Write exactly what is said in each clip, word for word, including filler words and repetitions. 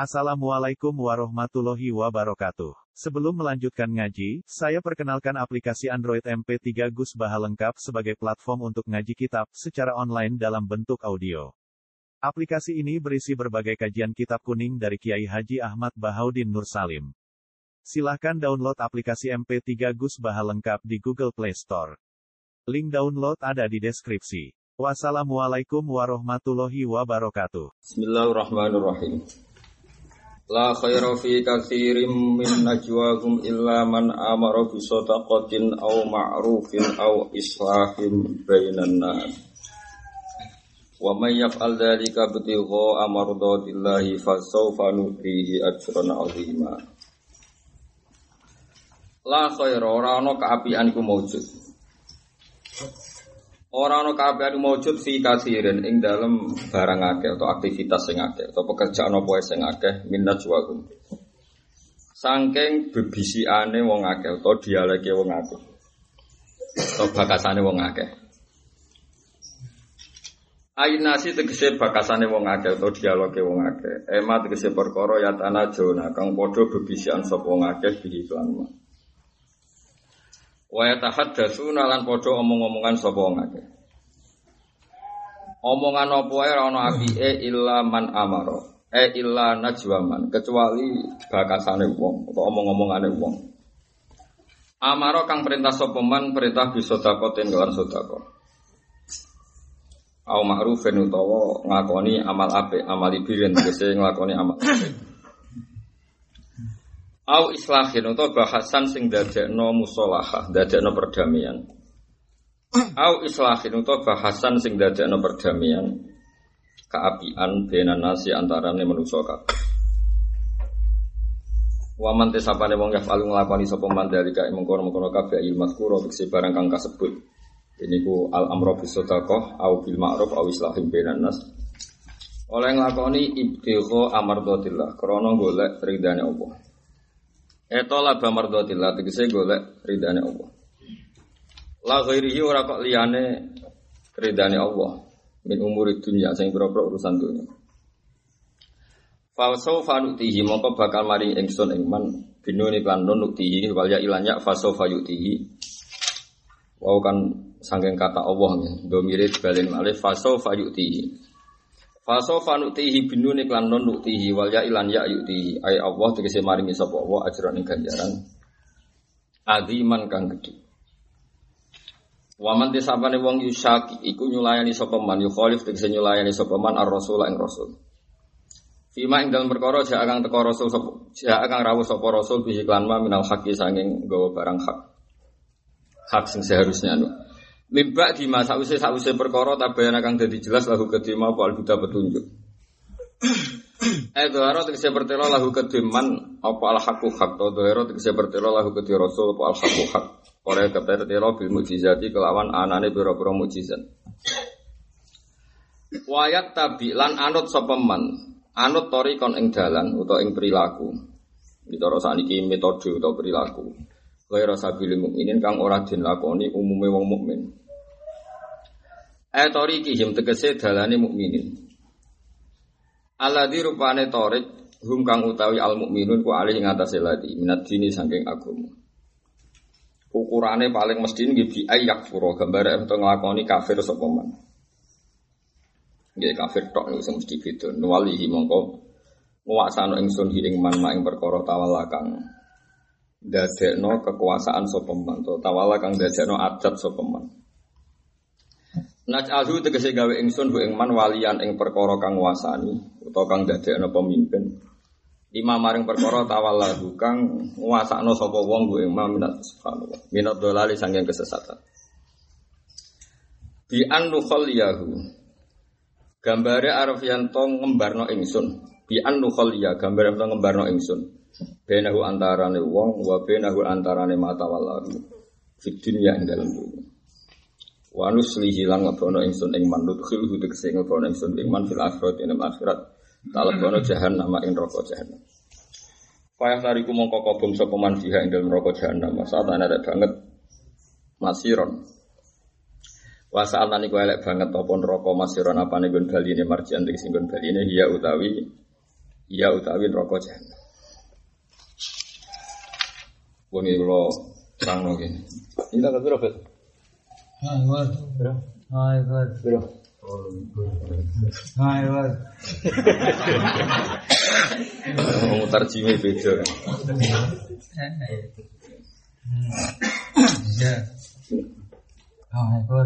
Assalamualaikum warahmatullahi wabarakatuh. Sebelum melanjutkan ngaji, saya perkenalkan aplikasi Android M P tiga Gus Baha lengkap sebagai platform untuk ngaji kitab secara online dalam bentuk audio. Aplikasi ini berisi berbagai kajian kitab kuning dari Kiai Haji Ahmad Bahaudin Nur Salim. Silahkan download aplikasi M P tiga Gus Baha lengkap di Google Play Store. Link download ada di deskripsi. Wassalamualaikum warahmatullahi wabarakatuh. Bismillahirrahmanirrahim. La khaira fi katsirin min najwahum illa man amara bi shadaqatin aw ma'rufin aw islahin bainan nas. Wa may yaf'al dzalika bitigha amardatillahi fasawfa nutihi ajran 'azima. La khaira ora ana kaapian iku maujud. Ora ana kaapian maujud fi katsirin ing dalem barang akeh atau aktivitas sing akeh atau pekerjaan apa sing akeh minat juwagum. Saking bebisiane wong akeh atau dialeke wong akeh. Atau bakasane wong akeh. Ainasi tegese bakasane wong akeh atau dialoge wong akeh. Ema tegese perkara ya tanajuna kang padha bebisian sapa wong akeh bihi lan. Wa yatahaddatsuna lan padha omong-omongan sapa wong akeh. Omongan apa wae ora ana apike illa man amara. E illa najwaman, kecuali bakasane wong utawa omong-omongane wong. Amara kang perintah sapa man perintah bisa takoten kelan sedekah. Au ma'rufin utawa ngakoni amal apik, amal ibirin tegese nglakoni amal apik. Au islahin utawa bahasan sing dadekno musholahah, dadekno perdamaian. Au islahin utawa bahasan sing dadekno perdamaian, kaapian benan nasi antarane manusa kabeh. Wa man tesapane wong yaf'alu nglakoni sapa man dalika mengkono-mengkono kabeh ilmu mazkur tegese barang kang kasebut. Niku al amru bis shadaqah au bil ma'ruf au islahin benan nas. Oleh nglakoni ibtigha amardatillah, krana golek ridane Allah. Etola bamardatillah tegese golek ridane Allah. La ghairihi ora kok liyane ridane Allah min umuri dunya sing pira-pira urusan dunya. Fa sawfa nutihi mongko bakal mari ingsun ing man binuni kan nutihi wal ya ilanya fa sawfa yutihi. Wau kan saking kata Allah nggih domire balen alif fa sawfa yutihi. Fa sawfa nutihi binuni kan nutihi wal ya ilan ya yutihi ay Allah tegese maringi sapa Allah ajran ing ganjaran aziman kang gedhe. Waman tisapane wong yusyaki iku nyulayani sapa man yukhalif tegese nyulayani sapa man ar-rasul ing rasul. Fima ing dalem perkara jak kang teka rasul sapa jak kang rawuh sapa rasul bi iklan ma minal haqqi sanging nggawa barang hak. Hak sing seharusnya anu. Mimba di masa sause sause perkara tabayana kang dadi jelas lahu kedima apa al-huda petunjuk. Eh doharo tegese pertelo lahu kediman apa al-haqqu haq to doharo tegese pertelo lahu kedi rasul apa al-haqqu haq. Ora kepertelo bil mukjizati kelawan anane pira-pira mukjizat. Wayat tabi lan anut sapa man, anut torikon ing dalan utawa ing perilaku. Ditara sakniki metode utawa perilaku. Kaya sabilil mukminin kang ora den lakoni umume wong mukmin. Ayat toriki him tegese dalane mukminin. Alladzi rupane torik hum kang utawi al mukminun ku alih ing atase ladi minad dini saking agama. Ukurane paling mesti nggih bi ayak furo gambar ento nglakoni kafir sapa man. Nggih kafir tok niku sing mesti beda. Nuwalihi mongko nguwasano ingsun hi ing man mak ing perkara tawala kang dadekno kekuasaan sapa man to tawala kang dadekno adat sapa man. Naj'alhu tegese gawe ingsun hu ing man walian ing perkara kang nguasani utawa kang dadekno pemimpin. Lima maring perkara tawallahu kang nguasakno sapa wong ku ing minat subhanallah minat dolali sanging kesesatan. Bi an nukhaliyahu gambare arep yen to ngembarno ingsun bi an nukhaliya gambare to ngembarno ingsun benahu antarane wong wa benahu antarane mata wallahu fid dunya ing dalem dunya wa nuslihi lan ngebono ingsun ing manut khilhu tegese ngebono ingsun ing man fil akhirat ing akhirat talebono jahannam ing neraka jahannam. Payah tariku mongko kobong sapa man fiha ing dalem neraka jahannam. Saat ana banget masiron. Wa saat niku elek banget apa neraka masiron apane nggon baline marjian tegese nggon baline ya utawi iya utawi neraka jahanam. Wong iki kula terangno iki. Iki tak kira bet. Hai, War. Bro. Hai, War. Bro. Hai, War. Ngomong tarjime beda kan. Ya. Hai, War.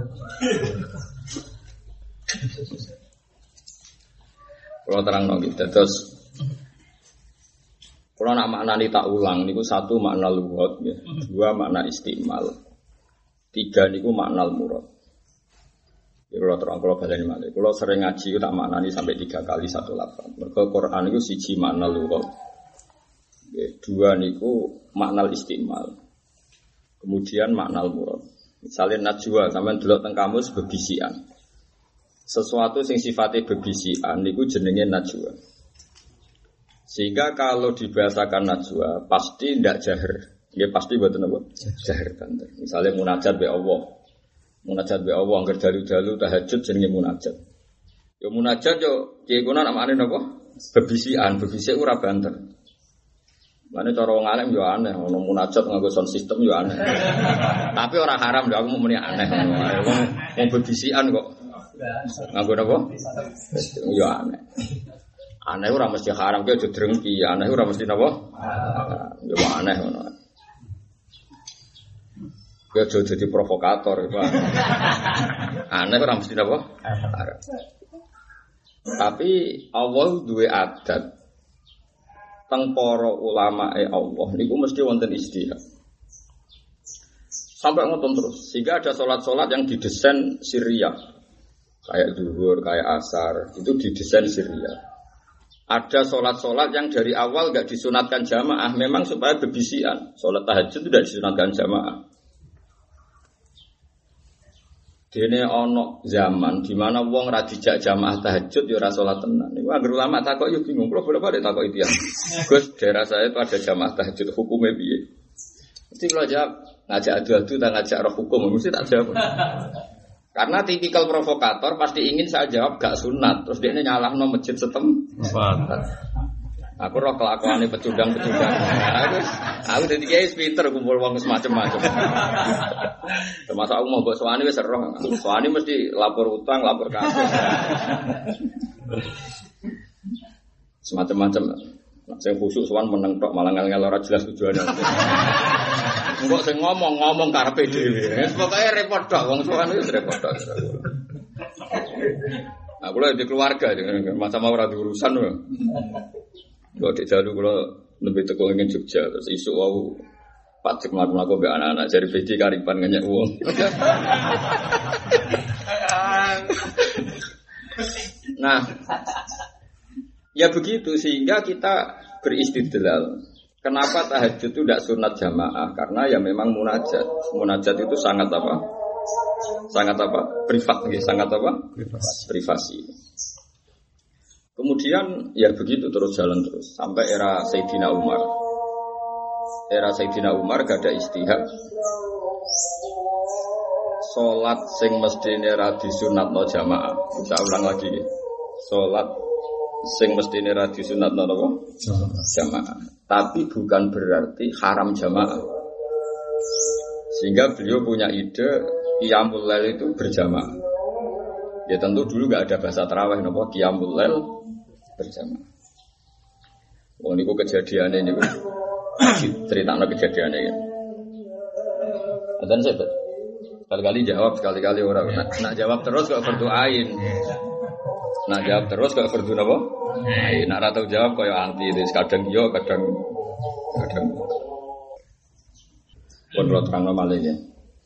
Kalau terang nongki, terus kalau nak maknani tak ulang, niku satu makna lughat, ya. Dua makna istimal, tiga niku makna murad. Ya, kalau terang kalau baleni malih, kalau sering ngaji itu tak maknani sampai tiga kali satu lafaz. Mergo Quran niku siji makna lughat, ya, dua niku makna istimal, kemudian makna murad. Misalnya najwa, sampean delok teng kamus bebisian. Sesuatu sing sifatnya bebisian niku jenenge najwa. Sehingga kalau dibahasakan najwa pasti ndak jahar. Nggih pasti mboten apa? Jahar banter. Misalnya munajat be Allah. Munajat be Allah angger dalu-dalu tahajud jenenge munajat. Yo munajat yo kiye kono namane napa? Bebisian, bebisik ora banter. Mane cara wong alim yo aneh, ono munajat nganggo sound system yo aneh. Tapi ora haram lho, aku mau muni aneh. Wong wong bebisian kok nganggo napa? Yo aneh. Aneh ora mesti haram, ki aja drengki. Aneh ora mesti napa? Yo aneh ngono. Ki aja dadi provokator, Pak. Aneh ora mesti napa? Haram. Tapi Allah duwe adat teng para ulamae Allah niku mesti wonten ijtihad. Sampai ngoten terus. Sehingga ada salat-salat yang didesain sirriyah. Kayak zuhur, kayak asar, itu didesain sirriyah. Ada salat-salat yang dari awal enggak disunatkan jamaah, memang supaya bebisian. Salat tahajud tidak disunatkan jamaah. Dene ana zaman di mana wong ra dijak jamaah tahajud ya ora salat tenan. Niku anggere ulama takok yo bingung. Kulo bolak-balik takok itu ya. Gus, daerah saya itu ada jamaah tahajud, hukumnya piye? Mesti kalau jawab ngajak adu-adu tak ngajak roh hukum, mesti tak jawab. Karena tipikal provokator pasti ingin saya jawab gak sunat, terus dia nyalahno masjid setempat. Aku roh kelakuane pecundang-pecundang. Aku aku dadi kiai pinter kumpul wong semacam-macam. Termasuk aku mau mbok sowane wis roh. Sowane mesti lapor utang, lapor kasus. Semacam-macam. Sing khusuk sowan meneng tok malah ngel-ngel ora jelas tujuane. Engko sing ngomong-ngomong karepe dhewe. Wis pokoke repot tok wong sowane wis repot tok. Aku lho di keluarga macam ora diurusan lho. Kalau di jalu kalau lebih teguh ingin Jogja terus isu wow pacek melakukan mbak anak-anak jadi B D kariban ngenyek uang. Nah, ya begitu sehingga kita beristidlal. Kenapa tahajud itu tidak sunat jamaah? Karena ya memang munajat. Munajat itu sangat apa? Sangat apa? Privat, ya, sangat apa? Privasi. Privasi. Kemudian ya begitu terus jalan terus sampai era Sayyidina Umar. Era Sayyidina Umar gak ada ijtihad. Salat sing mestine ra disunatno jamaah. Saya ulang lagi. Salat sing mestine ra disunatno apa? Jamaah. Tapi bukan berarti haram jamaah. Sehingga beliau punya ide qiyamul lail itu berjamaah. Ya tentu dulu gak ada bahasa tarawih napa qiyamul lail berjamaah. Wong niku kejadiane niku critakno kejadiane ya. Adzan sebet. Kali-kali jawab, sekali-kali ora. Nak, nak jawab terus kok berdoain. Nak jawab terus kok berdoa napa? Ain, nak ra tau jawab koyo anti, wis kadang yo, kadang kadang. Pun lo terang malih ya.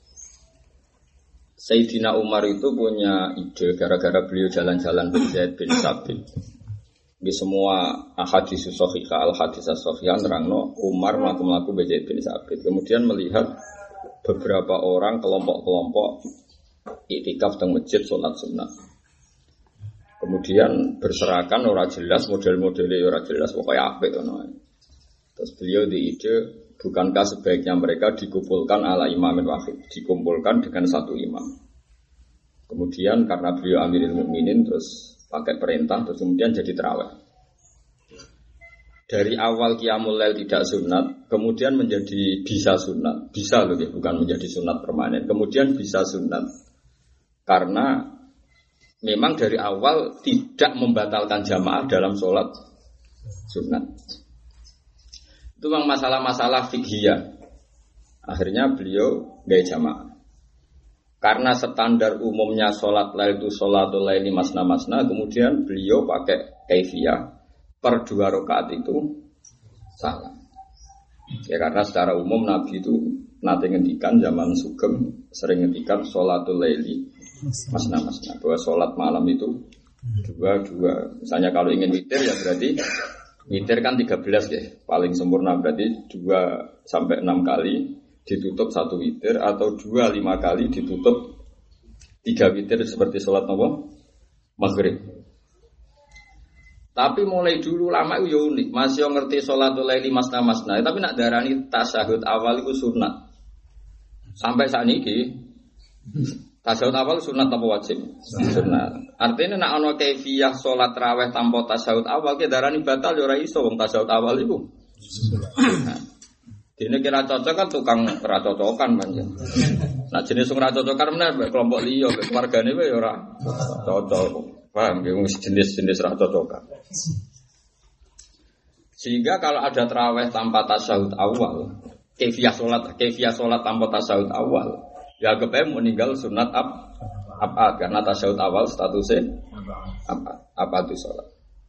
Sayyidina Umar itu punya ide gara-gara beliau jalan-jalan dengan Zaid bin Sabit. Di semua hadis sahihah, al-hadis sahihah nerangno Umar mlaku-mlaku be Zaid bin Sabit. Kemudian melihat beberapa orang kelompok-kelompok iktikaf teng masjid salat sunat. Kemudian berserakan ora jelas model-modele ora jelas pokoknya apik ngono. Terus beliau di ide bukankah sebaiknya mereka dikumpulkan ala imamin wahid, dikumpulkan dengan satu imam. Kemudian karena beliau Amirul Mukminin terus pakai perintah terus kemudian jadi tarawih. dari awal qiyamul lail tidak sunat, kemudian menjadi bisa sunat. Bisa loh ya, bukan menjadi sunat permanen. Kemudian bisa sunat. Karena memang dari awal tidak membatalkan jamaah dalam sholat sunat. Itu memang masalah-masalah fikhiyah. Akhirnya beliau gaya jamaah. Karena standar umumnya sholat lail itu sholatul laili masna-masna, kemudian beliau pakai kaifiyah. Per dua rakaat itu salah. Ya karena secara umum Nabi itu nanti ngendikan zaman Sugeng sering ngendikan sholatul laili masna-masna, bahwa sholat malam itu dua-dua. Misalnya kalau ingin witir ya berarti witir kan tiga belas ya, paling sempurna berarti dua sampai enam kali ditutup satu witir, atau dua lima kali ditutup tiga witir seperti sholat nopo maghrib. Tapi mulai dulu lama itu ya unik, masih ngerti sholatul laili masna-masna, tapi nak darani tasyahud awal itu sunat. Sampai saat ini tasyahud awal sunat apa wajib? Sunat. Artinya nak ana kaifiyah sholat raweh tanpa tasyahud awal ke darani batal ya ora iso wong tasyahud awal itu. Dene kira cocok kan tukang ora cocokan panjen. Nah jenis sing ora cocokan meneh kelompok liya keluargane wae ora cocok. Paham, jenis-jenis ra cocokan. Sehingga kalau ada tarawih tanpa tasyahud awal, kaifiyah salat, kaifiyah salat tanpa tasyahud awal, ya kepen meninggal sunat ab apa karena tasyahud awal statusnya apa apa itu salat.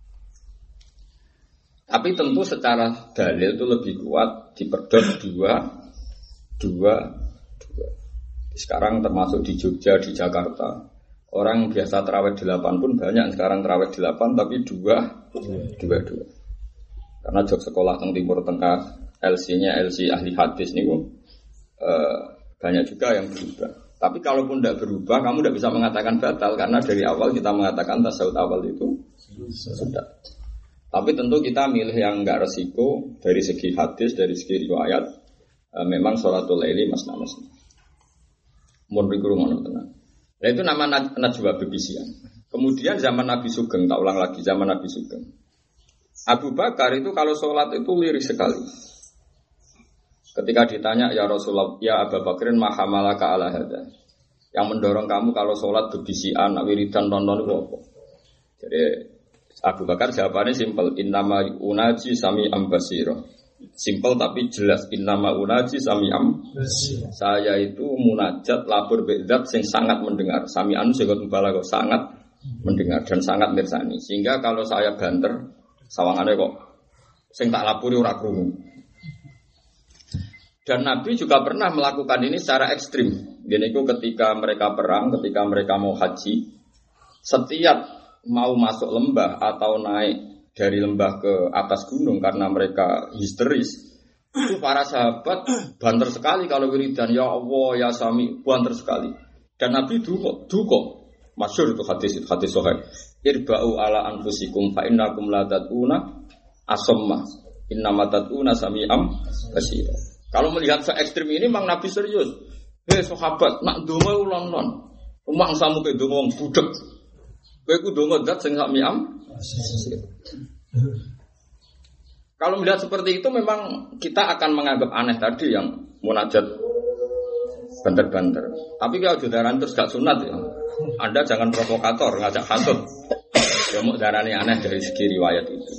Tapi tentu secara dalil itu lebih kuat diperdot dua dua dua. Sekarang termasuk di Jogja, di Jakarta. Orang biasa terawih delapan pun banyak sekarang terawih delapan tapi dua, dua, dua. Karena jog sekolah teng Timur Tengah L C-nya L C ahli hadis nih, eh, banyak juga yang berubah. Tapi kalaupun tidak berubah, kamu tidak bisa mengatakan batal karena dari awal kita mengatakan tasawuf awal itu sudah. Tapi tentu kita milih yang enggak resiko dari segi hadis, dari segi riwayat. Eh, memang sholatul laili masna-masna. Mun riku ngono tenan. Nah itu nama najwa bebisian. Kemudian zaman Nabi Sugeng, tak ulang lagi zaman Nabi Sugeng. Abu Bakar itu kalau sholat itu lirik sekali. Ketika ditanya ya Rasulullah, ya Abu Bakrin mahamalaka ala hadza. Yang mendorong kamu kalau sholat bebisian, wiridan nonton itu apa? Jadi Abu Bakar jawabannya simpel. Innama unaji sami ambasiro. Simpel tapi jelas. Innama unaji sami am. Saya itu munajat lapor bedat yang sangat mendengar. Sami anu segot mubalaghah sangat mendengar dan sangat mirsani. Sehingga kalau saya banter sawangane kok sing tak lapori ora krungu. Dan Nabi juga pernah melakukan ini secara ekstrim. Gini itu ketika mereka perang, ketika mereka mau haji, setiap mau masuk lembah atau naik dari lembah ke atas gunung karena mereka histeris, itu para sahabat banter sekali kalau wiridan ya Allah ya Sami, banter sekali. Dan Nabi duko, duko, masyhur itu hadis itu hadis sahih. Irba'u ala anfusikum fa innakum la tad'una asamma innama tad'una sami'am basira. Kalau melihat se ekstrim ini memang Nabi serius. Hei sahabat, nak donga ulon-ulon. Rumah samu ke donga wong budek. Kowe ku donga zat sing sami'am. Kalau melihat seperti itu memang kita akan menganggap aneh tadi yang munajat banter-banter. Tapi kalau judaran terus gak sunat ya. Anda jangan provokator ngajak hasud. Ya mau darani aneh dari segi riwayat itu.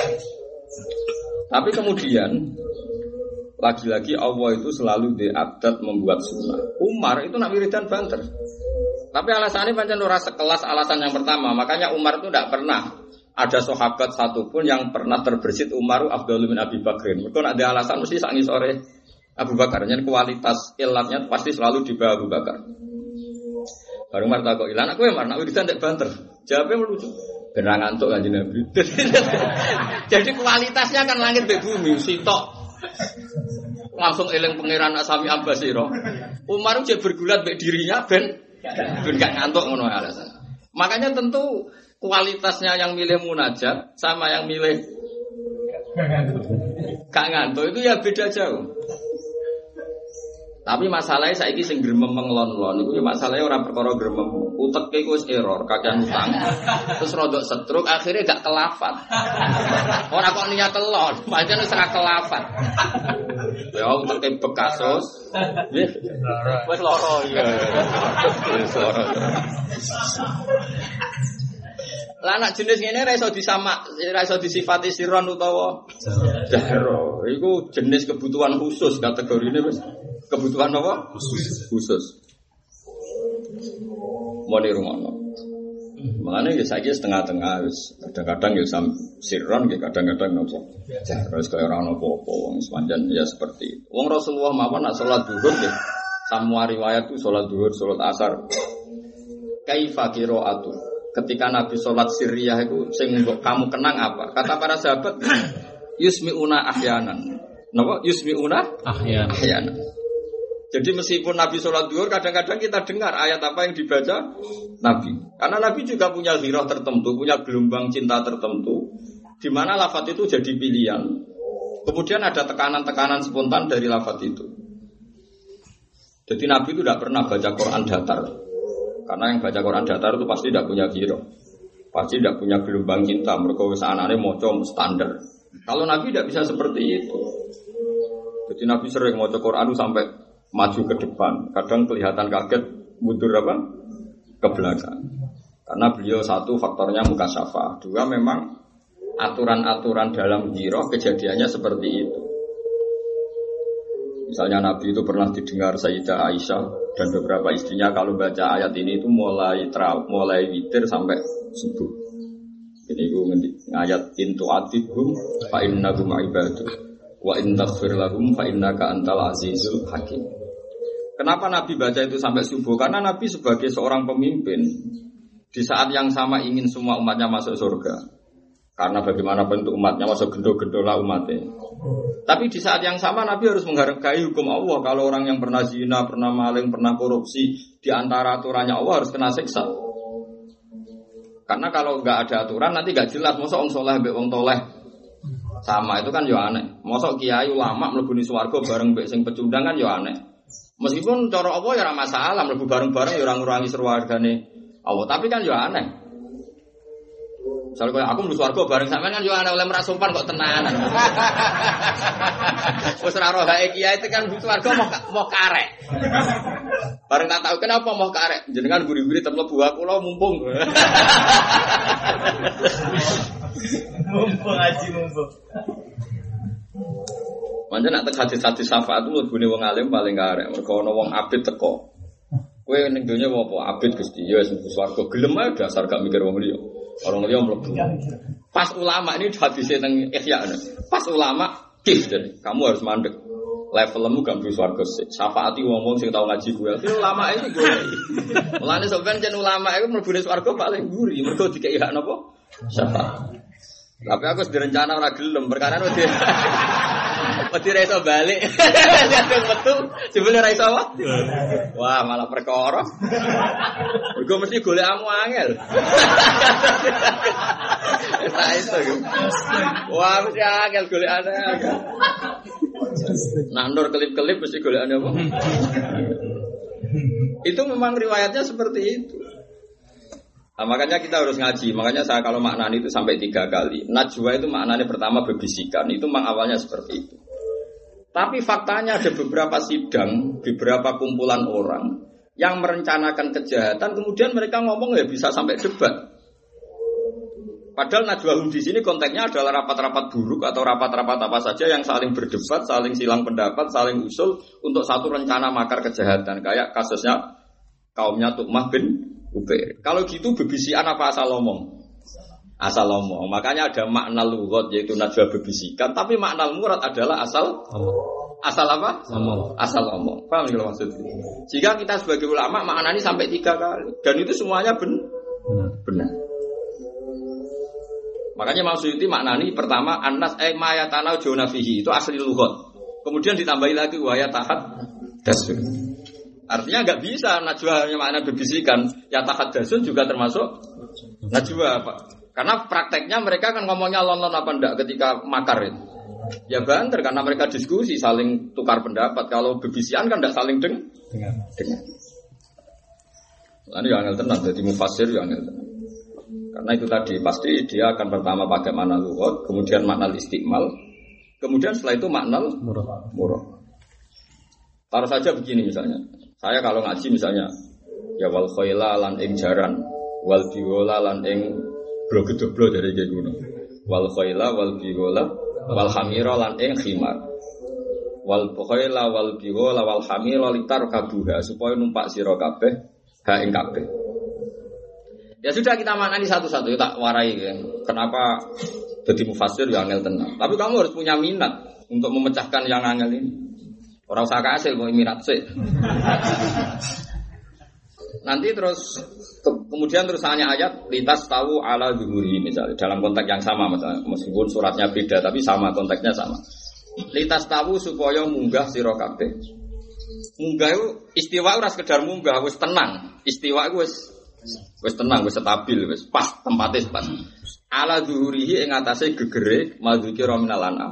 Tapi kemudian lagi-lagi Allah itu selalu diadat membuat sunnah. Umar itu nak wiridan banter. Tapi alasannya pancen ora sekelas alasan yang pertama. Makanya Umar itu tidak pernah ada sahabat satupun yang pernah terbersit Umaru afdhalu min Abi Bakrin. Mergo nek ada alasan mesti sak ngisore Abu Bakar. Jadi kualitas ilatnya pasti selalu di bawah Abu Bakar. Baru Umar takok, "Ilan aku Umar nak wiridan ndek banter." Jawabnya lucu. Ben ra ngantuk kanjeng Nabi. Jadi kualitasnya kan langit mbek bumi, sitok. Langsung eling pangeran Sami Ambasira. Umar udah bergulat mbek dirinya ben ben gak ngantuk ngono alasan. Makanya tentu kualitasnya yang milih munajat sama yang milih gak ngantuk itu ya beda jauh. Tapi masalahnya saiki sing gremeng menglon-lon iku ya masalahnya ora perkara gremeng. Utek iku wis error, kakean utang. Terus rodok stroke akhirnya gak kelafat. Ora kok niat telon, pancen wis ora kelafat. Ya utek bekasos. Nggih. Wis lara ya. Wis lara. Lah anak jenis ngene ra iso disama, ra iso disifati sirron utawa jahro. Iku jenis kebutuhan khusus kategorine wis kebutuhan apa? Khusus. Khusus. Mau di rumah no. Makanya ya saya setengah-tengah, kadang-kadang ya sam sirron, kadang-kadang nol. Terus kayak orang nopo-nopo, sepanjang ya seperti itu. Wong Rasulullah maupun nak sholat duhur deh. Semua riwayat itu sholat duhur, sholat asar. Kaifa qiraatu. Ketika Nabi sholat sirriyah itu, sing kamu kenang apa? Kata para sahabat, yusmiuna ahyanan. Napa? Yusmiuna ahyanan. ahyanan. Jadi meskipun Nabi sholat duhur, kadang-kadang kita dengar ayat apa yang dibaca Nabi. Karena Nabi juga punya ghirah tertentu, punya gelombang cinta tertentu, di mana lafadz itu jadi pilihan. Kemudian ada tekanan-tekanan spontan dari lafadz itu. Jadi Nabi itu tidak pernah baca Quran datar. Karena yang baca Quran datar itu pasti tidak punya ghirah. Pasti tidak punya gelombang cinta. Mereka anaknya mocom standar. Kalau Nabi tidak bisa seperti itu. Jadi Nabi sering baca Quran sampai maju ke depan, kadang kelihatan kaget, mundur apa? Ke belakang. Karena beliau satu faktornya mukasyafah, dua memang aturan-aturan dalam ghirah kejadiannya seperti itu. Misalnya Nabi itu pernah didengar Sayyidah Aisyah dan beberapa istrinya kalau baca ayat ini itu mulai terau, mulai witir sampai subuh. Ini gue ngayat intu atibhum fa innahum ibadu wa in taghfir lahum fa innaka antal azizul hakim. Kenapa Nabi baca itu sampai subuh? Karena Nabi sebagai seorang pemimpin di saat yang sama ingin semua umatnya masuk surga. Karena bagaimanapun untuk umatnya masuk gendol-gendolah umatnya. Tapi di saat yang sama Nabi harus menghargai hukum Allah. Kalau orang yang pernah zina, pernah maling, pernah korupsi, di antara aturannya Allah harus kena siksa. Karena kalau nggak ada aturan nanti nggak jelas. Masa orang soleh mbek wong toleh sama itu kan ya aneh. Masa kiai ulama mlebuni swarga bareng mbek sing pecundang kan ya aneh. Meskipun cara apa ya ora masalah mlebu bareng-bareng ya ora ngurangi swargane Allah, tapi kan ya aneh. Misal koyo aku mlebu swarga bareng sampean kan ya aneh oleh merasumpan kok tenanan. Wis ora roh hae kiai itu kan mlebu swarga mau mau karek. Bareng tak tahu kenapa mau karek. Jenengan guri-guri tem mlebu aku lho mumpung. Mumpung aji mumpung. Manjen nak tek hadis-hadis syafaat itu mlebune wong alim paling karek. Mergo ana wong abid teko. Kowe ning donya apa abid Gusti? Ya wis mlebu swarga. Gelem ae dasar gak mikir wong liya. Orang liya mlebu. Pas ulama ini hadise teng Ihya. Pas ulama kif jadi kamu harus mandek. Levelmu gak mlebu swarga sik. Syafaati wong-wong sing tau ngaji gue. Ulama iki gue. Mulane sampean jen ulama iku mlebune swarga paling mburi. Mergo dikeki hak napa? Syafaat. Tapi aku sudah rencana ora gelem perkara wedi. Wedi ra iso balik. Lihat metu, jebule ra iso apa? Wah, malah perkara. Mergo mesti golekamu angel. Tak iso yo. Wah, mesti angel golekane. Nah, nur kelip-kelip mesti golekane apa? Itu memang riwayatnya seperti itu. Nah, makanya kita harus ngaji. Makanya saya kalau maknani itu sampai tiga kali. Najwa itu maknanya pertama berbisikan. Itu memang awalnya seperti itu. Tapi faktanya ada beberapa sidang, beberapa kumpulan orang yang merencanakan kejahatan. Kemudian mereka ngomong ya bisa sampai debat. Padahal najwahum di sini konteksnya adalah rapat-rapat buruk atau rapat-rapat apa saja yang saling berdebat, saling silang pendapat, saling usul untuk satu rencana makar kejahatan. Kayak kasusnya kaumnya Tu'mah bin Ubair. Kalau gitu bebisikan apa asal omong? Asal omong. Makanya ada makna lughat yaitu najwa bebisikan, tapi makna murad adalah asal omong. Asal apa? Omong. Asal omong. Paham kalau maksudnya? Jika kita sebagai ulama maknani sampai tiga kali dan itu semuanya ben benar. Makanya maksud itu maknani pertama annas ay ma yatanau juna fihi itu asli lughat. Kemudian ditambahi lagi wa yatahat dasun. Artinya enggak bisa najwa hanya makna berbisikan, ya tahaddatsun juga termasuk najwa Pak. Karena prakteknya mereka kan ngomongnya lon-lon apa enggak ketika makar itu. Ya banter karena mereka diskusi saling tukar pendapat. Kalau bebisikan kan enggak saling deng dengar. Ini yang angel tenang, jadi mufassir yang angel tenang. Karena itu tadi pasti dia akan pertama pakai makna lughat, kemudian makna istiqmal, kemudian setelah itu makna murad. Murad. Taruh saja begini misalnya, saya kalau ngaji misalnya, ya wal khayla lan ing jaran, wal biwala lan ing blogedoblo dari kayak gini, wal khayla wal biwala wal hamira lan ing khimar, wal khayla wal biwala wal hamira litar kabuha supaya numpak sira kabeh. Ha ing kabeh. Ya sudah kita maknani satu-satu ya tak warai ya. Kenapa jadi mufassir ya angel tenang. Tapi kamu harus punya minat untuk memecahkan yang angel ini. Orang usah kasil mau minat sih. Nanti terus ke, kemudian terus hanya ayat litas tahu ala zuhuri misalnya dalam konteks yang sama misalnya meskipun suratnya beda tapi sama konteksnya sama. Litas tahu supaya munggah sira kabeh. Munggah itu istiwa ora sekedar munggah wis tenang. Istiwa itu wis wis tenang, wis stabil, wis pas tempatnya pas. Ala zuhurihi ing atase gegere madzukira minal anam.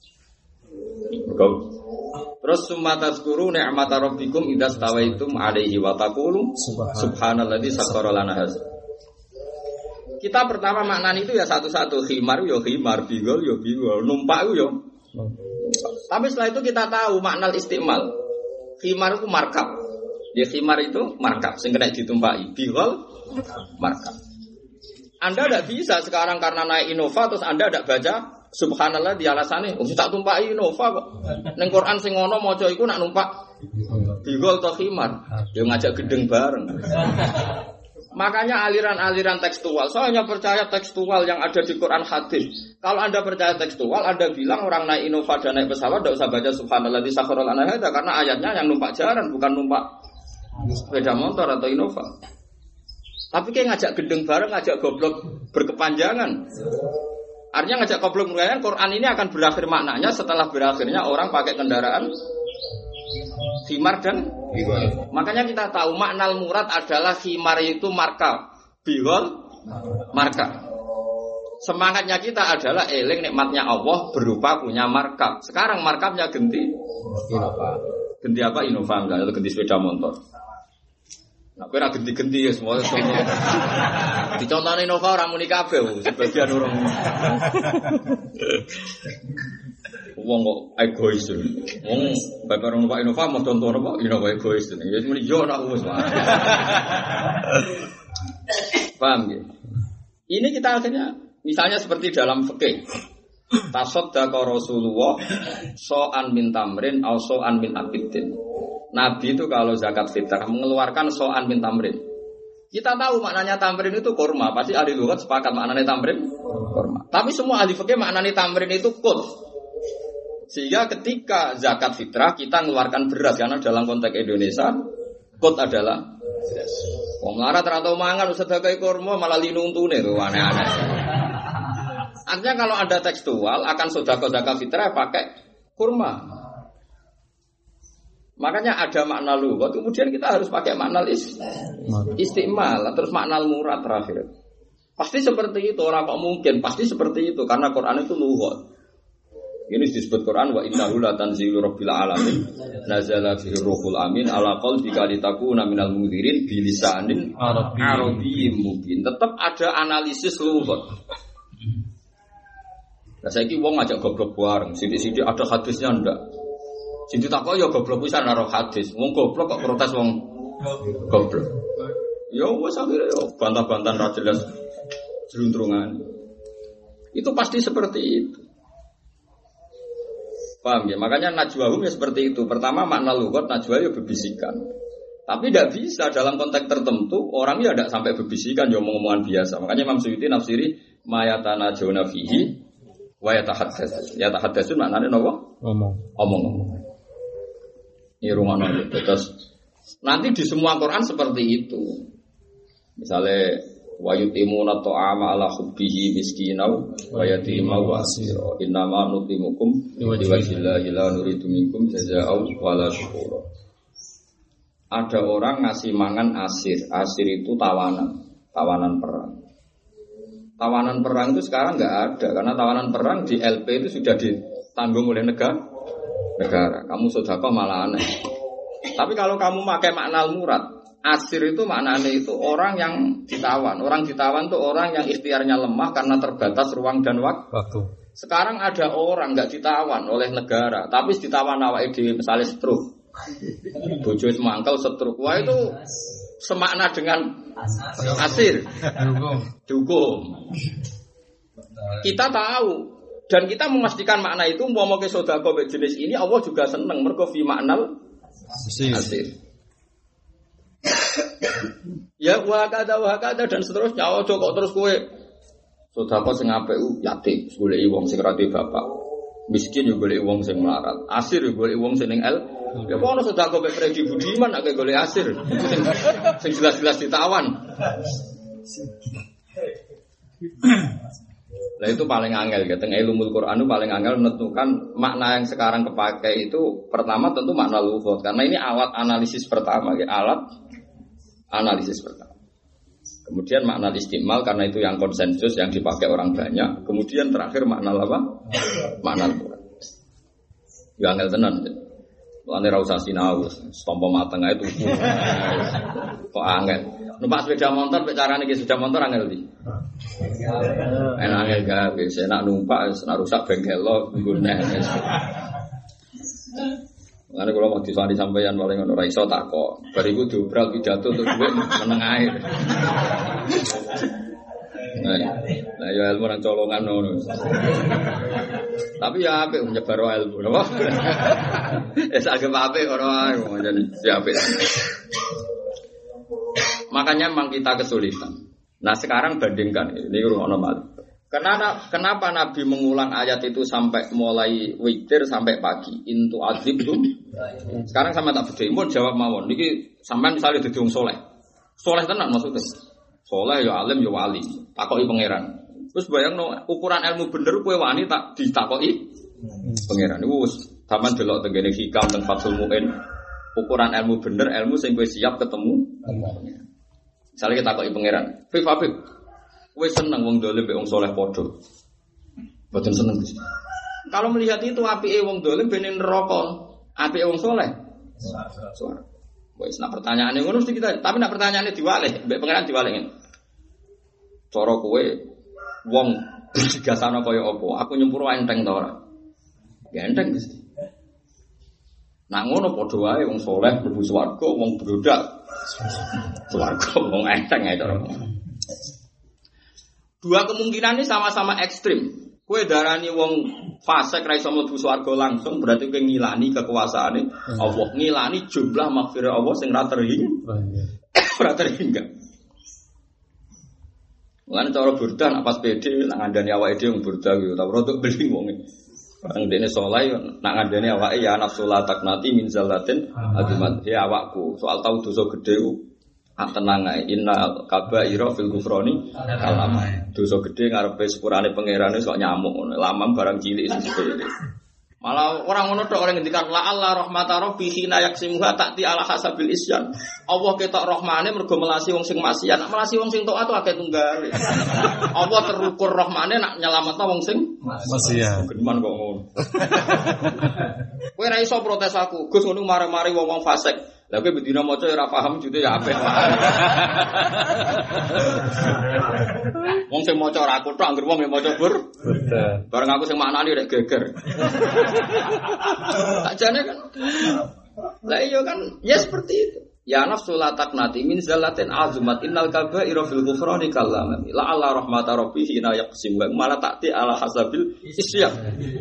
Terus sumatas guru ni'mata rabbikum idza stawaitum alaihi wa taqulu subhanalladzi sakhkhara lana hadza. Kita pertama maknani itu ya satu-satu, khimar yo khimar, bigol yo bigol, numpak yo. Tapi setelah itu kita tahu makna istiqmal. Khimar itu markab. Ya khimar itu markab sing kena ditumpaki. Bigol markab. Anda tidak bisa sekarang karena naik Innova terus Anda tidak baca subhanallah di alasane. Oh tak tumpaki Innova kok. Ning Quran sing ngono maca iku nak numpak bigol atau khimar. Ya ngajak gendeng bareng. Makanya aliran-aliran tekstual, saya hanya percaya tekstual yang ada di Quran hadis. Kalau Anda percaya tekstual, Anda bilang orang naik Innova dan naik pesawat tidak usah baca subhanalladzi sakhkhara lana hadza karena ayatnya yang numpak jaran bukan numpak sepeda motor atau Innova. Tapi kayak ngajak gendeng bareng, ngajak goblok berkepanjangan. Artinya ngajak goblok berkepanjangan, Quran ini akan berakhir maknanya setelah berakhirnya orang pakai kendaraan khimar dan bigol. Makanya kita tahu makna murad adalah khimar itu marka, bigol marka. Semangatnya kita adalah eling nikmatnya Allah berupa punya markab. Sekarang markabnya ganti Innova. Ganti apa? Innova misalnya atau ganti sepeda motor. Nah, kowe ora ganti-ganti ya semua semua. Dicontohne Innova ora muni kabeh, sebagian orang. Wong kok egois. Wong bapak orang numpak Innova mau contoh apa? Innova egois. Ya muni yo nak wis. Paham ya? Ini kita akhirnya misalnya seperti dalam fikih. Tasaddaqa Rasulullah so'an min tamrin au so'an min abidin. Nabi itu kalau zakat fitrah mengeluarkan so'an min tamrin. Kita tahu maknanya tamrin itu kurma. Pasti ahli lughat sepakat maknanya tamrin kurma. Tapi semua ahli fikih maknanya tamrin itu qut. Sehingga ketika zakat fitrah kita mengeluarkan beras karena dalam konteks Indonesia qut adalah beras. Wong melarat ora tau mangan sedekah kurma malah linu untune tuh aneh-aneh. Artinya kalau ada tekstual akan sedekah zakat fitrah pakai kurma. Makanya ada makna lughat, kemudian kita harus pakai makna istiqmal, terus makna murad terakhir. Pasti seperti itu, orang kok mungkin, pasti seperti itu karena Quran itu lughat. Ini disebut Quran wa innahu la tanzilu rabbil alamin nazala bihi ruhul amin ala qalbika litakuna minal mundzirin bilisanin arabiyyin mubin. Tetap ada analisis lughat. Lah saiki wong ngajak goblok bareng, sithik-sithik ada hadisnya ndak? Sing ditakok ya goblok pisan karo hadis. Wong goblok kok protes wong goblok. Ya wis akhire yo bantah-bantahan ra jelas jeluntrungan. Itu pasti seperti itu. Paham ya? Makanya najwahum ya seperti itu. Pertama makna lughat najwa ya bebisikan. Tapi tidak bisa dalam konteks tertentu orang ya tidak sampai bebisikan ya omong-omongan biasa. Makanya Imam Suyuti nafsiri mayatana jawna fihi wa yatahaddatsun. Yatahaddatsun maknanya apa? Omong. Omong-omong. Ini rumahnya. Terus nanti di semua Quran seperti itu. Misalnya wa yutimuna ta'ama ala hubbihi miskinau wa yatima wa asira innama nutimukum liwajhillahi la nuridu minkum jazaa'u wala syukura. Ada orang ngasih mangan asir. Asir itu tawanan, tawanan perang. Tawanan perang itu sekarang enggak ada karena tawanan perang di L P itu sudah ditanggung oleh negara. Negara. Kamu sedekah malah aneh. Tapi kalau kamu pakai makna murad, Asir itu maknanya itu orang yang ditawan. Orang ditawan itu orang yang ikhtiarnya lemah karena terbatas ruang dan waktu. Sekarang ada orang nggak ditawan oleh negara, tapi ditawan awake dhewe misalnya stroke. Bojo semangkal stroke. Wah itu semakna dengan asir. Dihukum. Kita tahu dan kita memastikan makna itu mau mau ke sedekah jenis ini Allah juga seneng mergo fi maknal asir. Ya wakada wakada dan seterusnya. Oh kok terus kowe sedekah sing apik yatim, goleki wong sing ra duwe bapak. Miskin yo goleki wong sing melarat. Asir yo goleki wong sing ning el. Ya kok ono sedekah mek Freddy Budiman nek golek asir. Sing, sing jelas-jelas ditawan. Lah itu paling angel ya, teng ilmu Al-Qur'an itu paling angel menentukan makna yang sekarang kepakai itu pertama tentu makna lughat karena ini alat analisis pertama ya, alat analisis pertama. Kemudian makna istimal karena itu yang konsensus yang dipakai orang banyak. Kemudian terakhir makna apa? Makna Al-Qur'an. Ya angel tenan. Mulane ra usah sinau, stompo mateng ae tuku. Kok angel. Numpak sepeda motor, mek carane iki sepeda motor angel iki. Enak angel gawe, enak numpak wis ora rusak bengkel lo nggone. Mulane kula mau disani sampeyan paling ngono ra iso takok. Bar iku diobral pidato terus duwe meneng ae. Nah, ya ilmu nang colongan ngono. Tapi ya apik nyebar ilmu, napa? Eh saged apik ora ae jadi apik. Makanya memang kita kesulitan. Nah, sekarang bandingkan ini rumono malih. Kenapa kenapa Nabi mengulang ayat itu sampai mulai witir sampai pagi? Intu adzibtum. Sekarang sama tak bedhe mun jawab mawon. Niki sampean misalnya dadi wong saleh. Saleh tenan maksudnya. Saleh ya alim ya wali. Takoki pangeran. Terus bayangno ukuran ilmu bener kowe wani tak ditakoki pangeran. Iku wis sampean delok tengene hikam teng Fathul Muin. Ukuran ilmu bener ilmu sing kowe siap ketemu pangeran. Misalnya kita takoki pangeran. Fif Fif. Kowe seneng wong dolim mbek wong saleh padha. Mboten seneng Gusti. Kalau melihat itu apike wong dolim ben neraka, apike wong saleh. Suara. Wis nak pertanyaane ngono mesti kita, tapi nak pertanyaane diwaleh, mbek pangeran diwaleh ngene. Cara kowe wong digasana kaya apa? Aku nyempuro enteng ta ora? Ya enteng Gusti. Nak ngono padha wae wong saleh mlebu swarga, wong brodak swarga, wong enteng ae cara. Dua kemungkinan ini sama-sama ekstrim. Kue darani wong fasik ra iso mlebu swarga langsung berarti kowe ngilani kekuasaane Allah, ngilani jumlah maghfirah Allah sing ra terhingga. Ora terhingga. Lan cara burdah nak pas pede nak ngandani awake dhewe burdah yo ta rodok beli wonge. Nang dene saleh nak ngandani awake ya nafsu la taknati min zallatin azimat. Ya awakku, soal tau dosa gedhe tenang ae inna kabaira fil ghufrani kalam dosa gedhe ngarepe sepurane pangerane kok nyamuk ngono lamam barang cilik sepele malah orang ngono tok orang ngendikan la Allah rahmata rabbi hina yaksimuha ta'ti ala hasabil isyan Allah ketok rahmane mergo melasi wong sing maksiat melasi wong sing taat akeh tunggale Allah terukur rahmane nak nyelametno wong sing maksiat geneman kok ngono kowe ra iso protes aku Gus ngono mari-mari wong-wong fasik. Lah kowe bedina maca ora paham jute ya apik. Wong sing maca ora kuthuk anggere wong sing maca bur. Bareng aku sing maknani rek geger. Sakjane kan. Lah iya kan ya seperti itu. Ya nafsu la taqnati min zallatin azumat innal kaba'ira fil ghufrani kallam. La Allah rahmata rabbihi ina yaqsim wa mala ta'ti ala hasabil isyaq.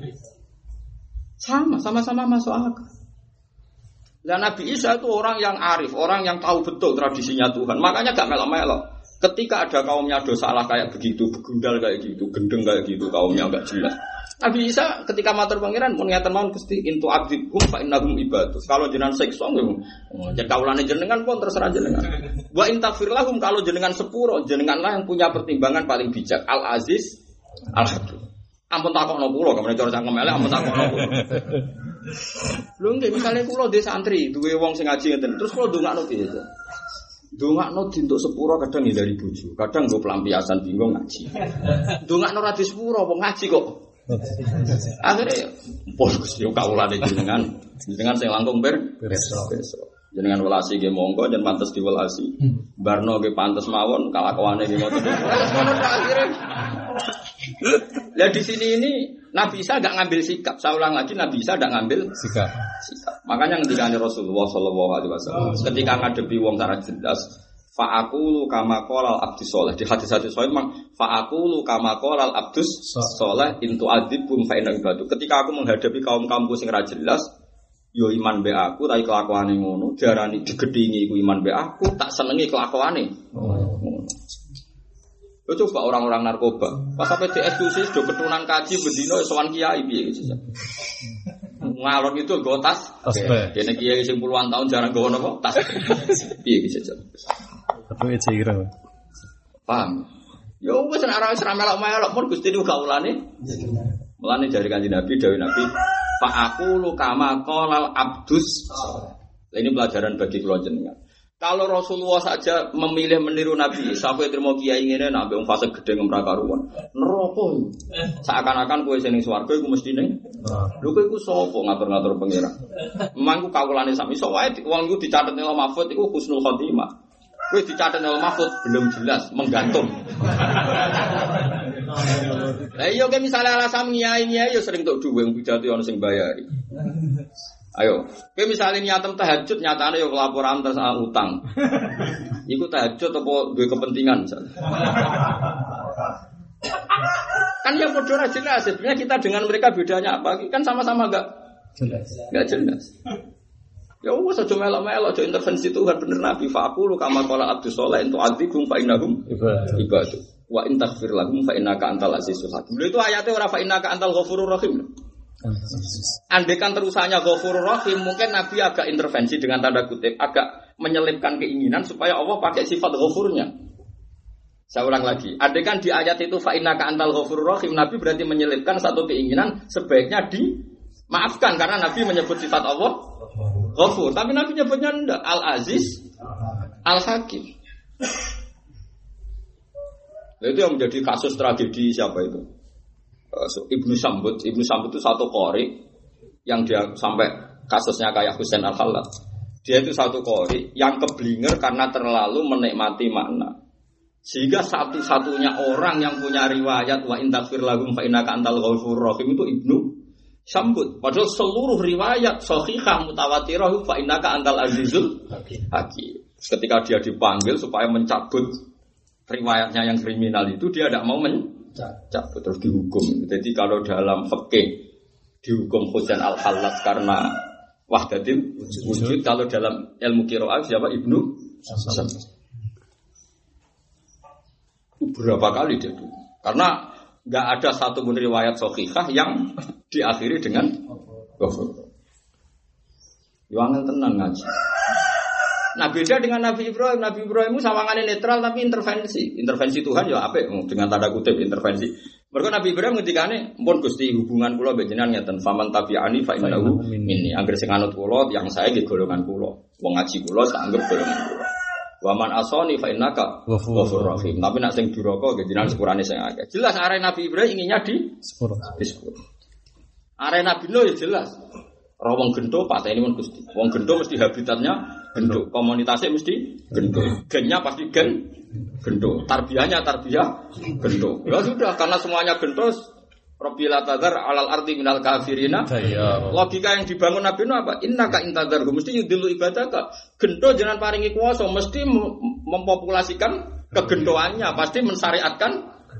Sama, sama-sama masuk akal. Dan Nabi Isa itu orang yang arif, orang yang tahu betul tradisinya Tuhan. Makanya gak melok-melok. Ketika ada kaumnya do salah kayak begitu, begundal kayak gitu, gendeng kayak gitu, kaumnya gak jelas. Nabi Isa ketika matur pangeran mun ngeten mawon Gusti intu abdikum fa innahum ibadus. Kalau jenengan seksa nggih. Jen kawulane jenengan pun terserah jenengan. Wa in taghfir lahum kalau jenengan sepuro, jenenganlah yang punya pertimbangan paling bijak. Al Aziz Al Hakim. Ampun takokno kula, kamane cara cangkem elek ampun takokno kula. Lho nggih misale kula dhe santri, duwe wong sing ngaji ngeten, terus kula ndongakno piye to? Ndongakno dintuk sepuro kadang hindari bojo, kadang nggo pelampiasan bingung ngaji. Ndongakno ra di sepuro wong ngaji kok. Akhire pos Gusti kawulane jenengan, jenengan sing langkung ber besok. Jenengan welasi nggih monggo jan pantes diwelasi. Barno nggih pantes mawon kalakuane nggih ngoten. Ngono akhire. Lah di sini ini Nabi Isa enggak ngambil sikap. Saya ulang lagi Nabi Isa enggak ngambil sikap. sikap. Makanya ketika Rasulullah sallallahu alaihi wasallam ketika ngadepi wong secara jelas fa'aqulu kama qala al-abdus sholih di hadis-hadis sahih memang fa'aqulu kama qala al-abdus sholih in tu'adzibhum fa inna ibadu. Ketika aku menghadapi kaum-kaumku sing ra jelas yo iman be aku tapi kelakuane ngono diarani digedhingi iku iman be aku tak senengi kelakuane ngono. Yo coba orang-orang narkoba pas sampai di eksekusi do ketunan kaji bendino sowan kiai piye iki. Ngalor itu go tas. Dene kiai sing puluhan tahun jarang go napa tas. Piye iki jajal. Tapi aja kira. Paham. Yo wis ora wis ra melok-melok mun Gusti niku gak ulane. Mulane jare Kanjeng Nabi dawuh Nabi fa aqulu kama qala abdus. Ini pelajaran bagi kula jenengan. Kalau Rasulullah saja memilih meniru Nabi Isa, kowe trimo kiai ngene nek ambek fase gedhe ngemra karuan. Neraka. Seakan-akan kowe sing ning swarga iku mesti ning. Lho kowe iku sapa ngatur-ngatur pangeran. Memang ku kawulane sami iso wae wong iku dicatet nang mahfud iku husnul khotimah. Kowe dicatet nang mahfud belum jelas, menggantung. Lah iya ke misale alasan nyai-nyai yo sering tok dhuwe pidato ana sing bayari. Ayo, kowe misale niatem tahajud nyatane yo laporan terus utang. Iku tahajud apa duwe kepentingan misalnya. Kan yang bodoh aja jelas, sebenarnya kita dengan mereka bedanya apa? Kan sama-sama enggak jelas. Enggak jelas. Ya wis aja melok-melok aja intervensi Tuhan bener Nabi faqulu kama qala abdus sholih entu adzibum fa innahum ibadu. Wa in taghfir lahum fa innaka antal azizul hakim. Lha itu ayatnya ora fa innaka antal ghafurur rahim. Andekan terusannya Ghafurur Rahim, mungkin Nabi agak intervensi dengan tanda kutip, agak menyelipkan keinginan supaya Allah pakai sifat Ghafurnya. Saya ulang lagi, andekan di ayat itu fa innaka antal Ghafurur Rahim, Nabi berarti menyelipkan satu keinginan sebaiknya dimaafkan karena Nabi menyebut sifat Allah Ghafur, tapi Nabi nyebutnya enggak, Al-Aziz, Al-Hakim. Itu yang menjadi kasus tragedi siapa itu? So, Ibnu Sambut, Ibnu Sambut itu satu qori yang dia sampai kasusnya kayak Husain Al-Khallat. Dia itu satu qori yang keblinger karena terlalu menikmati makna. Sehingga satu-satunya orang yang punya riwayat wa in taghfir lahum fa innaka antal ghafurur rahim itu Ibnu Sambut. Padahal seluruh riwayat sahihah mutawatirah fa innaka antal azizul hakim. Ketika dia dipanggil supaya mencabut riwayatnya yang kriminal itu, dia tidak mau men cabut terus dihukum. Jadi kalau dalam fikih dihukum Husain Al-Khallat karena wahdatil wujud, kalau dalam ilmu qiraah siapa Ibnu Sambut. Berapa kali dia dulu. Karena enggak ada satu pun riwayat sahihah yang diakhiri dengan ghafur. Yo angel tenan ngaji. Nah beda dengan Nabi Ibrahim. Nabi Ibrahim itu sawangane netral tapi intervensi. Intervensi Tuhan ya apik dengan tanda kutip intervensi. Mergo Nabi Ibrahim ngendikane, "Mumpun Gusti hubungan kula mbek jenengan ngeten, faman tabi'ani fa innahu minni." Angger sing anut kula tiyang sae nggih golongan kula. Wong ngaji kula tak anggap golongan kula. Wa man asani fa innaka ghafurur rahim. Tapi nek sing duraka nggih jenengan sepurane sing akeh. Jelas arek Nabi Ibrahim inginnya di sepuro. Di sepuro. Arek Nabi Nuh ya jelas. Roh wong gento pateni men Gusti. Wong gento mesti habitatnya gento, komunitasnya mesti gento. Gennya pasti gen gento. Tarbiyahnya tarbiyah gento. Ya sudah karena semuanya gento, Rabbil tadzar alal ardi minal kafirina. Logika yang dibangun Nabi Nuh apa? Innaka intadzar mesti yudillu ibadaka. Gento jangan paringi kuasa, mesti mempopulasikan kegentoannya, pasti mensyariatkan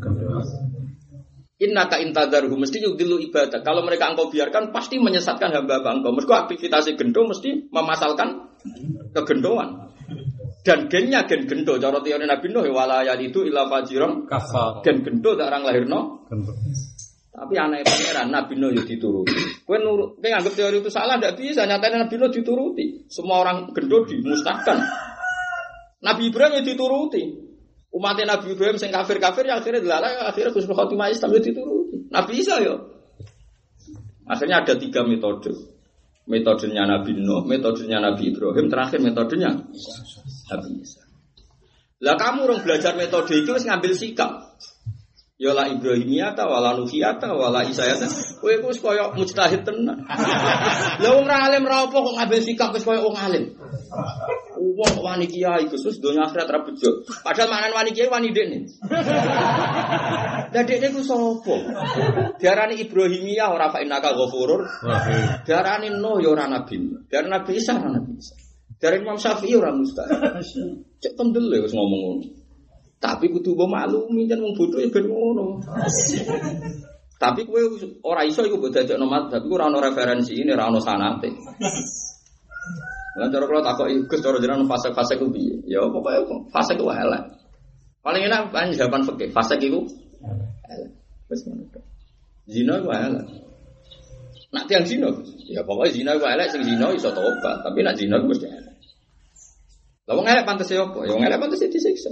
innaka intadzarhu mesti yudillu ibadah. Kalau mereka engkau biarkan pasti menyesatkan hamba-hamba engkau. Mergo aktivitas gendo mesti memasalkan kegendoan. Dan gennya gen gendo. Cara teori Nabi Nuh wala yalidu illa fajiran kafar. Gen gendo tak orang lahirno. Tapi anak pangeran Nabi Nuh yo dituruti. Kowe nurut, kowe anggap teori itu salah ndak bisa. Nyatane Nabi Nuh dituruti. Semua orang gendo dimusnahkan. Nabi Ibrahim yo dituruti. Umatnya Nabi Ibrahim sing kafir-kafir ya akhirnya dilalai, akhirnya Husnul Khotimah Islam itu dituruti. Nabi Isa ya. Akhirnya ada tiga metode. Metodenya Nabi Nuh, metodenya Nabi Ibrahim, terakhir metodenya Nabi Isa. Lah kamu orang belajar metode itu harus ngambil sikap. Ya la Ibrahimiyata, wala Nuhiyata, wala Isayata. Kowe iku wis koyo mujtahid tenan. Lah wong ra alim ra apa kok ngambil sikap wis koyo wong alim. Wong wani kiai Gus donya akhirat ra bejo. Padahal maknane wani kiai wani dekne. Lah dekne ku sapa? Diarani Ibrahimiyah ora fa innaka ghafurur. Diarani Nuh ya ora nabi. Diarani Nabi Isa ora nabi Isa. Diarani Imam Syafi'i ora mustahil. Cek kendel wis ngomong ngono. Tapi kudu mbok maklumi jan wong bodho ya ben ngono. Tapi kowe ora iso iku mbok dadekno madzhab, iku ora ono referensi ini, ora ono sanate. Lan cara kula takoki Gus cara jenengan fase-fase ku piye? Ya pokoke fase ku elek. Paling enak panjaban fikih, fase iku elek. Wis ngono. Zina ku elek. Nak tiang zina, ya pokoke zina ku elek sing zina iso tobat, tapi nak zina ku mesti elek. Lah wong elek pantes e opo? Ya wong elek pantes disiksa.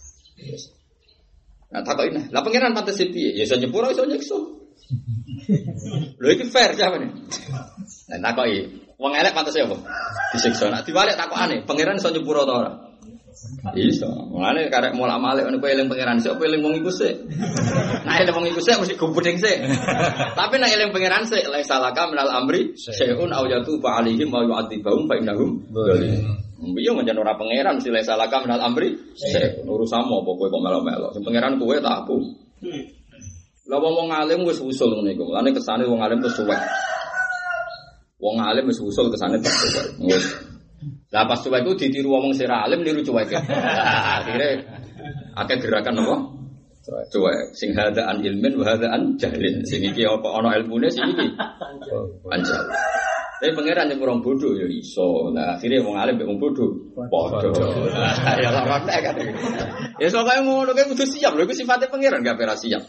Nah takoki nah, lah pangeran pantes piye? Ya iso nyepuro iso nyiksa. Lho iki fair jawabane. Nah takoki, wong elek pantes apa? Disiksa. Nek diwalik takokane, pangeran iso nyepuro ta ora? Iso. Mulane karek molak-malik kowe eling pangeran sik apa eling wong iku sik. Nek eling wong iku sik mesti gubuding sik. Tapi nek eling pangeran sik, la salaka minal amri syai'un aw yatu fa alaihim wa yu'adzibahum fa innahum dzalimun. Iya menjan ora pangeran mesti la salaka minal amri syai'un. Urusanmu apa kowe kok melo-melo. Sing pangeran kowe tak aku. Lah wong alim wis usul ngene iku. Mulane kesane wong alim terus suwek. Wong alim wis usul kesane tak suwek. Wis. Lah pas suwek iku ditiru wong sing alim niru cuweke. Akhire akeh gerakan apa? Cuwek. Sing hadaan ilmin wa hadaan jahlin. Sing iki apa ana ilmune sing iki. Anjal. Tapi pangeran yang kurang bodoh ya iso. Nah akhirnya wong alim wong bodoh bodoh. Ya ora kan. Ya sokoke ngono kae kudu siap lho iku sifate pangeran gak pera siap.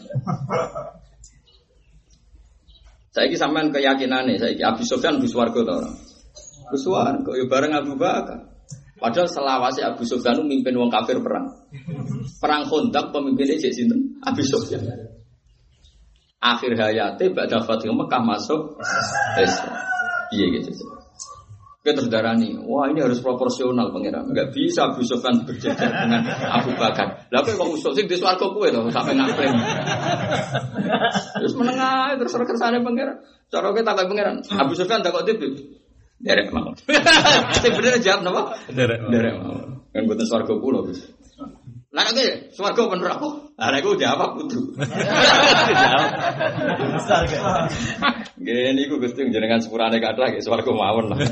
Saiki sampean keyakinane saiki Abu Sufyan wis swarga ta ora? Wis swarga ya bareng Abu Bakar. Padahal selawase Abu Sufyan mimpin wong kafir perang. Perang Khandaq pemimpinnya jek sinten? Abu Sufyan. Akhir hayate ba'da Fathu Mekah masuk Islam. Iya gitu. Kita terus darani, wah ini harus proporsional pangeran. Enggak bisa Abu Sufyan berjajar dengan Abu Bakar. Lah kok usul sing di swarga kowe lho sampe ngaklaim. Terus menengah terus kersane pangeran. Cara kita takok pangeran, Abu Sufyan takok tipe. Derek mau. Sing bener jawab napa? Derek. Derek mau. Kan boten swarga kula, Gus. Lah nek swarga bener apa? Lah nek jawab kudu. Jawab. Nggih niku Gusti jenengan sepurane kathah nggih swarga mawon lah.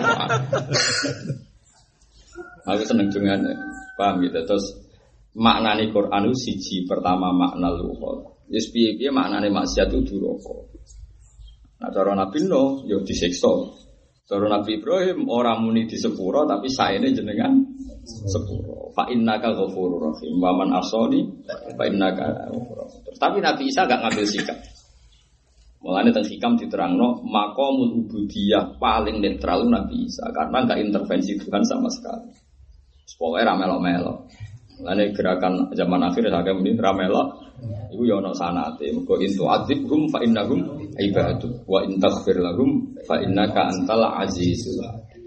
Aku seneng jengane. Paham gitu terus maknane Quran siji pertama makna lughat. Wis piye-piye maknane maksiat itu duraka. Nah cara Nabi Nuh ya disiksa. Cara Nabi Ibrahim ora muni di sepuro tapi saene jenengan sepuro. Fa innaka ghafurur rahim. Wa man asani fa innaka ghafurur. Tapi Nabi Isa enggak ngambil sikap. Mulane teng hikam diterangno maqamul ubudiyah paling netral Nabi Isa karena enggak intervensi Tuhan sama sekali. Pokoke ra melo-melo. Mulane gerakan zaman akhir sakake muni ra melo. Iku ya ana sanate. Mergo intu adzibhum fa innahum ibadu wa in taghfir lahum fa innaka antal azizul.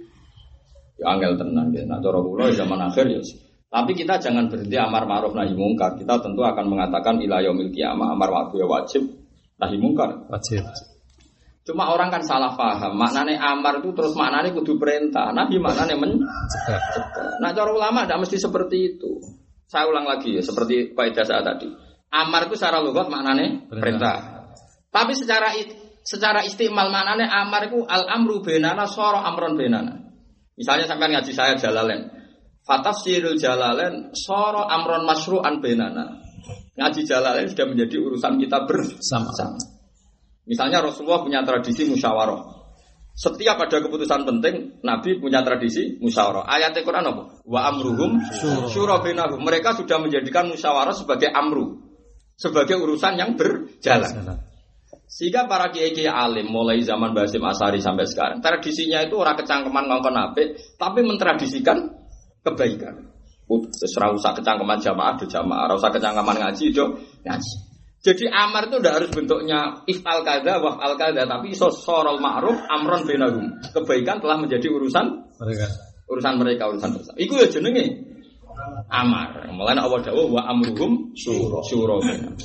Ya angel tenan ya. Nah cara kula zaman akhir ya. Tapi kita jangan berhenti amar ma'ruf nahi mungkar. Kita tentu akan mengatakan ila yaumil qiyamah amar ma'ruf ya wajib, nahi mungkar wajib. Cuma orang kan salah paham. Maknane amar itu terus maknane kudu perintah. Nahi maknane mencegah. Nah cara ulama tidak mesti seperti itu. Saya ulang lagi ya seperti kaidah saya tadi. Amar itu secara lughat maknane perintah. perintah. Tapi secara secara istimal maknane amar itu al-amru bainana sara amron bainana. Misalnya sampai ngaji saya Jalalain. Fatafsirul Jalalain sara amron masyru'an bainana. Ngaji Jalalain sudah menjadi urusan kita bersama. Misalnya Rasulullah punya tradisi musyawarah. Setiap ada keputusan penting, Nabi punya tradisi musyawarah. Ayat Al-Qur'an apa? Wa amruhum syura bainahum. Mereka sudah menjadikan musyawarah sebagai amru. Sebagai urusan yang berjalan. Sehingga para kiai-kiai alim mulai zaman Basim Asari sampai sekarang tradisinya itu orang kecangkeman ngongkon apik tapi mentradisikan kebaikan. Ora usah kecangkeman jamaah do jamaah, ora usah kecangkeman ngaji do ngaji. Jadi amar itu tidak harus bentuknya if'al kadza wa fa'al kadza tapi iso sorol ma'ruf amron bainahum. Kebaikan telah menjadi urusan mereka. Urusan mereka urusan bersama. Iku ya jenenge amar. Mulane Allah dawuh wa amruhum syura. Syura.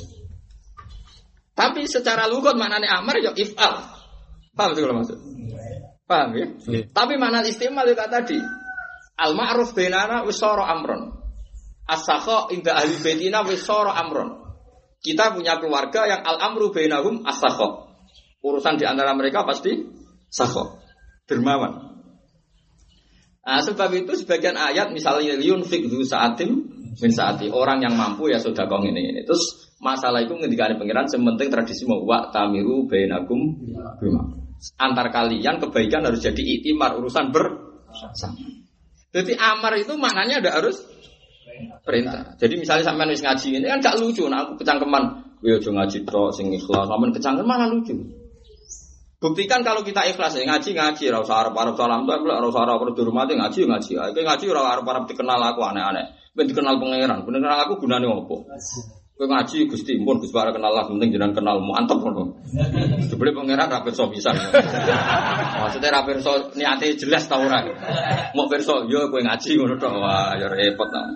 Tapi secara lughat maknanya amar ya if'al. Paham betul maksud? Paham ya? Yeah. Tapi makna istimal itu tadi. Al ma'ruf bainana wis sara amron. As-sakha inda ahli baitina wis sara amron. Kita punya keluarga yang al-amru bainahum as-sakha. Urusan di antara mereka pasti sakha. Dermawan. Nah, sebab itu sebagian ayat misalnya liyunfik dzu sa'atim min sa'ati, orang yang mampu ya sedekah ini ini. Terus masalah itu ngendikane pangeran sementing tradisi mau wa tamiru bainakum bima. Antar kalian kebaikan harus jadi iktimar urusan bersama. Jadi amar itu maknanya ada harus perintah. Jadi misalnya sampean wis ngaji ini kan gak lucu, nah aku kecangkeman, kowe aja ngaji tok sing ikhlas, sampean kecangkeman malah lucu. Buktikan kalau kita ikhlas ya ngaji ngaji ora usah arep-arep salam tuh, ora usah arep dihormati ngaji ngaji. Kowe ngaji ora arep-arep dikenal aku aneh-aneh. Ben dikenal pangeran, ben kenal aku gunane opo? Kowe ngaji Gusti pun Gus bara kenal lah penting jenengan kenal mantep ngono. Jebule pangeran ra pirsa pisan. Maksudnya ra pirsa niate jelas ta ora. Mau pirsa yo kowe ngaji ngono tok. Wah, ya repot ta.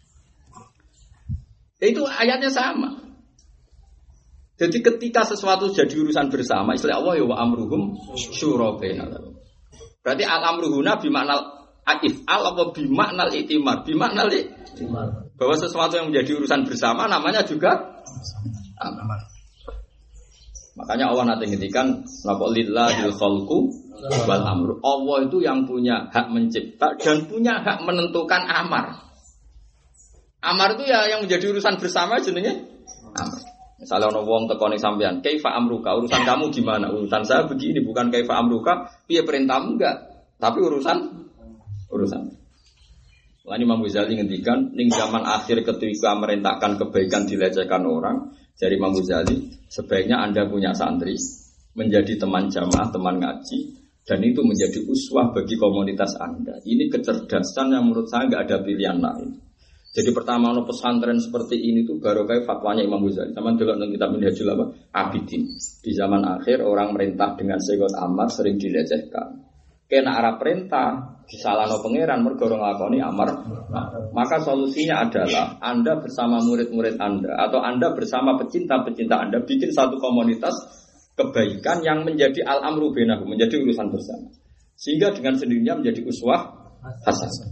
Itu ayatnya sama. Jadi ketika sesuatu jadi urusan bersama, istilah Allah ya wa amruhum syura bainahum. Berarti al-amruhuna bimaknal if'al apa bimaknal itimar? Bimaknal itimar. Bahwa sesuatu yang menjadi urusan bersama namanya juga amar. Makanya Allah nanti ngendikan laqad lillahil khalqu wal amru. Allah itu yang punya hak mencipta dan punya hak menentukan amar. Amar itu ya yang menjadi urusan bersama jenenge amar. Misalnya ono wong tekoni sampean, kaifa amruka, urusan kamu gimana? Urusan saya begini, bukan kaifa amruka, piye perintahmu enggak, tapi urusan urusan. Ini Imam Ghazali ngendikan, ning zaman akhir ketika merintahkan kebaikan dilecehkan orang, dari Imam Ghazali, sebaiknya Anda punya santri, menjadi teman jamaah, teman ngaji, dan itu menjadi uswah bagi komunitas Anda. Ini kecerdasan yang menurut saya enggak ada pilihan lain. Jadi pertama ono pesantren seperti ini tuh baru kayak fatwanya Imam Ghazali. Sama delok nang kitab Minhajul apa? Abidin. Di zaman akhir orang merintah dengan segot amar sering dilecehkan. Kena arah perintah disalahno pangeran mergo ora nglakoni amar. Maka solusinya adalah Anda bersama murid-murid Anda atau Anda bersama pecinta-pecinta Anda bikin satu komunitas kebaikan yang menjadi al-amru bainahum, menjadi urusan bersama. Sehingga dengan sendirinya menjadi uswah hasanah.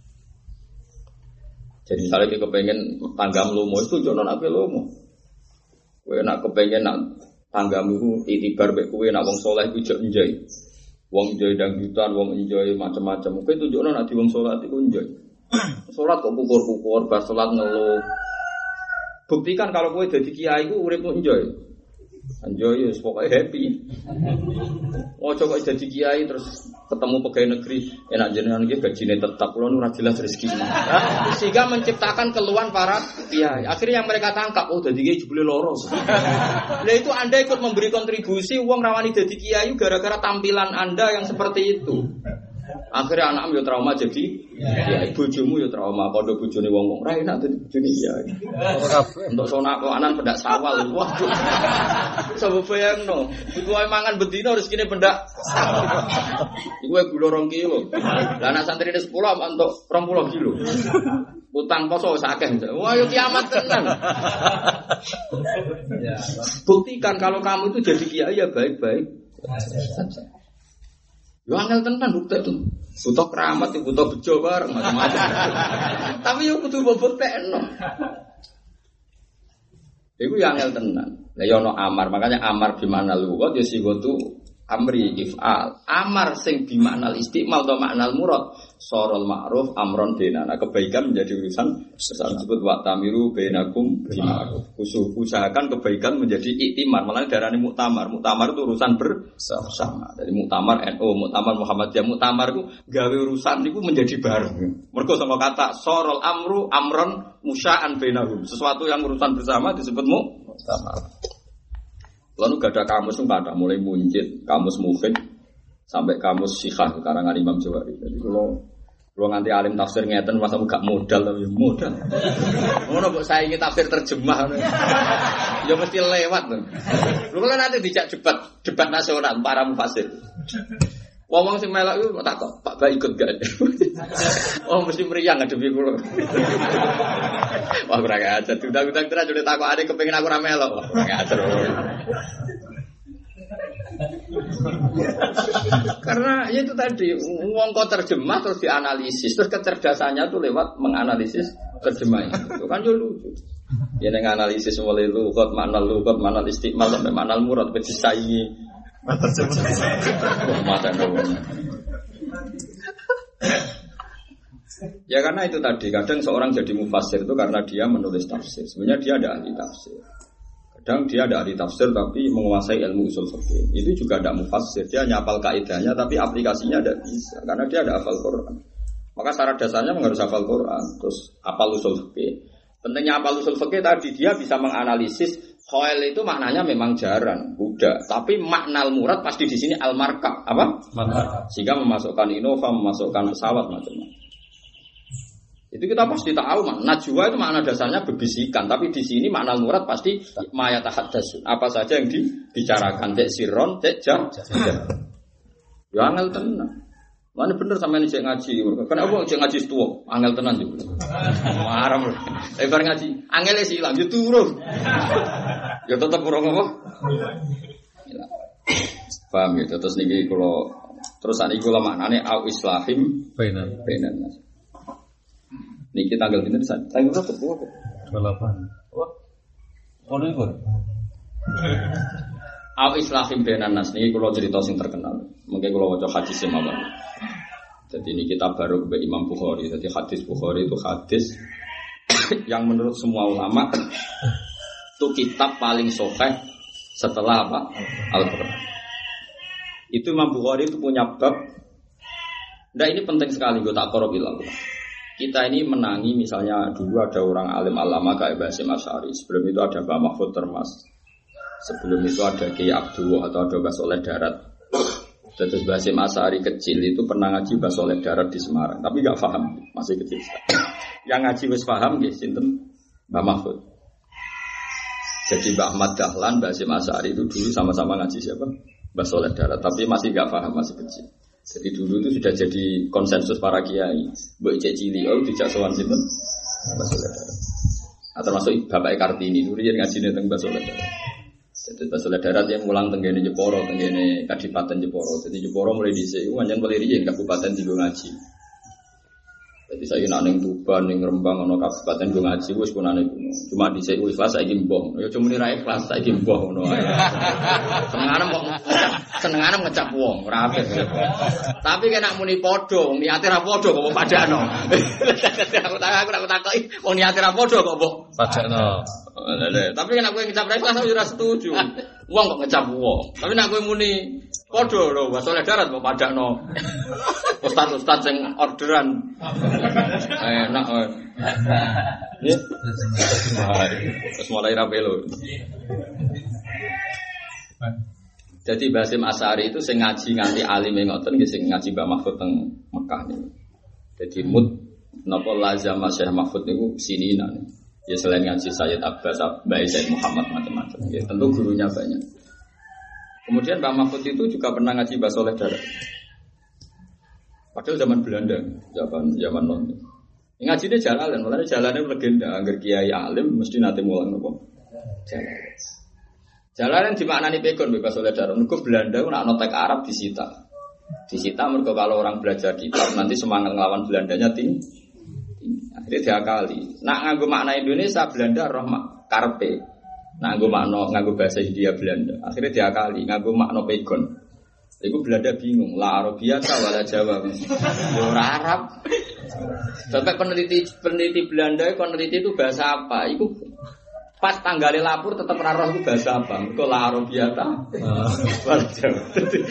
Jadi misalnya kita kepengen tanggamu lomo itu jono nape lomo. Kue nak kepengen nak tanggamu itibar be kue nak wong soleh itu jauh enjoy. Wong enjoy dangdutan, wong enjoy macam-macam. Kue itu jono nak di wong solat itu enjoy. Solat kok kukur-kukur, bar solat ngeluh. Buktikan kalau kue jadi kiai itu uripmu enjoy. Enjoy, pokoknya happy. Oh coba jadi kiai terus ketemu pegawai negeri, enak jenengan iki gajine tetap, kula ora jelas rezeki. Sehingga menciptakan keluhan para kiai. Akhirnya yang mereka tangkap, oh dadi kiai jebule loro. Lah itu Anda ikut memberi kontribusi wong rawani dadi kiai gara-gara tampilan Anda yang seperti itu. Akhirnya anakmu yo trauma jadi ya bojomu yo trauma, padha bojone wong-wong ra enak dadi bojone kiai. Untuk sonak anan pendak sawal. Waduh. Coba bayangno, iku ae mangan bendina rezekine pendak sawal. Iku ae gula rong kilo. Lah anak santrine sepuluh untuk rong puluh kilo. Utang poso wis akeh. Wah yo kiamat tenan. Buktikan kalau kamu itu jadi kiai ya baik-baik saja. Yo angel tenan bukti itu. Butuh keramat, butuh bejo bareng macam-macam. Tapi yo kudu mbuktekno. Iku yo angel tenan. Lah yo ono amar, makanya amar bimana luwat yo sigotu amri if'al. Amar sing bimaknal istimal atau maknal murad, sorol ma'ruf amron bainana. Kebaikan menjadi urusan bersama, disebut wa tamiru bainakum bil ma'ruf. Usahakan kebaikan menjadi iktimar. Malah darane muktamar. Muktamar itu urusan bersama. Dari muktamar N U, muktamar Muhammadiyah, muktamar itu gawe urusan itu menjadi bareng. Mergo sama kata sorol amru amron musya'an bainahum. Sesuatu yang urusan bersama disebut muktamar. Lalu gak ada kamus itu gak ada, mulai munjid, kamus mufid sampai kamus sikhah karangan Imam Jawari. Jadi kalau kalau nganti alim tafsir ngeten masa gak modal tapi modal. Ngono kok saya ingin tafsir terjemah. Ya mesti lewat tuh. Lu kalau nanti dijak debat debat nasional para mufasir. Wong sing melok iku tak kok Pak Ba ikut gak? Oh mesti meriang ngadepi kula. Wah kurang ajar. Udang-udang terus udah takok ade kepengin aku ra melok. Wah kurang ajar. Karena ya itu tadi wong kok terjemah terus dianalisis, terus kecerdasannya tuh lewat menganalisis terjemahnya. Itu kan yo lucu. Ya ning analisis mulai lugat, makna lugat, makna istimal sampai makna murad disaingi. Ya karena itu tadi kadang seorang jadi mufassir itu karena dia menulis tafsir. Sebenarnya dia ada ahli tafsir. Kadang dia ada ahli tafsir tapi menguasai ilmu usul fikih. Itu juga tidak mufassir. Dia nyapal kaidahnya tapi aplikasinya tidak bisa karena dia ada hafal Quran. Maka syarat dasarnya harus hafal Quran, terus hafal usul fikih. Pentingnya hafal usul fikih tadi dia bisa menganalisis khoel itu maknanya memang jarang, budak. Tapi makna al-murad pasti di sini al-markab, apa? Markab. Sehingga memasukkan Innova, memasukkan pesawat macam-macam. Itu kita pasti tahu makna najwa itu makna dasarnya bebisikan, tapi di sini makna murad pasti maya tahaddatsun. Apa saja yang dibicarakan, cek sirron, cek jah. Ya angel tenan. Mana bener sampeyan cek ngaji. Kenapa cek ngaji tuwa? Angel tenan juga. Marah. Eh bar ngaji, angel sih ilang yo turu. Ya tetep urung apa? Paham ya, terus niki kula terus sakniki kula maknane au islahim bainan bainan nas. Niki tanggal ini bisa. Tanggal berapa tuh? dua puluh delapan. Wah. Oh, ini kok. Al islahim bainan nas niki kula cerita sing terkenal. Mungkin kula waca hadis mawon. Jadi ini kita baru ke Imam Bukhari. Jadi hadis Bukhari itu hadis yang menurut semua ulama itu kitab paling sahih setelah apa? Al-Qur'an. Itu Imam Bukhari itu punya bab. Nah ini penting sekali gue tak korup bilang. Kita ini menangi misalnya dulu ada orang alim alama kayak Basim Asy'ari. Sebelum itu ada Mbah Mahfud Termas. Sebelum itu ada Kiai Abdul atau ada Mbah Soleh Darat. Terus Basim Asy'ari kecil itu pernah ngaji Mbah Soleh Darat di Semarang, tapi enggak paham, masih kecil sekali. Yang ngaji wis paham nggih sinten? Mbah Mahfud. Jadi Mbah Ahmad Dahlan, Basim Asy'ari itu dulu sama-sama ngaji siapa? Mbah Soleh Darat, tapi masih enggak paham, masih kecil. Jadi dulu itu sudah jadi konsensus para kiai. Mbok cek cili, oh dijak sowan sinten? Mbah Soleh Darat. Atau termasuk Bapak Kartini, dulu yang ngajine teng Mbah Soleh Darat. Jadi Mbah Soleh Darat yang mulang teng kene Jeporo, teng kene Kadipaten Jeporo. Jadi Jeporo mulai dhisik iku pancen mulai riyen kabupaten dienggo ngaji. Jadi saya nak ning Tuban, ning Rembang ana kabupaten go ngaji wis kunane kuno. Cuma dhisik wis ikhlas saiki mbong. Ya cuma ra ikhlas saiki mbong ngono ae. Senengane kok senengane ngecap wong, ora apik. Tapi kena muni padha, wong niate ra padha kok padakno. Aku tak aku tak takoki, wong niate ra padha kok mbok padakno. Tapi kena kowe ngecap ra ikhlas ora setuju. Wong kok ngecap wong. Tapi nek kowe muni padha lho, Mbah Soleh Darat kok padakno. Ustaz-ustaz sing orderan. Enak kowe. Nggih. Terus mulai ra pelo. Jadi Basim Asy'ari itu sing ngaji nganti alime ngoten nggih sing ngaji Mbah Mahfud teng Mekah niku. Jadi mud napa lazam Syekh Mahfud niku sininan. Ya selain ngaji Sayyid Abbas, Mbah Said Muhammad macam-macam. Ya tentu gurunya banyak. Kemudian Mbah Mahfud itu juga pernah ngaji Mbah Soleh Darat. Padahal zaman Belanda, zaman zaman non. Ngaji dia jalan, malah jalannya legenda. Angger kiai alim mesti nanti mulang nopo. Jalan. Jalan di maknani pegon Mbah Soleh Darat. Mergo Belanda nak notek Arab disita. Disita mergo kalau orang belajar kitab nanti semangat ngelawan Belandanya tinggi. Akhirnya diakali. Nak nganggo makna Indonesia Belanda rahmat karpe. Nak nganggo makna nganggo bahasa Hindia Belanda. Akhirnya diakali nganggo makna pegon. Iku Belanda bingung, la Arabia ta wala Jawa. Yo ora Arab. Sampai peneliti peneliti Belanda peneliti itu bahasa apa? Iku pas tanggale lapor tetap ora roh iku bahasa apa? Mergo la Arabia ta wala Jawa.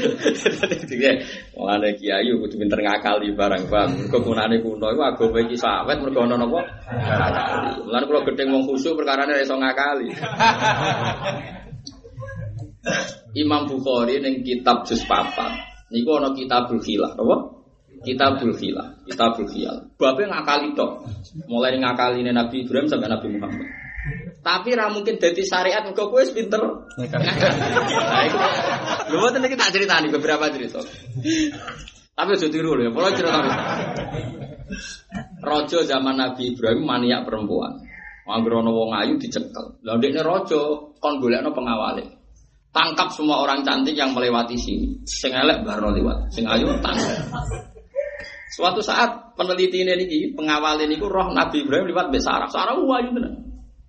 Mulane kiai kudu pinter ngakali barang, Bang. Mergo kunane kuno iku agama iki sawet mergo ana napa? Mulane kula gedeng wong khusyuk perkarane ora iso ngakali. Imam Bukhari ning kitab juz papat niku ana kitabul khilah, apa? Kitabul khilah, kitabul khiyal. Babe ngakali tok. Mulai ngakaline Nabi Ibrahim sampai Nabi Muhammad. Tapi ra mungkin dadi syariat mergo kowe wis pinter. Lho mboten iki tak critani beberapa cerita. Tapi aja tiru lho, pola cerita. Raja zaman Nabi Ibrahim maniak perempuan. Anggere ana wong ayu dicekel. Lah ndekne raja kon golekno pengawale. Tangkap semua orang cantik yang melewati sini. Sing elek barno lewat, sing ayu tangkap. Suatu saat peneliti ini, pengawal ini, roh Nabi Ibrahim lewat mbek Sarah. Sarah wayu tenan.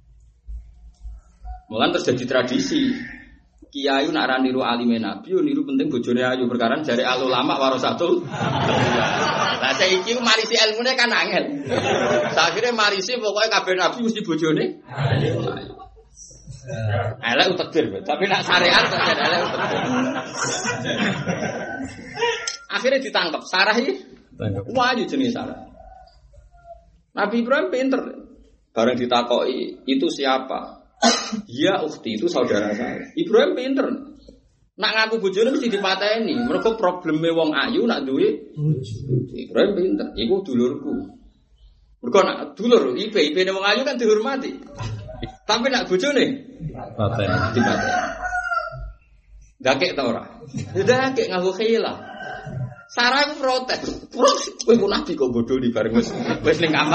Mulan terus jadi tradisi. Kiai nak ra niru alime Nabi, niru penting bojone ayu perkara jare al ulama warasatul. Lah saiki marisi ilmune kan angel. Akhire marisi pokoke kabeh Nabi mesti bojone ayu. Elek utekdir, tapi nak syariat kok jadi elek utekdir. Akhirnya ditangkap, Sarah ini wajib jenis Sarah. Nabi Ibrahim pinter, bareng ditakoi itu siapa? Dia ukhti itu saudara saya. Ibrahim pinter, nak ngaku bojone mesti dipateni. Mereka probleme wong ayu nak duwe. Ibrahim pinter, iku dulurku. Mereka nak dulur, ipe ipe wong ayu kan dihormati. Tapi nak bojone dipateni. Dakek ta ora? Dakek ngaku khila. Sarah ku protes. Kowe ku nabi kok bodoh di bareng wis wis ning kamar.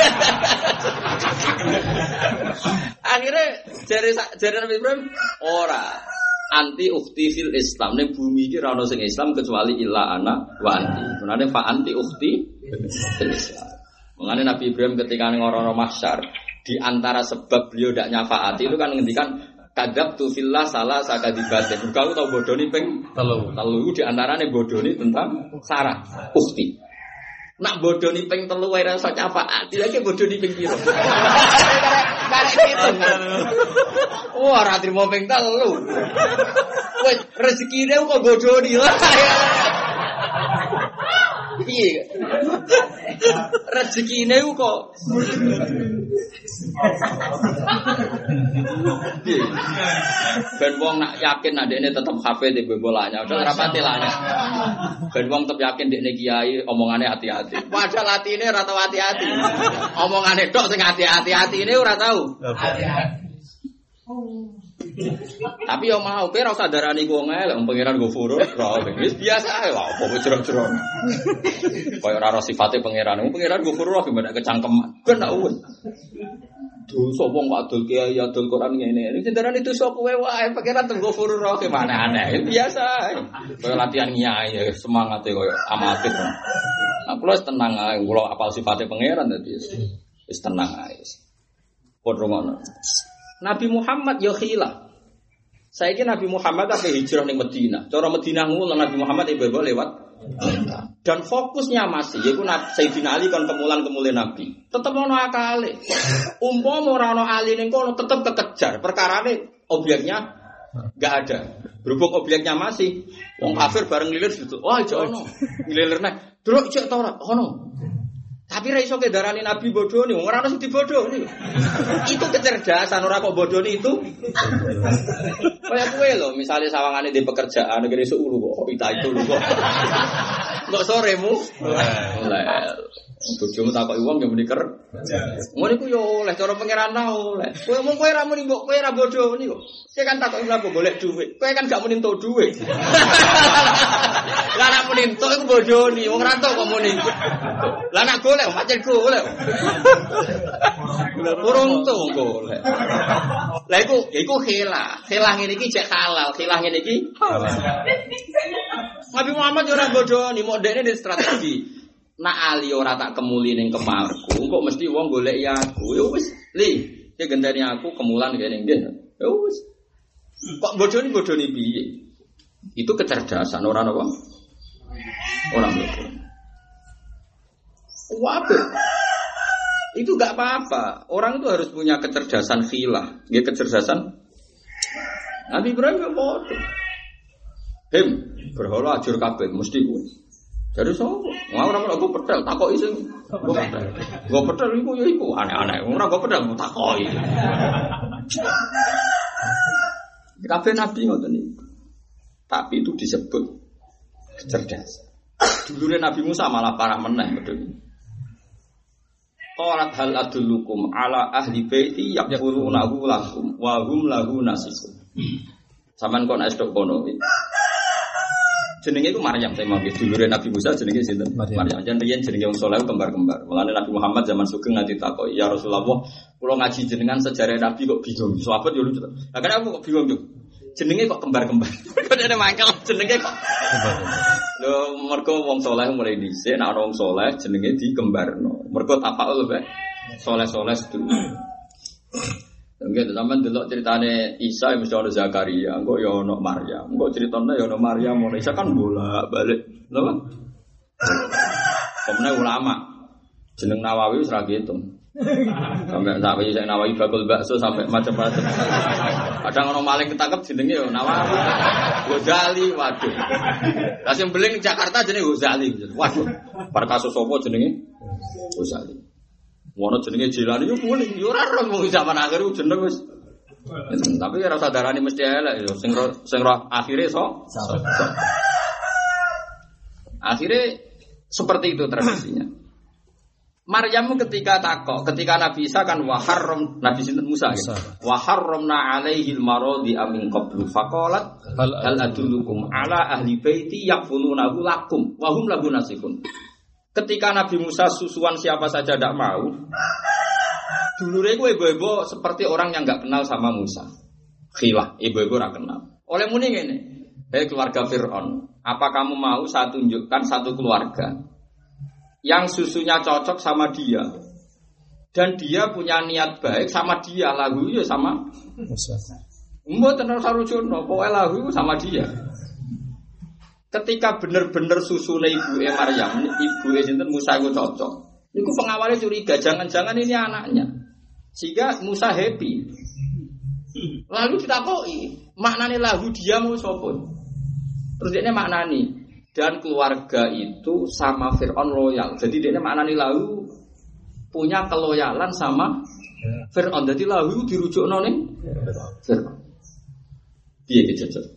Akhirnya jare jare Nabi Ibrahim ora anti ukhti fil Islam. Ning bumi iki ora ono sing Islam kecuali illa ana wa anti. Menane fa anti ukhti fil Islam. Mengenai Nabi Ibrahim ketika ning ora-ora mahsyar, di antara sebab beliau tidak nyafaati itu kan ngendikan kadab tu fillah salah sakadibatin. Kalau tahu bodoni peng telu telu di antarane bodoni tentang Sarah ukhti. Nak bodoni peng telu wae rasa nyafaati lagi bodoni peng piro. Karek itu. Wah, ra trimo peng telu. Wes rezekine kok bodoni lah. Piye? Rezekine kok ben wong nak yakin nak dekne tetep hafid di bolanya, udah rapati lah. Ben wong tetep yakin dekne kiai omongane hati-hati. Padahal atine ora tau hati-hati. Omongane tok sing hati-hati, atine ora tau. Hati-hati. Tapi yo mau kowe ora usah darani ku wong elek, pangeran Ghafurur, ora wis biasa ae wae apa jero-jero. Kaya ora ora sifate pangeran, pangeran Ghafurur gimana kecangkeman. Ben tak wis. Dosa wong kok adol kiai adol Quran ngene. Nek darani dosa kowe wae, pangeran Ghafurur gimana aneh. Biasa ae. Kaya latihan nyai semangate koyo amatir. Nah, kula tenang ae, kula apal sifate pangeran dadi wis tenang ae. Padha ngono. Nabi Muhammad ya khilah. Saiki Nabi Muhammad ape hijrah ning Madinah. Cara Madinah ngono Nabi Muhammad ibadah lewat. Dan fokusnya masih yaiku Sayyidina Ali kon kemulan-kemule Nabi. Tetep ono akale. Umpama ora ono ali ning kono tetep kekejar. Perkarane objeknya enggak ada. Berhubung objeknya masih wong kafir bareng lilir situ. Wah, ijo ono. Lilirne. Delok cek ta ora? Ono. Tapi ra iso ke darani Nabi bodoni, wong ora ono sing dibodoni. Itu kecerdasan ora kok bodoni itu. Kaya kowe lho, misale sawangane di pekerjaan ngene esuk ulu kok ita itu lho kok. Kok soremu? Oleh. Bojomu takoki wong yo muni ker. Ngono iku yo oleh cara pangeran oleh. Kowe mung kowe ra muni mbok kowe ra bodoni kok. Kowe kan takoki lha golek dhuwit. Kowe kan gak muni entuk dhuwit. Lah nek muni entuk iku bodoni, wong ra entuk kok muni. Lah nek golek macet golek. Urung tuh golek. Lah iku iku khilah. Khilah ngene iki jek halal, khilah ngene iki halal. Nabi Muhammad yo ora bodoni, mok dekne di strategi. Nak ali ora tak kemuli ning kemarku, kok mesti wong golek ya aku. Ya wis, li, iki gendani aku kemulan kene nggih. Ya wis. Kok bodoni-bodoni piye? Itu kecerdasan ora napa? Ora bodoni. Waduh. Itu enggak apa-apa. Orang itu harus punya kecerdasan khilah, nggih kecerdasan. Nabi Ibrahim ya bodoh. Him, berhala ajur kabeh mesti kuwi. Jadi so, ora ora go pedal takoki sing go pedal. Go pedal iku ya iku aneh-aneh. Ora go pedal mau takoki. Kabeh nabi ngoten niku. Tapi itu disebut kecerdasan. Dulure Nabi Musa malah parah meneh betul. Qalat hal adullukum ala ahli baiti yaqulunahu lakum wa hum lahu nasihun. Saman kon estok kono. Jenenge iku Maryam, saya mau dulure Nabi Musa jenenge sinten? Maryam. Jan riyen jenenge wong saleh kembar-kembar. Mulane Nabi Muhammad zaman sugeng nganti takoki, "Ya Rasulullah, kula ngaji jenengan sejarah Nabi kok bingung." Sahabat yo lucu. Lah kenapa kok bingung, Juk? jenenge kok kembar-kembar. Kok dene mangkel jenenge kok. Lho mergo wong saleh mulai dhisik nek ana wong saleh jenenge dikembarno. Mergo tapaul bae. Saleh-saleh sedulur. Nggih, sampeyan delok ceritane Isa mesti ana Zakaria, engko ya ana Maryam. Engko critane ya ana Maryam, ora Isa kan bolak-balik. Lho. Kemudian ulama jeneng Nawawi wis ra ketung. Sampai sampai saya Nawawi bakul bakso sampai macam-macam. Kadang ono maling ketangkep jenenge yo Nawawi. Ghazali, waduh. Lah sing beling Jakarta jenenge Ghazali. Waduh. Par kasus sapa jenenge? Ghazali. Wono jenenge Jilani yo muling yo ora ora wong zaman akhir jeneng wis. Tapi ora sadarani mesti elek yo sing sing akhire so. Akhire seperti itu tradisinya. Maryam ketika takok, ketika Nabi Isa kan waharrom Nabi sinten Musa gitu. Waharromna alaihi al-maradi amin qablu faqalat hal adullukum ala ahli baiti yakfulunahu lakum wa hum lahu nasihun. Ketika Nabi Musa susuan siapa saja tidak mau, dulure iku ibu-ibu seperti orang yang enggak kenal sama Musa. Khilah, ibu-ibu ora kenal. Oleh muni ngene, hei keluarga Fir'aun, apa kamu mau saya tunjukkan satu keluarga yang susunya cocok sama dia dan dia punya niat baik sama dia, lahu ya sama Musa. Mboten ora sarujono, pokoke lahu sama dia. Ketika bener-bener susune ibuke Maryam, ibuke sinten Musa iku cocok. Niku pengawalnya curiga, jangan-jangan ini anaknya. Sehingga Musa happy. Lalu ditakoki, maknane lahu dia mau sapa? Terus dia maknani dan keluarga itu sama Fir'aun loyal. Jadi dia maknani lahu punya keloyalan sama Fir'aun. Jadi lahu dirujukno ning Fir'aun. Piye iki cocok?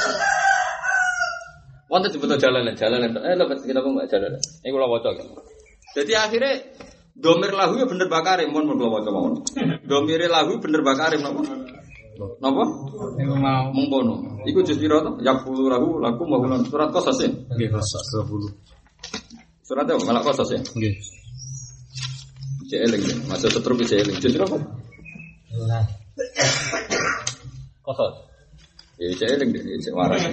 Wonten sebut jalan jalan eh lho kita kok enggak jalan. Ini kula waca kan. Jadi akhirnya domir lahu ya bener bakare mon mun kula waca mawon. Domir lahu bener bakare napa? Napa? Iku mau mengkono. Iku juz pira to? Yaqulu lahu lakum wa hulan surat Qasas. Nggih, Qasas dua puluh. Surat apa? Malah Qasas ya? Nggih. Jeeling, masuk setruk jeeling. Juz pira kok? lah. Qasas. Ya jeeling deh, cek waras.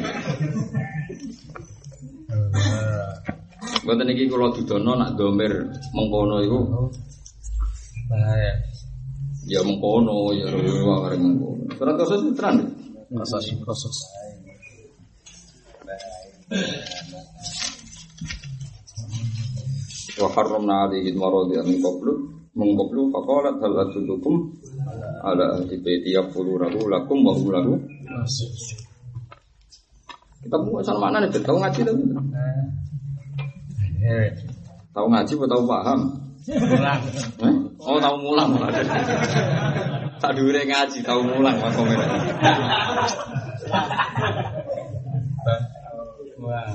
Mboten iki kula dudono nak domir mengkono iku. Bahaya. Ya mengkono ya ora arep mengkono. Surat Qasas tenan. Qasas, Qasas. Wa harramna alaihi al-maradi min qablu min qablu faqalat hal adullukum ala ahli baiti yaqulunahu lakum wa hum lahu. Kita mau asal mana nih? Tahu ngaji tapi. Tahu ngaji atau tahu paham? Mulang. Eh? Oh tahu mulang. Tak diure ngaji tahu mulang mas komen. Mulang.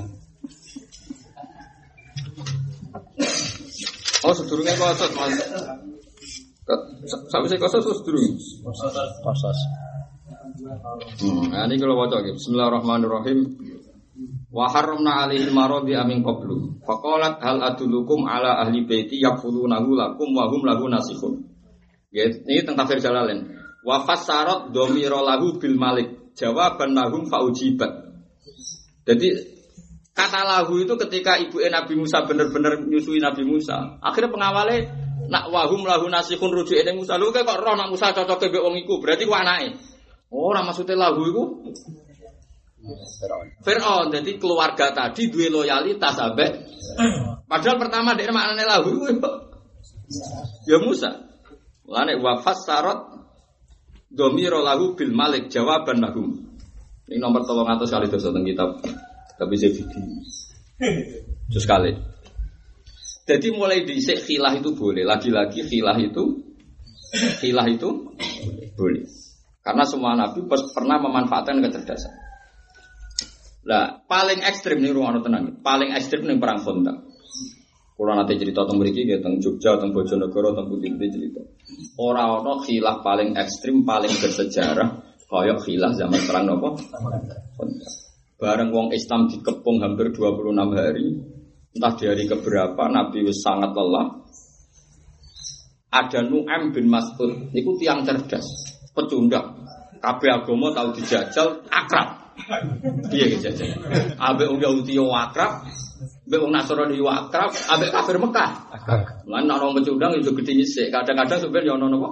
Oh sedurunge kosot mas. Sampai saya kosot sedurunge. Qasas. Hmm, nah ini kalau baca gitu. Bismillahirrahmanirrahim. Wa harramna 'alaihi al-maradi amin qablu. Faqalat hal adullukum ala ahli baiti yaqulunahu lakum wa hum lahu nasihun. Ini tentang tafsir Jalalain. Wa fassarat dhamira lahu bil malik. Jawaban lahum faujibat. Jadi kata lahu itu ketika ibuke Nabi Musa benar-benar nyusui Nabi Musa. Akhirnya pengawale nak wahum lahu nasihun rujuke ning Musa. Lho kok roh nak Musa cocoke mbek wong iku. Berarti ku anake. Oh, ora maksude lahu iku Fir'aun. Fir'aun, jadi keluarga tadi duwe loyalitas ambek. Padahal pertama dhek maknane lahu iku ya Musa. Lane wa fassarat dhamira lahu bil malik jawaban lahum. Ini nomor tiga ratus kali dosa teng kitab tapi saya video. Terus kali. Jadi mulai dhisik khilah itu boleh, lagi-lagi khilah itu khilah itu boleh. Karena semua nabi pernah memanfaatkan kecerdasan. Lah, paling ekstrim nih ruang tenang. Paling ekstrim nih perang Khandaq. Kalau nanti cerita tentang mereka, tentang Jogja, tentang Bojonegoro, tentang Putih-Putih cerita. Orang-orang khilaf paling ekstrim, paling bersejarah, kayak khilaf zaman perang apa? Khandaq. Bareng wong Islam dikepung hampir dua puluh enam hari. Entah di hari keberapa, Nabi wis sangat lelah. Ada Nu'aim bin Mas'ud, itu tiang cerdas, pecundang. kabeh agama tau dijajal akrab. Piye iki jajal? Ambek wong Yahudi yo akrab, ambek wong Nasrani yo akrab, ambek kafir Mekah. Lan ana wong pecundang yo gedhe nyisik, kadang-kadang sampeyan yo ana napa?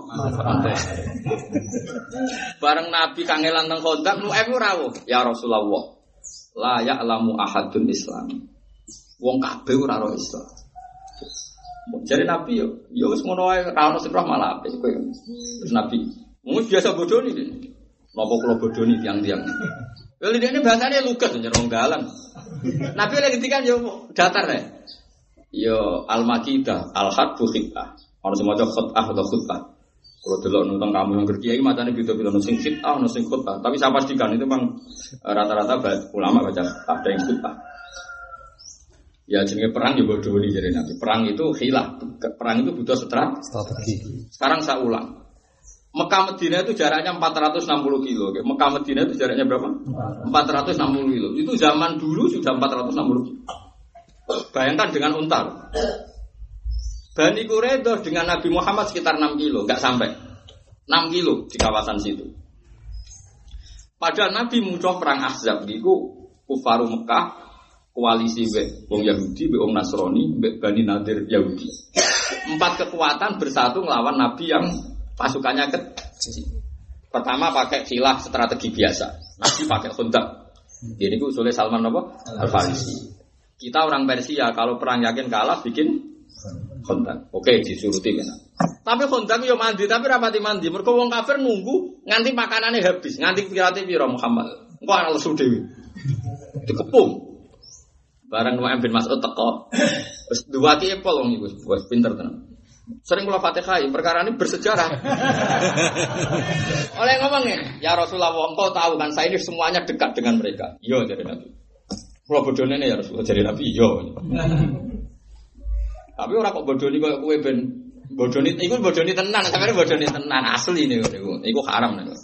Bareng Nabi kangelan teng Khandaq, nuwek ora wo. Ya Rasulullah. La ya'lamu ahadun Islam. Wong kabeh ora ro Islam. Jadi Nabi yo, yo wis ngono wae ra ono sing roh malah apik kowe. Terus Nabi, wong biasa bodoni iki. Napa kula bodoni tiang-tiang. Lha dene bahasane lugas nyerong dalan. Nabi lagi ngendikan yo datar ya. Yo al-maqidah, al-hadbu khitah. Ono sing maca khutbah atau khutbah. Kalau delok nonton kamu yang kerja ini macamnya beda-beda ono sing khitah, ono sing khutbah. Tapi saya pastikan itu memang rata-rata ulama baca ada yang khutbah. Ya jenenge perang ya bodoh ini jadi nanti. Perang itu khilaf. Perang itu butuh strategi. Sekarang saya ulang. Mekah Madinah itu jaraknya empat ratus enam puluh kilo. Mekah Madinah itu jaraknya berapa? empat ratus enam puluh kilo. Itu zaman dulu sudah empat ratus enam puluh kilo. Bayangkan dengan unta. Bani Quraidah dengan Nabi Muhammad sekitar enam kilo, enggak sampai. enam kilo di kawasan situ. Padahal Nabi muncul perang Ahzab itu kufaru Mekah, koalisi wong Yahudi, wong Nasrani, Bani Nadir Yahudi. Empat kekuatan bersatu melawan Nabi yang pasukannya kecil. Pertama pakai silah strategi biasa. Nabi pakai Khandaq. Ini ku usulnya Salman apa? Al-Farisi. Kita orang Persia kalau perang yakin kalah bikin Khandaq. Oke, disuruti kan. Tapi Khandaq yo mandi, tapi rapati mandi. Mergo wong kafir nunggu nganti makanannya habis, nganti pirate pira Muhammad. Engko ana lesu dhewe. Dikepung. Barang Nu'aim bin Mas'ud teko. Wis duwati epol wong iku, wis pinter tenan. Sering kula Fatihah, perkara ini bersejarah. Oleh ngomongnya, ya Rasulullah, engkau tahu kan saya ini semuanya dekat dengan mereka. Iya jadi Nabi. Kula bodone ya Rasulullah jadi Nabi, iya. Tapi ora kok bodoni koyo kowe ben bodoni iku bodoni tenan, sampeyan bodoni tenan asli niku niku. Iku haram niku.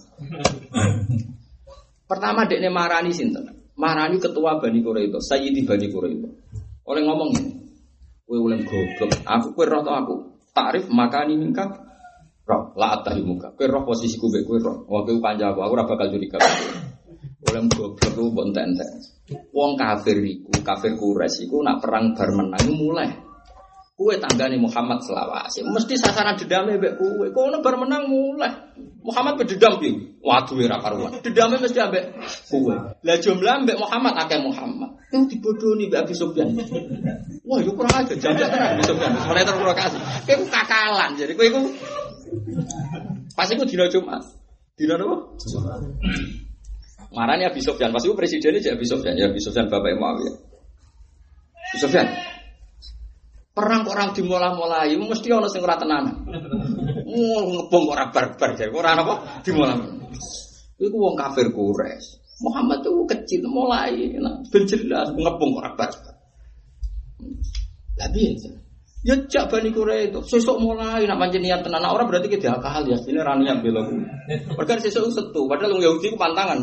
Pertama dekne marani sinten? Marani ketua Bani Quraidah, Sayyidi Bani Quraidah. Oleh ngomong ini, kowe ulem goblok. Aku kowe roh to aku. Takrif makani mingka roh la atahimuka. Kowe roh posisiku mbek kowe roh. Wong kowe kancaku, aku ora bakal curiga. Oleh goblok ku mbok entek. Wong kafir iku, kafir Quraisy iku nak perang bar menang mulai. Kowe tanggane Muhammad selawase. Mesti sasaran dendame mbek kowe. Kono bar menang mulai. Muhammad bedendam piye? Waduh ora karuan. Dendame mesti ambek kowe. Lah jumlah mbek Muhammad akeh Muhammad. Yang dibodohi mbek Abi Sufyan. Wah, yo kurang aja jajak tenan Abi Sufyan. Mulai terprovokasi. Kowe kakalan. Jadi kowe iku pas iku dina Jumat. Dina apa? Jumat. Marane Abi Sufyan, pas iku presidennya Abi Sufyan, ya Abi Sufyan bapak Muawiyah. Abi Sufyan. Perang kok ora dimulai-mulai, mesti ana sing ora tenanan. Oh, ngebom kok ora barbar, jare ora apa dimulai. Iku wong kafir Quraisy. Muhammad itu kecil mulai, nah, ben jelas ngebom kok ora barbar. Lah piye? Ya jak Bani Quraisyah itu sesuk mulai nak pancen niat tenan ora berarti ki diakal ya, dene ra niat bela. Mergo sesuk setu, padahal wong Yahudi ku pantangan.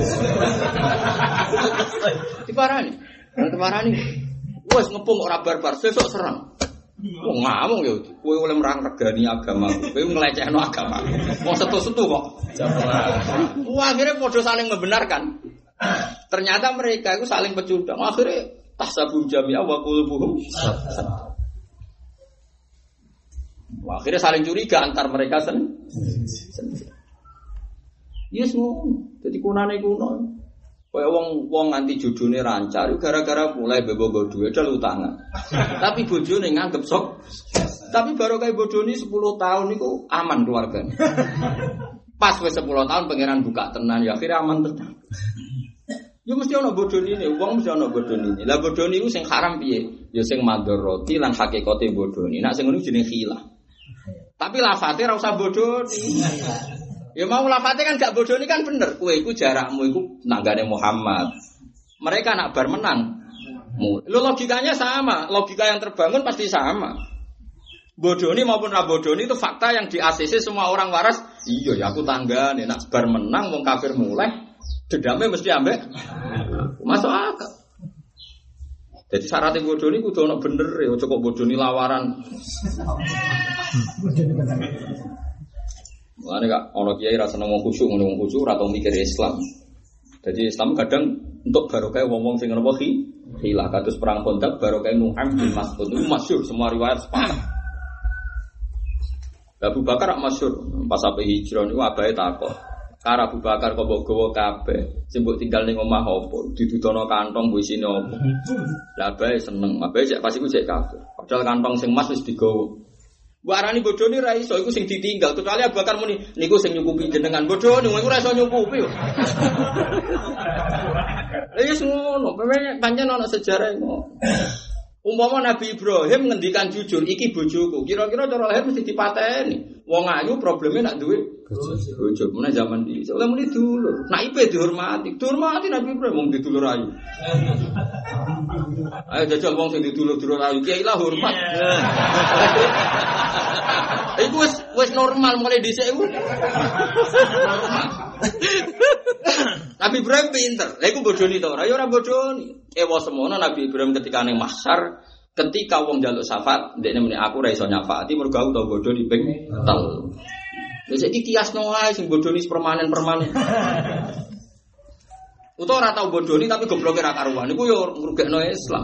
Diparani. Diparani. Wes ngepung ora barbar, sesuk serang. Wong ngamung ya, kowe oleh merang regani agama, kowe nglecehno agama. Wong setu-setu kok. Wah, akhirnya padha saling membenarkan. Ternyata mereka itu saling pecundang. Akhirnya tahsabun jami'a wa qulubuhum. Wah, akhirnya saling curiga antar mereka sendiri. Yes, ngono. Dadi kunane kuno. Kaya wong wong nganti jodone rancar gara-gara mulai bebo duwe dal utangan. Tapi bojone nganggep sok. Tapi baru kaya bodoni sepuluh tahun niku aman keluargane. Pas wis sepuluh tahun pangeran buka tenan ya akhirnya aman tenan. Ya mesti ana bodoni ne, wong mesti ana bodoni. Lah bodoni iku sing haram piye? Ya sing madharati lan hakikate bodoni. Nek sing ngono jenenge khilaf. Tapi lafate ora usah bodoni. Ya mau lafate kan gak bodoni kan bener. Kowe iku jarakmu iku nanggane Muhammad. Mereka nak bar menang. Lo logikanya sama, logika yang terbangun pasti sama. Bodoni maupun ra bodoni itu fakta yang di A C C semua orang waras. Iya ya aku tanggane nak bar menang wong kafir mulai dendame mesti ambek. Masuk akal. Jadi syaratnya bodoni kudu ono bener ya, aja kok bodoni lawaran. Mulane kak ana kiai ra seneng wong khusyuk, ngene wong khusyuk ora tau mikir Islam. Jadi Islam kadang untuk barokah wong-wong sing napa khi khilah kados perang Khandaq barokah Nu'aim bin Mas'ud itu masyhur semua riwayat sepakat. Abu Bakar masyhur pas sampai hijrah niku abahe takok. Karo Abu Bakar kok mbok gawa kabeh, sing mbok tinggal ning omah apa? Didudono kantong mbok isine apa? Lah abahe seneng, abahe sik pas iku sik kabeh. Padahal kantong sing emas wis digawa. Mbok arani bodhone ra iso iku sing ditinggal, kecuali Abu Bakar muni niku sing nyukupi jenengan bodhone, iku ora iso nyukupi. Lha wis ngono, pancen ana sejarah ngono. Umpama Nabi Ibrahim ngendikan jujur, iki bojoku, kira-kira cara lahir mesti dipateni. Wong ayu problemnya nak duwe bojo. Mun zaman iki, oleh muni dulur. Naibe dihormati, dihormati Nabi Ibrahim wong didulur ayu. Ayo jajal wong sing didulur-dulur ayu, kiai lah hormat. Iku wis wis normal mulai dhisik iku. Normal. Nabi Ibrahim pinter. Lha iku bodoni to ora? Ya ora bodoni. Ewa semono Nabi Ibrahim ketika ning mahsyar, ketika wong njaluk syafaat, ndekne muni aku ora iso nyafaati mergo aku tau bodoni ping telu. Wis iki kiasno wae sing bodoni permanen-permanen. Utawa ora tau bodoni tapi gobloke ra karuan. Iku yo ngrugekno Islam.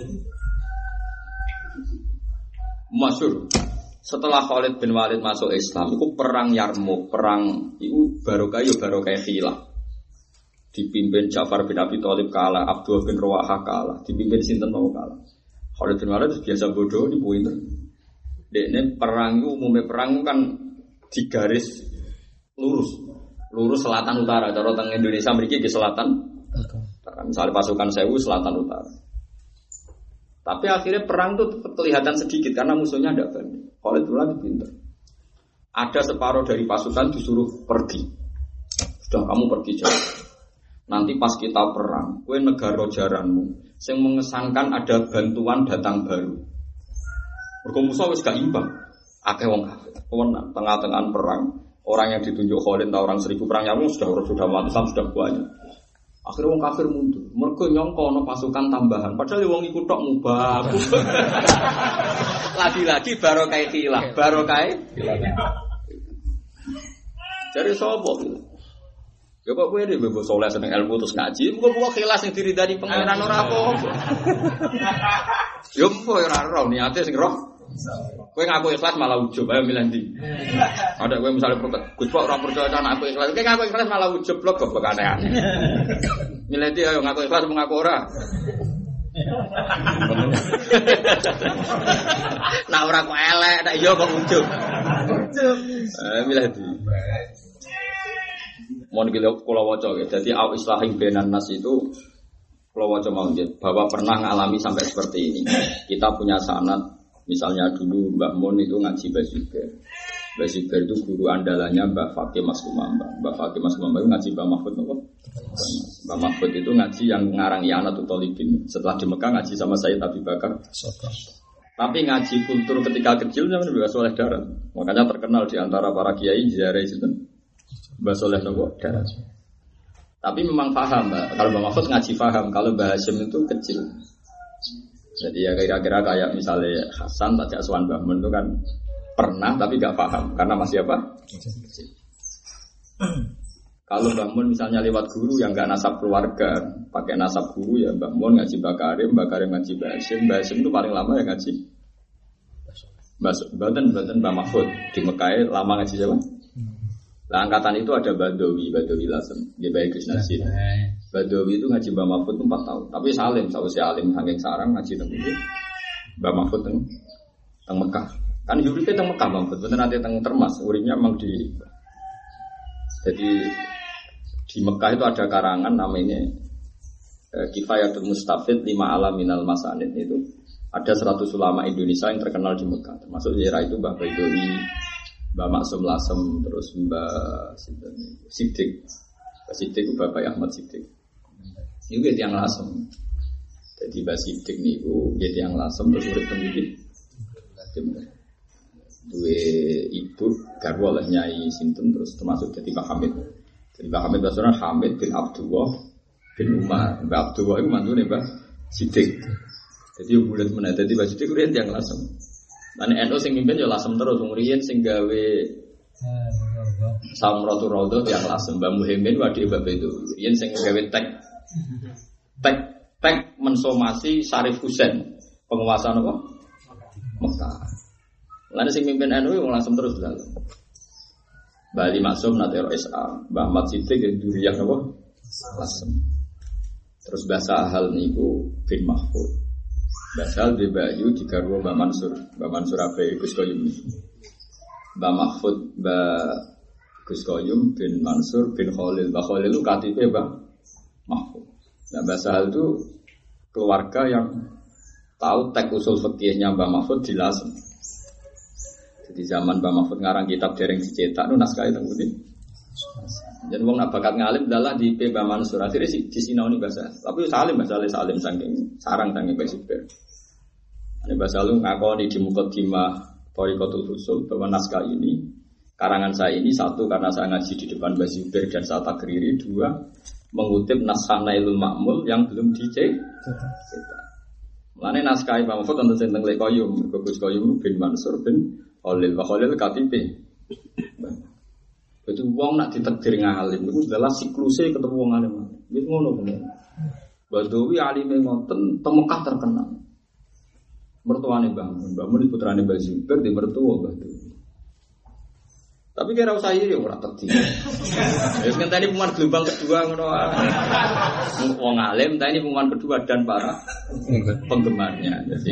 Masyhur. Setelah Khalid bin Walid masuk Islam, itu perang Yarmouk, perang itu barokah yo barokah khilah. Dipimpin Ja'far bin Abi Thalib kalah, Abdullah bin Rawahah kalah, dipimpin sinten mau kalah. Khalid bin Walid biasa bodoh di pointer. Dekne perang itu umumnya perang kan di garis lurus, lurus selatan utara. Cara teng Indonesia mriki di selatan. Misalnya pasukan Sewu selatan utara. Tapi akhirnya perang itu kelihatan sedikit karena musuhnya ada banyak. Khalid bin Walid pinter. Ada separuh dari pasukan disuruh pergi. Sudah kamu pergi jauh. Nanti pas kita perang, kue negara jaranmu, yang mengesankan ada bantuan datang baru. Berkomunikasi wis gak imbang. Akeh wong kafir. Kewenang tengah-tengah perang, orang yang ditunjuk Khalid atau orang seribu perang yang sudah sudah mati sudah banyak. Akhirnya wong kafir mundur. Mergo nyangka ana pasukan tambahan. Padahal wong iku tok mubah. Lagi-lagi barokah khilah, barokah khilah. Jadi sapa iki? Ya kok kowe dhewe mbok saleh seneng ilmu terus ngaji, muga-muga khilah sing diridani pangeran ora apa-apa. Yo mpo ora ora niate sing roh. Kowe ngaku ikhlas malah ujub, ayo milih ndi? Ada kowe misale protes, Gus Pak ora percaya anakku ikhlas. Kowe ngaku ikhlas malah ujub blok goblok aneh-aneh. Milih ndi ayo ngaku ikhlas mengaku ora. Nah ora kok elek, nek iya kok ujub. Ujub. Eh milih ndi? Mohon kula waca ya. Dadi au islahin bainan nas itu kula waca mawon bahwa pernah ngalami sampai seperti ini. Kita punya sanad. Misalnya dulu Mbak Mun itu ngaji Basiber. Basiber itu guru andalannya Mbak Fakih Mas Kumamba. Mbak Fakih Mas Kumamba itu ngaji Mbak Mahfud apa? Mbak Mahfud itu ngaji yang ngarang I'anatul Thalibin. Setelah di Mekah ngaji sama Sayyid Abi Bakar. Tapi ngaji kultur ketika kecil namanya Mbak Soleh Darat. Makanya terkenal di antara para kiai ziarah itu Mbak Soleh Darat. Tapi memang paham Mbak. Kalau Mbak Mahfud ngaji paham. Kalau Mbak Hashim itu kecil. Jadi ya kira-kira kayak misalnya Hasan Taja Aswan Bahmun itu kan pernah tapi gak paham karena masih apa? Kalau Bahmun misalnya lewat guru yang gak nasab keluarga, pakai nasab guru ya Bahmun ngaji Mbak Karim, Mbak Karim ngaji Mbak Hashim, Mbak Hashim itu paling lama ya ngaji Mbak Badan Badan Mbak Mahfud di Mekah lama ngaji siapa? Nah, angkatan itu ada Badawi, Badawi Lasem, dia baik Krishna Sir. Badawi itu ngaji Mbak Mahfud itu empat tahun. Tapi Salim, sausi Alim saking sarang ngaji teng iki. Mbak Mahfud teng teng Mekah. Kan hidupe teng Mekah Mbak Mahfud, bener nanti teng Termas, uripnya memang di. Jadi di Mekah itu ada karangan namanya eh, Kifayatul Mustafid lima alam minal masanid itu. Ada seratus ulama Indonesia yang terkenal di Mekah, termasuk daerah itu Mbak Baidowi, Mbak Maksum Lasem, terus Mbak Siddiq. Mbak Siddiq itu Bapak Ahmad Siddiq. Ini dia yang Lasem. Jadi Mbak Siddiq ini dia yang Lasem, terus urip pendidik. Dua ibu garwa oleh Nyai Sinten, terus termasuk jadi Mbak Hamid. Jadi Mbak Hamid Basuran Hamid bin Abdullah bin Umar. Mbak Abdullah itu mantunya Mbak Siddiq. Jadi bulat mana? Jadi Mbak Siddiq itu yang Lasem. Nah, N U sing mimpin ya Lasem terus, ngurian sing gawe Samratu Raudhah yang lasem Mbah Muhaimin wadi Mbah Bedu. Yen sing gawe tek tek tek mensomasi Syarif Husain, penguasa apa? Mekah. Lan sing mimpin N U wong lasem terus dalu. Bali Maksum Natero S A, Mbah Ahmad Siddiq yang duriyah apa? Lasem. Terus bahasa hal niku bin Mahfud. Bahasa hal di Bayu di garwa Mbah Mansur, Mbah Mansur Abai Gus Koyum. Mbah Mahfud, Mbah Gus Koyum bin Mansur bin Khalil. Mbah Khalil itu K T P Mbah Mahfud. Nah bahasa hal itu keluarga yang tahu tek usul fikihnya Mbah Mahfud di Lasem. Di zaman Mbah Mahfud ngarang kitab dereng dicetak nu naskah itu putih. Dan wong nak bakat ngalim adalah di P Mbah Mansur. Akhirnya si di sinauni bahasa. Tapi salim bahasa salim saking sarang saking Basiber. Ini bahasa lu ngakoni di Muqaddimah Thariqatul Usul bahwa naskah ini karangan saya ini satu karena saya ngaji di depan Basiber dan saya takriri, dua mengutip naskah Nailul Ma'mul yang belum dicetak. Mulane naskah Mbah Mahfud tentang tentang Lekoyum, Gus Koyum bin Mansur bin Khalil, wa Khalil K T P. Itu wong nak ditakdir ngalim itu adalah siklusnya ketemu wong alim. Wis ngono bener. Badawi alime ngoten teng Mekah terkenal. Mertuane Mbah Mun, Mbah Mun putrane Mbah Zubair di mertua Badawi. Tapi kira usah iri ora tedi. Wis ngenteni pengumuman gelombang kedua ngono wae. Wong alim ta ini pengumuman kedua dan para penggemarnya. Jadi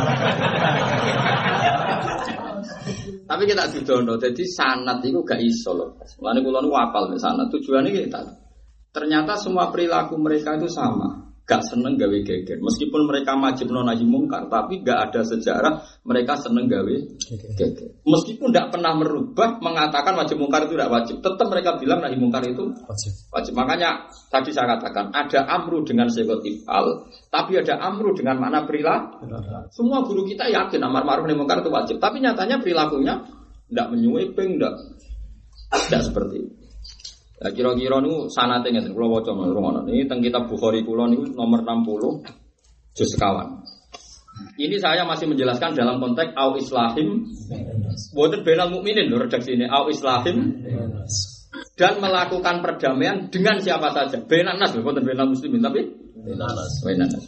tapi kita didono, jadi sanad itu gak iso loh. Mulane kula niku apal mek sanad. Tujuane kita. Ternyata semua perilaku mereka itu sama. Gak seneng gawe geger. Meskipun mereka wajib nahi mungkar, tapi gak ada sejarah mereka seneng gawe geger. Meskipun tidak pernah merubah mengatakan wajib mungkar itu tidak wajib, tetap mereka bilang nahi mungkar itu wajib. Wajib. Makanya tadi saya katakan ada amru dengan sigot ifal, tapi ada amru dengan makna perilaku. Semua guru kita yakin amar ma'ruf nahi mungkar itu wajib, tapi nyatanya perilakunya tidak menyueping, tidak tidak seperti itu. Nah, kira-kira niku sanate ngeten kula waca ngono. Niki teng kitab Bukhari kula niku nomor enam puluh juz sekawan. Ini saya masih menjelaskan dalam konteks au islahim boten benal mukminin lho redaksi ini au islahim dan melakukan perdamaian dengan siapa saja. Benan nas boten benal muslimin tapi benan nas. Benan nas.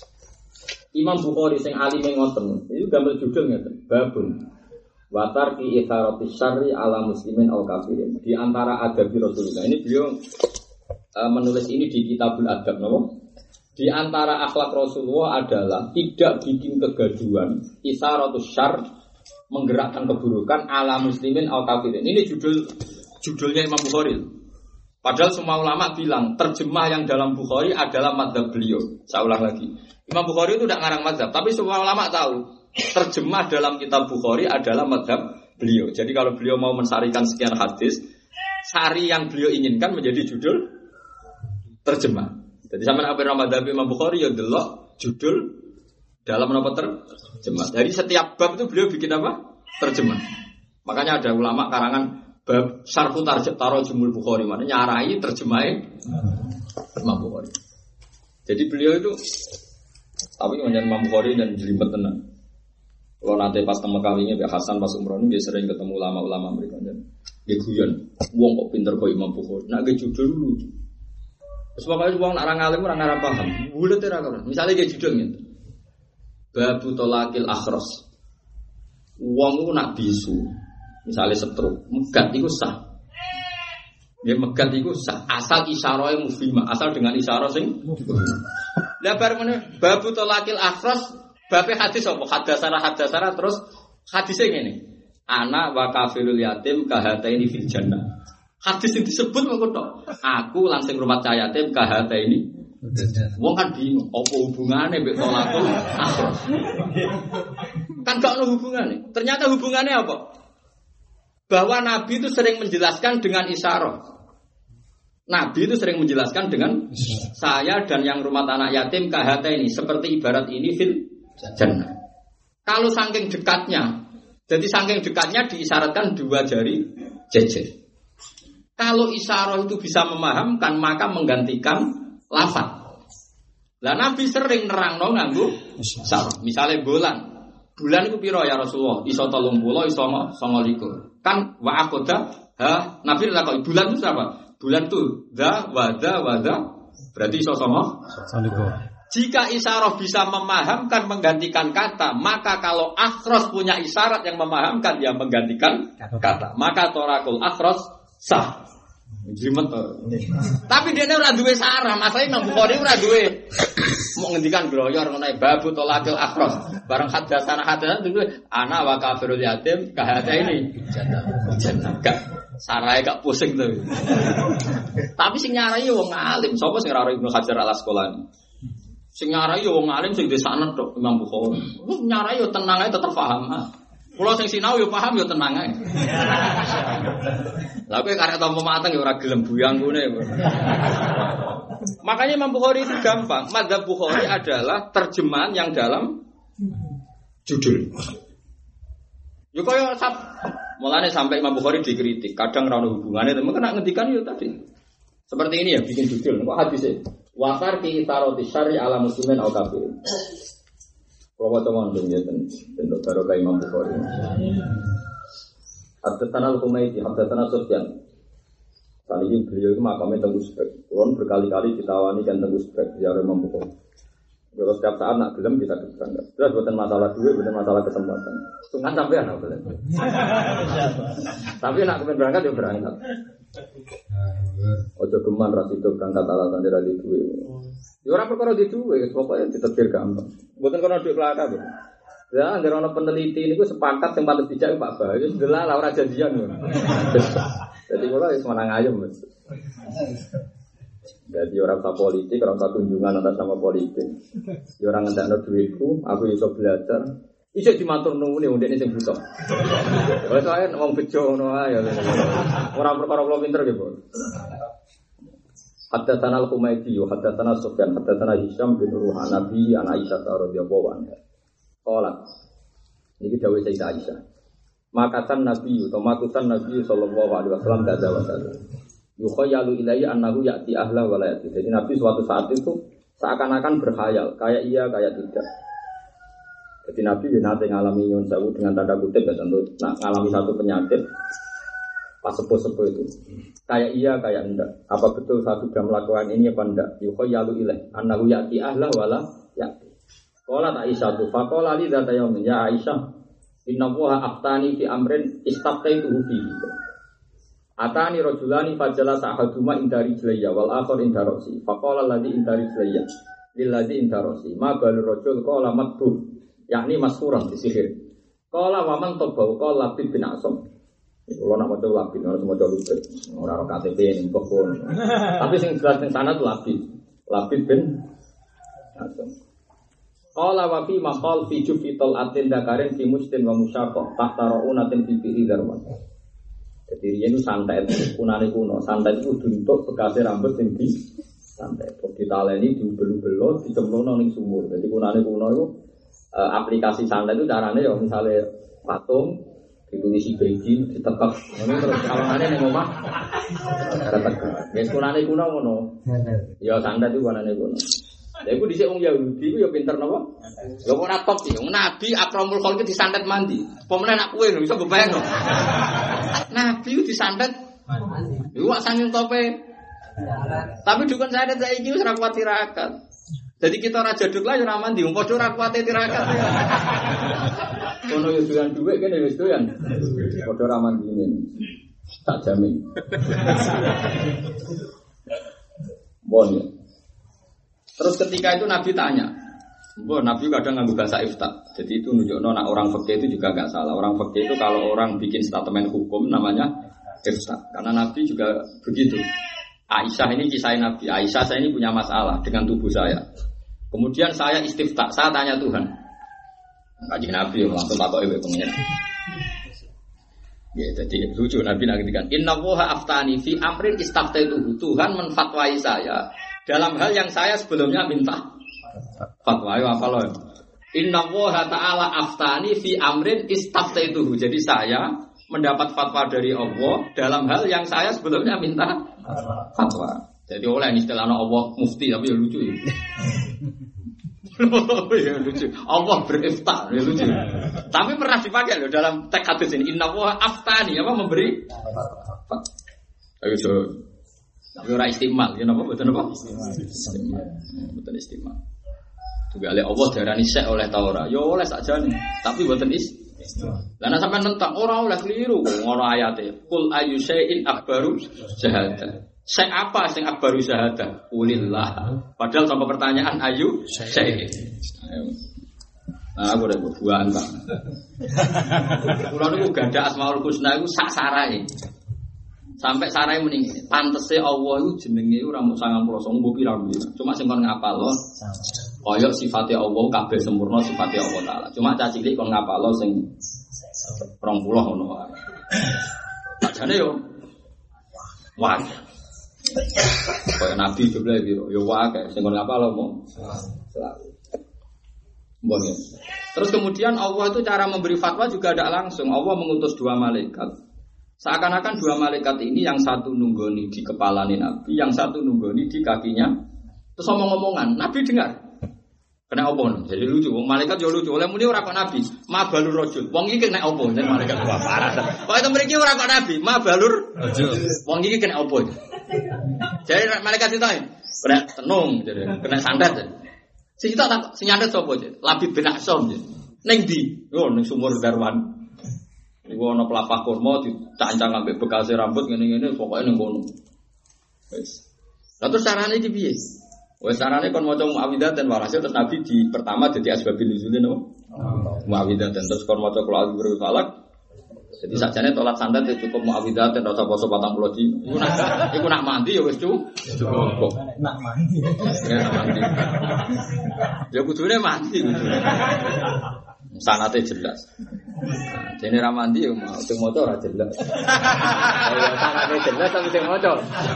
Imam Bukhari sing alime ngoten, itu gambar judul ngeten, babun watar ki itharati syarri ala muslimin al kafirin. Di antara adab Rasulullah ini beliau uh, menulis ini di Kitabul Adab, no? Di antara akhlak Rasulullah adalah tidak bikin kegaduhan, itharatus syarr, menggerakkan keburukan ala muslimin al kafirin. Ini judul judulnya Imam Bukhari. Padahal semua ulama bilang terjemah yang dalam Bukhari adalah madzhab beliau. Saya ulang lagi. Imam Bukhari itu tidak ngarang madzhab, tapi semua ulama tahu terjemah dalam kitab Bukhari adalah madhab beliau. Jadi kalau beliau mau mensarikan sekian hadis, sari yang beliau inginkan menjadi judul terjemah. Jadi sama apa yang madhab Imam Bukhari ya delok judul dalam apa terjemah. Jadi setiap bab itu beliau bikin apa? Terjemah. Makanya ada ulama karangan bab syarhu tarjumul Bukhari, maknanya nyarai terjemahin Imam Bukhari. Jadi beliau itu tapi menjadi Imam Bukhari dan jelimet tenan. Kalau nanti pas temu kawinnya Mbak Hasan pas umroh ini dia sering ketemu ulama-ulama mereka dan dia guyon, wong kok pinter kok Imam Bukhari, nak ke judul dulu. Terus pokoknya wong nak orang alim orang ngarang paham, bulat ya kan. Misalnya dia judulnya, Babu Tolakil Akhros, wong itu nak bisu, misalnya setruk, megat itu sah. Dia megat itu sah, asal isyarahnya mufhimah, asal dengan isyarah sing. Lebar mana? Babu Tolakil Akhros. Bape hadis apa? Hadasana hadasana terus hadisnya ngene. Ana wa kafirul yatim kahataini fil jannah. Hadis yang disebut mengko tok. Aku langsung rumah cah yatim kahataini. Wong kan bingung, apa hubungane mbek tolakul akhir. Kan gak ono hubungane. Ternyata hubungannya apa? Bahwa Nabi itu sering menjelaskan dengan isyarah. Nabi itu sering menjelaskan dengan saya dan yang rumah anak yatim kahataini seperti ibarat ini fil jannah. Kalau saking dekatnya, jadi saking dekatnya diisyaratkan dua jari jejer. Kalau isyarah itu bisa memahamkan, maka menggantikan lafaz. Lah Nabi sering nerangno nganggo isyarah. Misalnya bulan, bulan itu piro ya Rasulullah? Iso telung puluh, iso songo likur. Kan wa akoda ha Nabi lakon bulan itu apa? Bulan itu da wada wada berarti iso sama. Jika isyarah bisa memahamkan menggantikan kata, maka kalau akhros punya isyarat yang memahamkan yang menggantikan kata, maka torakul akhros sah. Jelimet tapi dia ora duwe sarah, masalah Imam Bukhari ora duwe. Mau ngendikan gloyor ngono babu tolakil akhros. Barang hadatsana hadatsana duwe ana wa kafirul yatim kahata ini. Jannah gak sarai gak pusing tuh. Tapi sing nyarai wong alim, sapa sing ora Ibnu Hajar Al-Asqalani. Sing nyarai yo wong alim sing desanet tok Imam Bukhari. Wis nyarai yo tenang ae tetep paham. Kulo sing sinau yo paham yo tenang ae. Lah kowe karek tampa mateng yo ora gelem buyang ngene. Makanya Imam Bukhari itu gampang. Madzhab Bukhari adalah terjemahan yang dalam judul. Yo koyo sap mulane sampai Imam Bukhari dikritik, kadang ora ono hubungane temen kena ngendikan yo tadi. Seperti ini ya bikin judul. Kok hadise wasar ki taroti syari ala muslimin au kafir. Kalau teman teman ya tentu barokah Imam Bukhari. Haddatsana al-Humaydi, haddatsana Sufyan. Kali ini beliau itu makamnya Tengku Sprek. Kulon berkali-kali ditawani kan Tengku Sprek ziarah Imam Bukhari. Kalau setiap saat nak gelem kita berangkat. Terus bukan masalah duit, bukan masalah kesempatan. Sungan sampai anak boleh. Tapi nak kepen berangkat ya berangkat. Ojo geman ras itu berangkat alasan dia di duit. Ya orang perkara di duit, pokoknya ditetir gampang. Bukan karena duit kelaka. Ya, anggar ana peneliti niku sepakat sing paling bijak Pak Bah. Wis delala ora janjian. Jadi kula wis menang ayem, Mas. Jadi orang tak politik, orang tak kunjungan atas nama politik. Ya orang ngendakno duitku, aku iso belajar. Iso dimatur nunggu nih, ndekne sing butuh. Wes ae wong bejo ngono ae. Ora perkara kula pinter nggih, Bu. Haddatsana al-Humaydi, haddatsana Sufyan, haddatsana Hisham bin Ruhan Nabi an Aisyah radhiyallahu anha. Qalat. Niki dawuh Sayyidah Aisyah. Makatan Nabi, otomakusan Nabi sallallahu alaihi wasallam kada wasada. Yukhayyalu ilayya annahu ya'ti ahla wa la ya'ti. Jadi Nabi suatu saat itu seakan-akan berkhayal, kayak iya kayak tidak. Jadi Nabi nanti ngalami nyun sewu dengan tanda kutip ya tentu nah, ngalami satu penyakit pas sepuh-sepuh itu. Kayak iya kayak enggak. Apa betul satu sudah melakukan ini apa enggak? Yukhayyalu ilayya annahu ya'ti ahla wa la ya'ti. Qala Aisyah tu faqala li dzata yaumin ya Aisyah inna Allaha aftani fi amrin istaqaituhu fihi. Atani rajulani fajala sa'haduma indari jlayya wal akhar indarosi. Faqala alladhi indari jlayya lilladhi indarosi. Ma balur rajul qala matbu yakni masfuran disihir. Qala wa man tabau qala Labid bin Asam. Kulo nak maca Labid ora maca Lubet. Ora ora K T P ning pokon. Tapi sing jelas ning sana tuh Labid. Labid bin Asam. Qala wa fi maqal fi jufitul atin dakarin fi mustin wa musyaqah tahtarunatin fi bihi darwan. Jadi riyen itu santet kunane kuno, santet itu bentuk bekase rambut sing di santet. Kok ditaleni diubel-ubel dicemplungno ning sumur. Jadi kunane kuno itu e, aplikasi santet itu carane ya misale patung ditulisi beji ditekek ngono terus kalane ning omah tetek. Wis kunane kuno ngono. Ya santet itu kunane kuno. Lha iku dhisik wong Yahudi iku ya pinter napa? Ya kok ora top iki. Nabi Akramul Khalqi disantet mandi. Pemene nak kowe lho iso mbayangno. Nabi itu disantet mandi. Iku wak sanging tope. Tapi dukun santet saiki wis ora kuat tirakat. Jadi kita ora jaduk lah ora mandi, wong padha ora kuat tirakat. Ono yo doyan dhuwit kene wis doyan. Padha ora mandine. Tak jamin. Bon ya. Terus ketika itu Nabi tanya, Bo, Nabi kadang nganggo bahasa ifta. Jadi itu nunjukno nak orang fikih itu juga enggak salah. Orang fikih itu kalau orang bikin statement hukum namanya ifta. Karena Nabi juga begitu. Aisyah ini kisah Nabi. Aisyah saya ini punya masalah dengan tubuh saya. Kemudian saya istifta, saya tanya Tuhan. Kanjeng Nabi langsung takoki wae pengen. Ya, jadi lucu Nabi ngendikan, "Inna Allaha aftani fi amrin istaftaitu." Tuhan menfatwai saya dalam hal yang saya sebelumnya minta fatwa. Ayo apa loh? Inna Allaha ta'ala aftani fi amrin istaftaituhu. Jadi saya mendapat fatwa dari Allah dalam hal yang saya sebelumnya minta fatwa. Jadi oleh istilahnya Allah mufti tapi ya lucu ya. Oh ya lucu. Allah berifta, ya lucu. Tapi pernah dipakai loh dalam teks hadis ini. Inna wa aftani apa memberi? Ayo coba. Ora istimal, ya napa mboten napa? Istimal. Mboten istimal. Juga oleh Allah diarani syek oleh ta ora? Ya oleh sakjane, tapi mboten is. Lah nek sampean nentang ora oleh keliru ngono ayate. Qul ayu syai'in akbaru syahadah. Syek apa sing akbaru syahadah? Ulillah. Padahal sampai pertanyaan ayu syai'in. Nah, aku udah berbuah entah. Kulo niku ganda Asmaul Husna iku sak sarae. Sampai sarai mending pantese Allah itu jenenge ora mung sangang puluh sanga mbok pira-pira. Cuma sing kon ngapalo kaya sifate Allah kabeh sempurna sifate Allah taala. Cuma cah cilik kon ngapalo sing rong puluh ngono wae. Sakjane yo wah. Kaya nabi jebule piro yo wae sing kon ngapalo mong selalu. Mbon ya. Terus kemudian Allah itu cara memberi fatwa juga ada langsung. Allah mengutus dua malaikat. Seakan-akan dua malaikat ini yang satu nunggoni di kepalanya Nabi, yang satu nunggoni di kakinya. Terus omong-omongan, Nabi dengar. Kena opon, jadi lucu. Wong malaikat yo lucu. Oleh muni ora kok Nabi, ma balur rajul. Wong iki kena opon, jadi malaikat wah parah. Kok itu mriki ora kok Nabi, ma balur rajul. Wong iki kena opon. Jadi malaikat ditanya, kena tenung, jadi kena santet. Sing tak tak sing nyantet sapa, Labid bin Asom. Ning ndi? Yo ning sumur Darwan. Iku ana pelapah kurma dicancang ambek bekase rambut ngene-ngene pokoke ning kono. Wis. Lah terus carane iki piye? Wis carane kon maca Muawwidatan walhasil terus Nabi di pertama dadi asbabun nuzulin no. Muawwidatan terus kon maca qul a'udzu falak. Jadi sakjane tolat santet cukup Muawwidatan ora poso patang puluh di. Iku nak iku nak mandi ya wis cukup. Nak mandi. Ya mandi. Ya kudune mandi kudune. Sanate jelas. Dene ra mandi yo mau sing maca ora jelas. Ya sanate jelas tapi sing maca.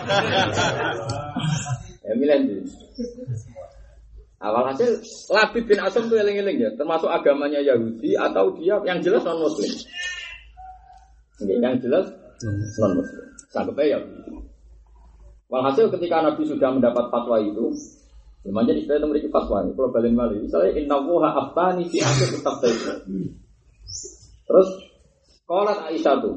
Ya milen iki. Awal hasil Labid bin Asom itu eling-eling ya, termasuk agamanya Yahudi atau dia yang jelas non muslim. Nggih, yang jelas non muslim. Sanggepe ya. Walhasil ketika Nabi sudah mendapat fatwa itu, namanya istilah itu memiliki fatwa ini. Kalau balen balik, misalnya Inna wuha aftani fi akhir kitab itu. Terus, qalat Aisyah tu,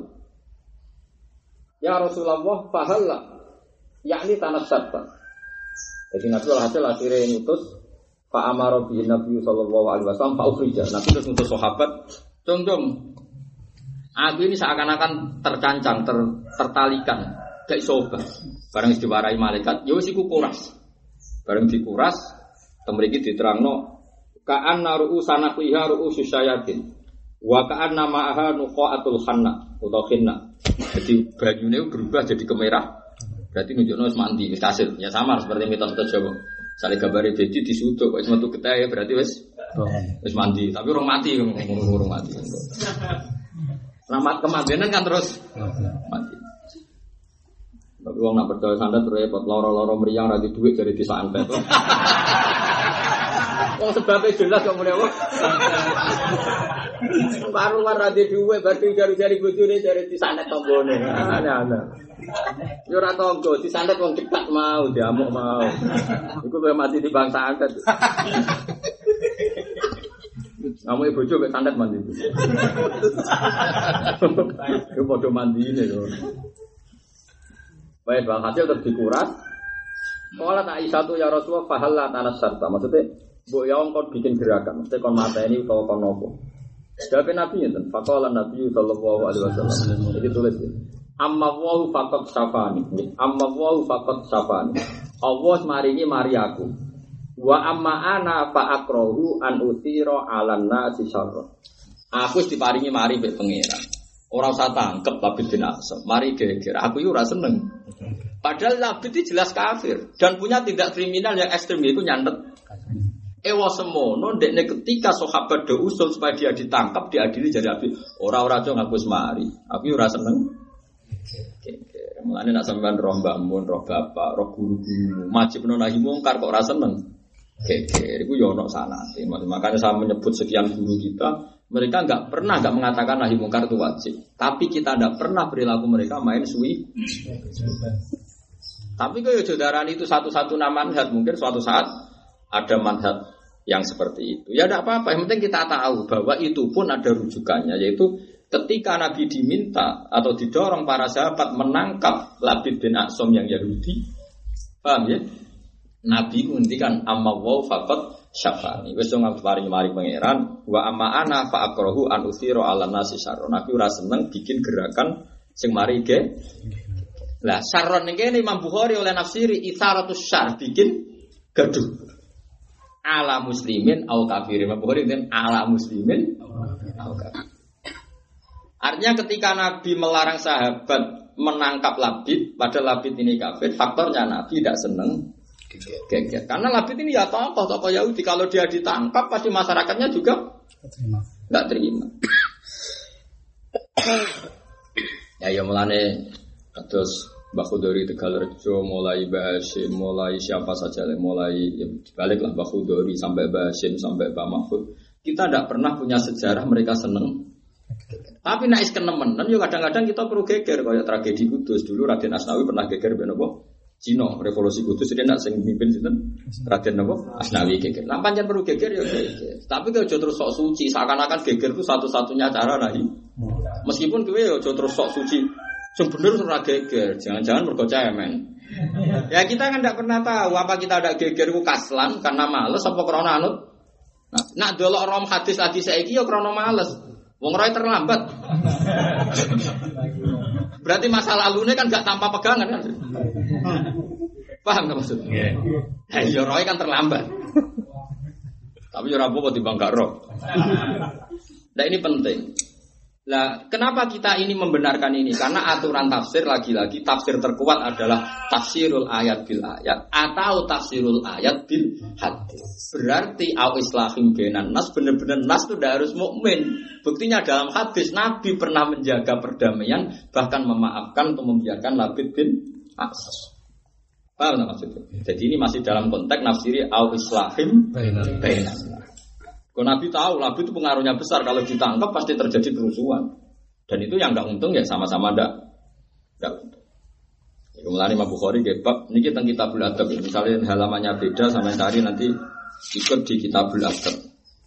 ya Rasulullah fahalla, yakni tanah syarta. Jadi Nabi alhasil akhirnya ngutus Pak Amaro bin Nabi sallallahu alaihi wasallam Pak Ukhrija. Nabi terus ngutus sahabat, cung cung. Aku ini seakan-akan tercancang, ter, tertalikan, gak isoba. Barang diwarai malaikat, ya wis iku kuras. Bareng dikuras, temriki diterangno ka'anna ru'usana qiha ru'usus syayatin. Wa ka'anna ma'aha nuqatul khanna utawa khinna. Jadi banyune berubah jadi kemerah. Berarti nunjukno wis mandi, wis kasil. Ya sama seperti mitos-mitos Jawa. Sale gambare beji disuduk kok wis metu getih berarti wis wis mandi, tapi urung mati, urung mati. Selamat kemandian kan terus mati. Tapi wong nak percaya santet repot loro-loro mriyang ra di dhuwit dari disantet. Wong sebabnya jelas kok mulai wong. Baru ora di dhuwit berarti jari-jari bojone dari disantet tombone. Ana-ana. Yo ora tonggo disantet wong dekat mau diamuk mau. Iku kowe mati di bangsa santet. Kamu ibu bojo mek santet mandi. Yo padha mandine lho. Baik, bang hasil terus dikuras. Kalau tak Aisyah ya Rasulullah fahallah tanah sarta. Maksudnya, bu ya kon bikin gerakan. Maksudnya kon mata ini atau kon nopo. Jawab Nabi itu. Fakolah Nabi Sallallahu Alaihi Wasallam. Jadi tulis ini. Amma wahu fakot syafani. Amma wahu fakot syafani. Allah maringi mari aku. Wa amma ana fa akrohu an utiro alanna sisarro. Aku diparingi mari mbek pangeran. Ora usah tangkep Labid bin Asom. Mari geger. Aku yo ora seneng. Padahal Labid itu jelas kafir dan punya tindak kriminal yang ekstrem itu nyantet. Ewa semono ndekne ketika sahabat do usul supaya dia ditangkap, diadili jadi Labid. Ora-ora aja ngaku semari. Aku ora seneng. Geger. Mulane nek sampean roh mbahmu, roh bapak, roh guru-guru, wajib nahi mungkar kok ora seneng. Geger. Iku yo ono sanate. Makanya saya menyebut sekian guru kita. Mereka enggak pernah enggak mengatakan nahi mungkar itu wajib. Tapi kita enggak pernah perilaku mereka main suwi. Tapi kalau jodaran itu satu-satu nama manhaj, mungkin suatu saat ada manhaj yang seperti itu. Ya tidak apa-apa, yang penting kita tahu bahwa itu pun ada rujukannya, yaitu ketika Nabi diminta atau didorong para sahabat menangkap Labid bin A'sam yang Yahudi, paham ya? Nabi ngendikan amma wa faqat syafani. Wis ngomong paring mari pangeran, wa amma ana fa akrahu an uthira ala nasi syarron. Nabi ora seneng bikin gerakan sing mari ge. Lah syarron niki Imam Bukhari oleh nafsiri itsaratus syar, bikin gaduh. Ala muslimin au kafirin. Imam Bukhari den ala muslimin au kafir. Artinya ketika Nabi melarang sahabat menangkap Labid, padahal Labid ini kafir, faktornya Nabi tidak seneng geger. Karena Labid ini ya tokoh tokoh Yahudi, kalau dia ditangkap pasti masyarakatnya juga nggak terima. Ya ya mulane terus Mbah Khudori Tegalrejo mulai Basim, mulai siapa saja, mulai ya, baliklah Mbah Khudori sampai Basim sampai Mbah Mahfud. Kita tidak pernah punya sejarah mereka seneng. Tapi nek is kenemenan yo kadang-kadang kita perlu geger kayak tragedi Kudus dulu Raden Asnawi pernah geger ben apa? Cina, revolusi Kudus dia nak sing mimpin sinten? Raden apa? Asnawi geger. Lah pancen perlu geger ya geger. Tapi kalau aja terus sok suci, seakan-akan geger itu satu-satunya cara nahi. Meskipun kowe aja terus sok suci, sing bener ora geger, jangan-jangan mergo cemen. Ya kita kan tidak pernah tahu apa kita ada geger ku kaslan karena males apa krana anut. Nah, nak delok rom hadis hadis saiki ya krana males. Wong roy terlambat. Berarti masa lalunya kan gak tanpa pegangan kan? Paham gak maksudnya? Yeah. Eh, ya roy kan terlambat. Tapi ya rapo timbang gak roh. Nah ini penting. Nah, kenapa kita ini membenarkan ini? Karena aturan tafsir lagi-lagi tafsir terkuat adalah tafsirul ayat bil ayat atau tafsirul ayat bil hadis. Berarti au islahim bainan nas, benar-benar nas itu tidak harus mukmin. Buktinya dalam hadis Nabi pernah menjaga perdamaian, bahkan memaafkan atau membiarkan Labid bin A'sam. Paham tak maksudnya? Jadi ini masih dalam konteks nafsiri au islahim bainan. Kalau Nabi tahu, Nabi itu pengaruhnya besar. Kalau ditangkap pasti terjadi kerusuhan. Dan itu yang nggak untung ya sama-sama nggak nggak untung. Kemudian Imam Bukhari gebab, ini kita Kitabul Adab. Misalnya halamannya beda sama yang tadi nanti ikut di Kitabul Adab.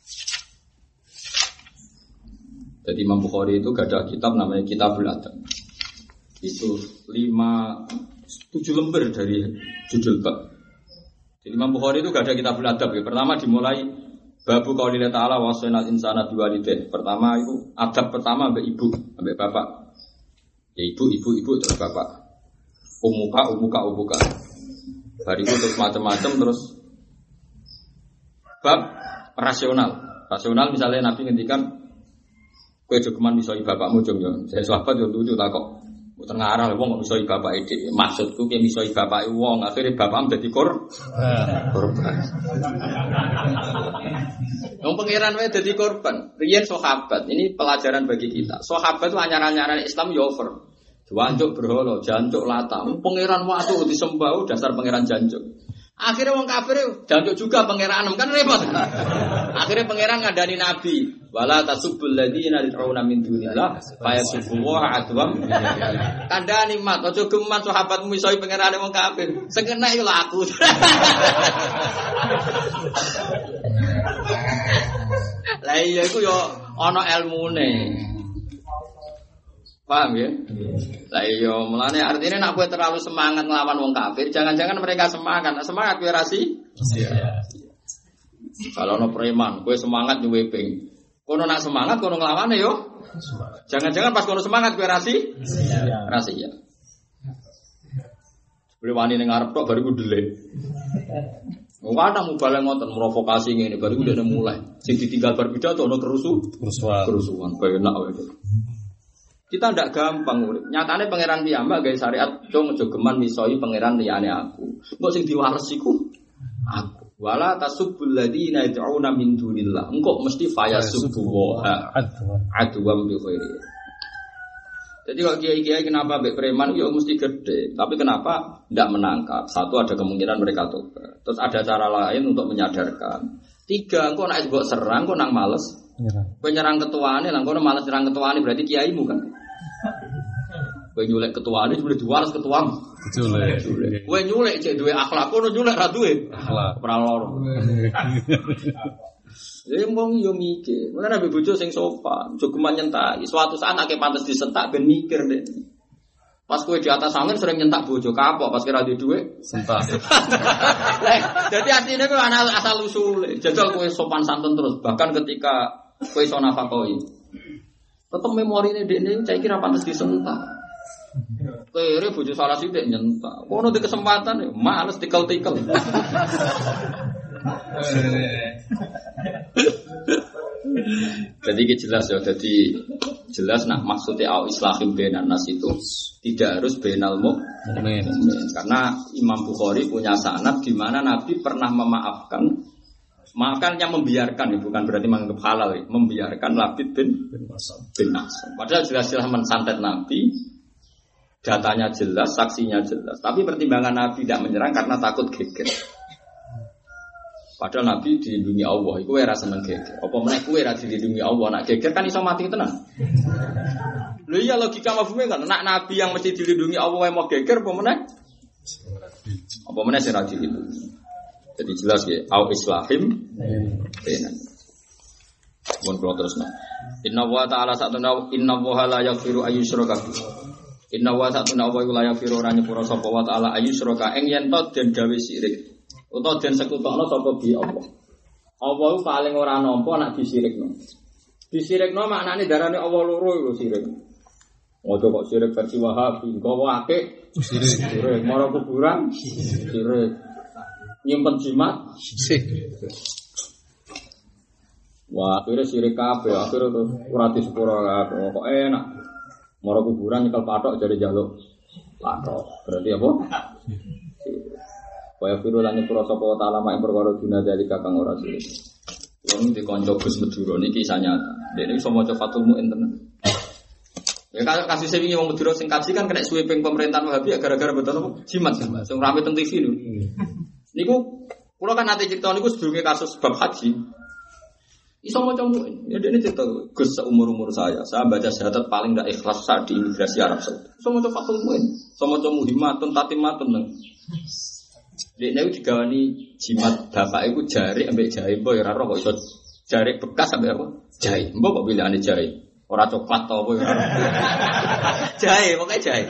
Jadi Imam Bukhari itu gak ada kitab namanya Kitabul Adab. Itu lima tujuh lembar dari judul bab. Jadi Imam Bukhari itu gak ada Kitabul Adab. Ya. Pertama dimulai Babu qaulillah ta'ala wasainal insana biwalidayhi. Pertama itu adab pertama ambek ibu, ambek bapak. Ya ibu, ibu, ibu terus bapak. Umuka, umuka, umuka. Hari itu terus macam-macam terus bab rasional. Rasional misalnya Nabi ngendikan kowe jogeman misoi bapakmu jong yo. Saya sahabat yo lucu tak kok. Mboten ngarah wong kok misoi bapak iki. Maksudku ki misoi bapake wong, akhire bapakmu dadi kor. Korban. Wong pangeran wae dadi korban. Riyen sahabat, ini pelajaran bagi kita. Sahabat itu anyaran-anyaran Islam yo over. Jancuk berhala, jancuk lata. Pangeran waktu disembah dasar pangeran jancuk. Akhirnya wong kafir jancuk juga pangeran kan repot. Akhirnya pangeran ngandani Nabi, wala tasubbul ladzina yad'una min dunillah fayasubbuha adwam. Kandhani mat aja geman sahabatmu iso pangerane wong kafir. Sing kena iku laku. Lah iya iku yo ana elmune. Paham ya? Lah iya, mulane artinya nek kowe terlalu semangat nglawan wong kafir, jangan-jangan mereka semangat. Nah, semangat kowe rasi? Iya. Kalau ono preman, kowe semangat nyuwe ping. Kono nak semangat kono nglawane yo. Jangan-jangan pas kono semangat kowe rasi? Iya. Rasi ya. Boleh wani ning arep tok baru ku delek. Wong kadang mubaleng ngoten provokasi ngene baru udah mulai. Sing ditinggal bar pidato ono kerusu, kerusuhan. Kerusuhan penak wae. Kita ndak gampang urip. Nyatane pangeran piyambak gawe syariat cung jogeman misoi pangeran liyane aku. Engko sing diwales iku aku. Wala tasubbul ladzina yad'una min dunillah. Engko mesti fayasubbu adwam bi khairi. Jadi kalau kiai-kiai kenapa mbek preman yo mesti gede. Tapi kenapa ndak menangkap? Satu ada kemungkinan mereka tobat. Terus ada cara lain untuk menyadarkan. Tiga, engko nek mbok serang kok nang males. Kowe nyerang ketuane, lah kono malah nyerang ketuane berarti kiaimu kan. Kowe nyulek ketuane boleh diwales ketuamu. Julek. Kowe nyulek cek duwe akhlak, kono nyulek ra duwe Akhlak. ora loro. Ya mong yo mikir, mulane ambek bojo sing sopan, jogeman nyentak. Suatu saat akeh pantes disentak ben mikir deh. Pas kowe di atas angin sering nyentak bojo kapok, pas kira di dhuwit Sentak. Lah, dadi asline kowe ana asal usule. Jajal kowe sopan santun terus, bahkan ketika kowe iso nafakoi. Tetep memorine dekne cah iki ra pantes disentak. Kere bojo salah sithik nyentak. Kono di kesempatan males tikel-tikel. Jadi jelas ya, jadi jelas nak maksudnya au islahim bainan nas itu tidak harus bainal mukmin. Karena Imam Bukhari punya sanad di mana Nabi pernah memaafkan, maafkannya membiarkan, bukan berarti menganggap halal, membiarkan Labid bin bin Asam. Padahal jelas-jelas mensantet Nabi, datanya jelas, saksinya jelas. Tapi pertimbangan Nabi tidak menyerang karena takut geger. Padahal Nabi dilindungi Allah, iku ora seneng geger. Apa meneh kowe ora dilindungi Allah, nak geger kan iso mati tenan. Lho iya logika mafhume kan, nak Nabi yang mesti dilindungi Allah yang mau geger apa meneh? Apa meneh sing ora dilindungi. Jadi jelas ya, au islahim benan. Mun kula terusno. Inna wa ta'ala satuna inna wa la yaghfiru ayyusyraka bihi. Inna wa satuna wa la yaghfiru ora nyepura sapa wa ta'ala ayyusyraka ing yen to den gawe sirik. Utawa den sekutokno sapa bi Allah. Allah paling ora nampa nek disirikno. Disirikno maknane darane Allah loro lho sirik. Ojo kok sirik versi Wahabi, gawa akeh sirik. Sirik mara kuburan sirik. Nyimpen jimat sirik. Wah, akhirnya sirik kabeh, akhirnya tuh ora disepuro kabeh. Kok enak. Mara kuburan nyekel patok jadi jaluk patok. Berarti apa? Kaya firu lan nyepuro sapa wa ta'ala mak perkara dina dalika kang ora sirik. Wong iki kanca Gus Madura niki kisah nyata. Dene iso maca Fathul Mu'in tenan. Ya kalau kasus wingi wong Madura sing kaji kan kena sweeping pemerintahan Wahabi ya gara-gara betul apa? Jimat sing rame teng T V lho. Niku kula kan nate cerita niku sedurunge kasus bab haji. Iso maca Mu'in. Ya dene cerita Gus seumur-umur saya, saya baca syahadat paling ndak ikhlas saat di imigrasi Arab Saudi. Iso maca Fathul Mu'in, iso maca muhimmatun tatimatun. Dek nek digawani jimat bapak iku jari ambek jahe mbok ya ora roh kok iso jari bekas ambek apa? Jahe. Mbok kok pilihane jahe. Ora coklat to apa ya ora. Jahe, pokoke jahe.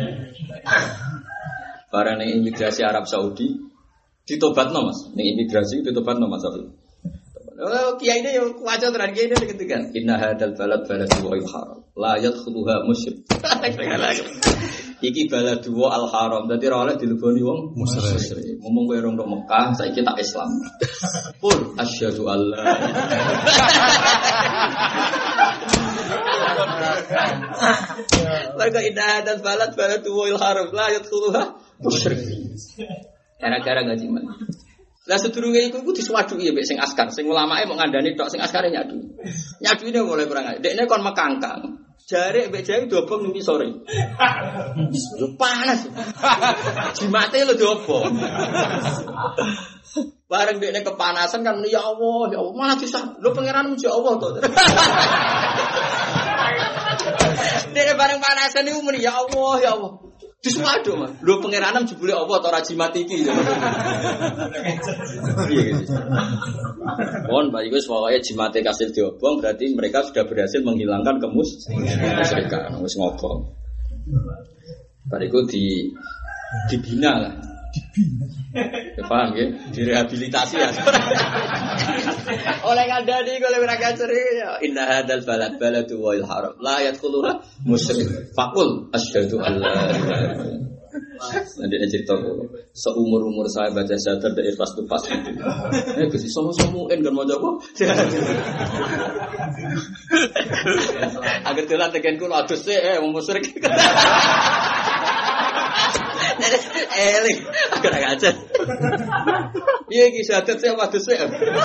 Barang ning imigrasi Arab Saudi ditobatno Mas. Ning imigrasi ditobatno Mas Abdul. Oh, kiai ini yo waca tenan kiai ini ketika inna hadzal balad baladu wa haram. La yadkhuluha musyrik. Iki baladu wa al haram. Dadi ora oleh dileboni wong musyrik. Ngomong kowe rong Mekah, saiki tak Islam. Pun asyhadu alla. Warga inna hadzal balad baladu wa al haram. La yadkhuluha musyrik. Gara-gara ngaji men. Lah sedurunge iku iku diswaduki ya mbek sing askar, sing ulamae mau ngandani tok, sing askare nyadu. Nyadune mulai kurang ae. Dekne kon mekangkang. Jare mbek jahe diobong ning sore. Yo panas. Jimate lho diobong. Bareng dekne kepanasan kan ya Allah, ya Allah malah disah. Lho pangeran muji Allah to. Dekne bareng panasan niku muni ya Allah, ya Allah. Diswaduk Mas. Lho pangeranam jebule apa ta ora jimat iki. Pon bayi wis wae jimate kasil diobong berarti mereka sudah berhasil menghilangkan kemus kemusyrikan wis ngobong. Bariku di dibina lah. Dibina. Ya paham ya? Direhabilitasi ya. Oleh ngandani oleh ora kaceri ya. Inna hadzal balad baladu wal haram. La yadkhuluha musyrik. Faqul asyhadu an la ilaha illallah. Nanti cerita seumur-umur saya baca syahadat dari ikhlas itu pas. Eh Gus sama-sama en kan mau coba. Agar dolan tekan kulo adus eh wong musyrik. Eling, agak aja. Iya iki syahadat saya wadus saya.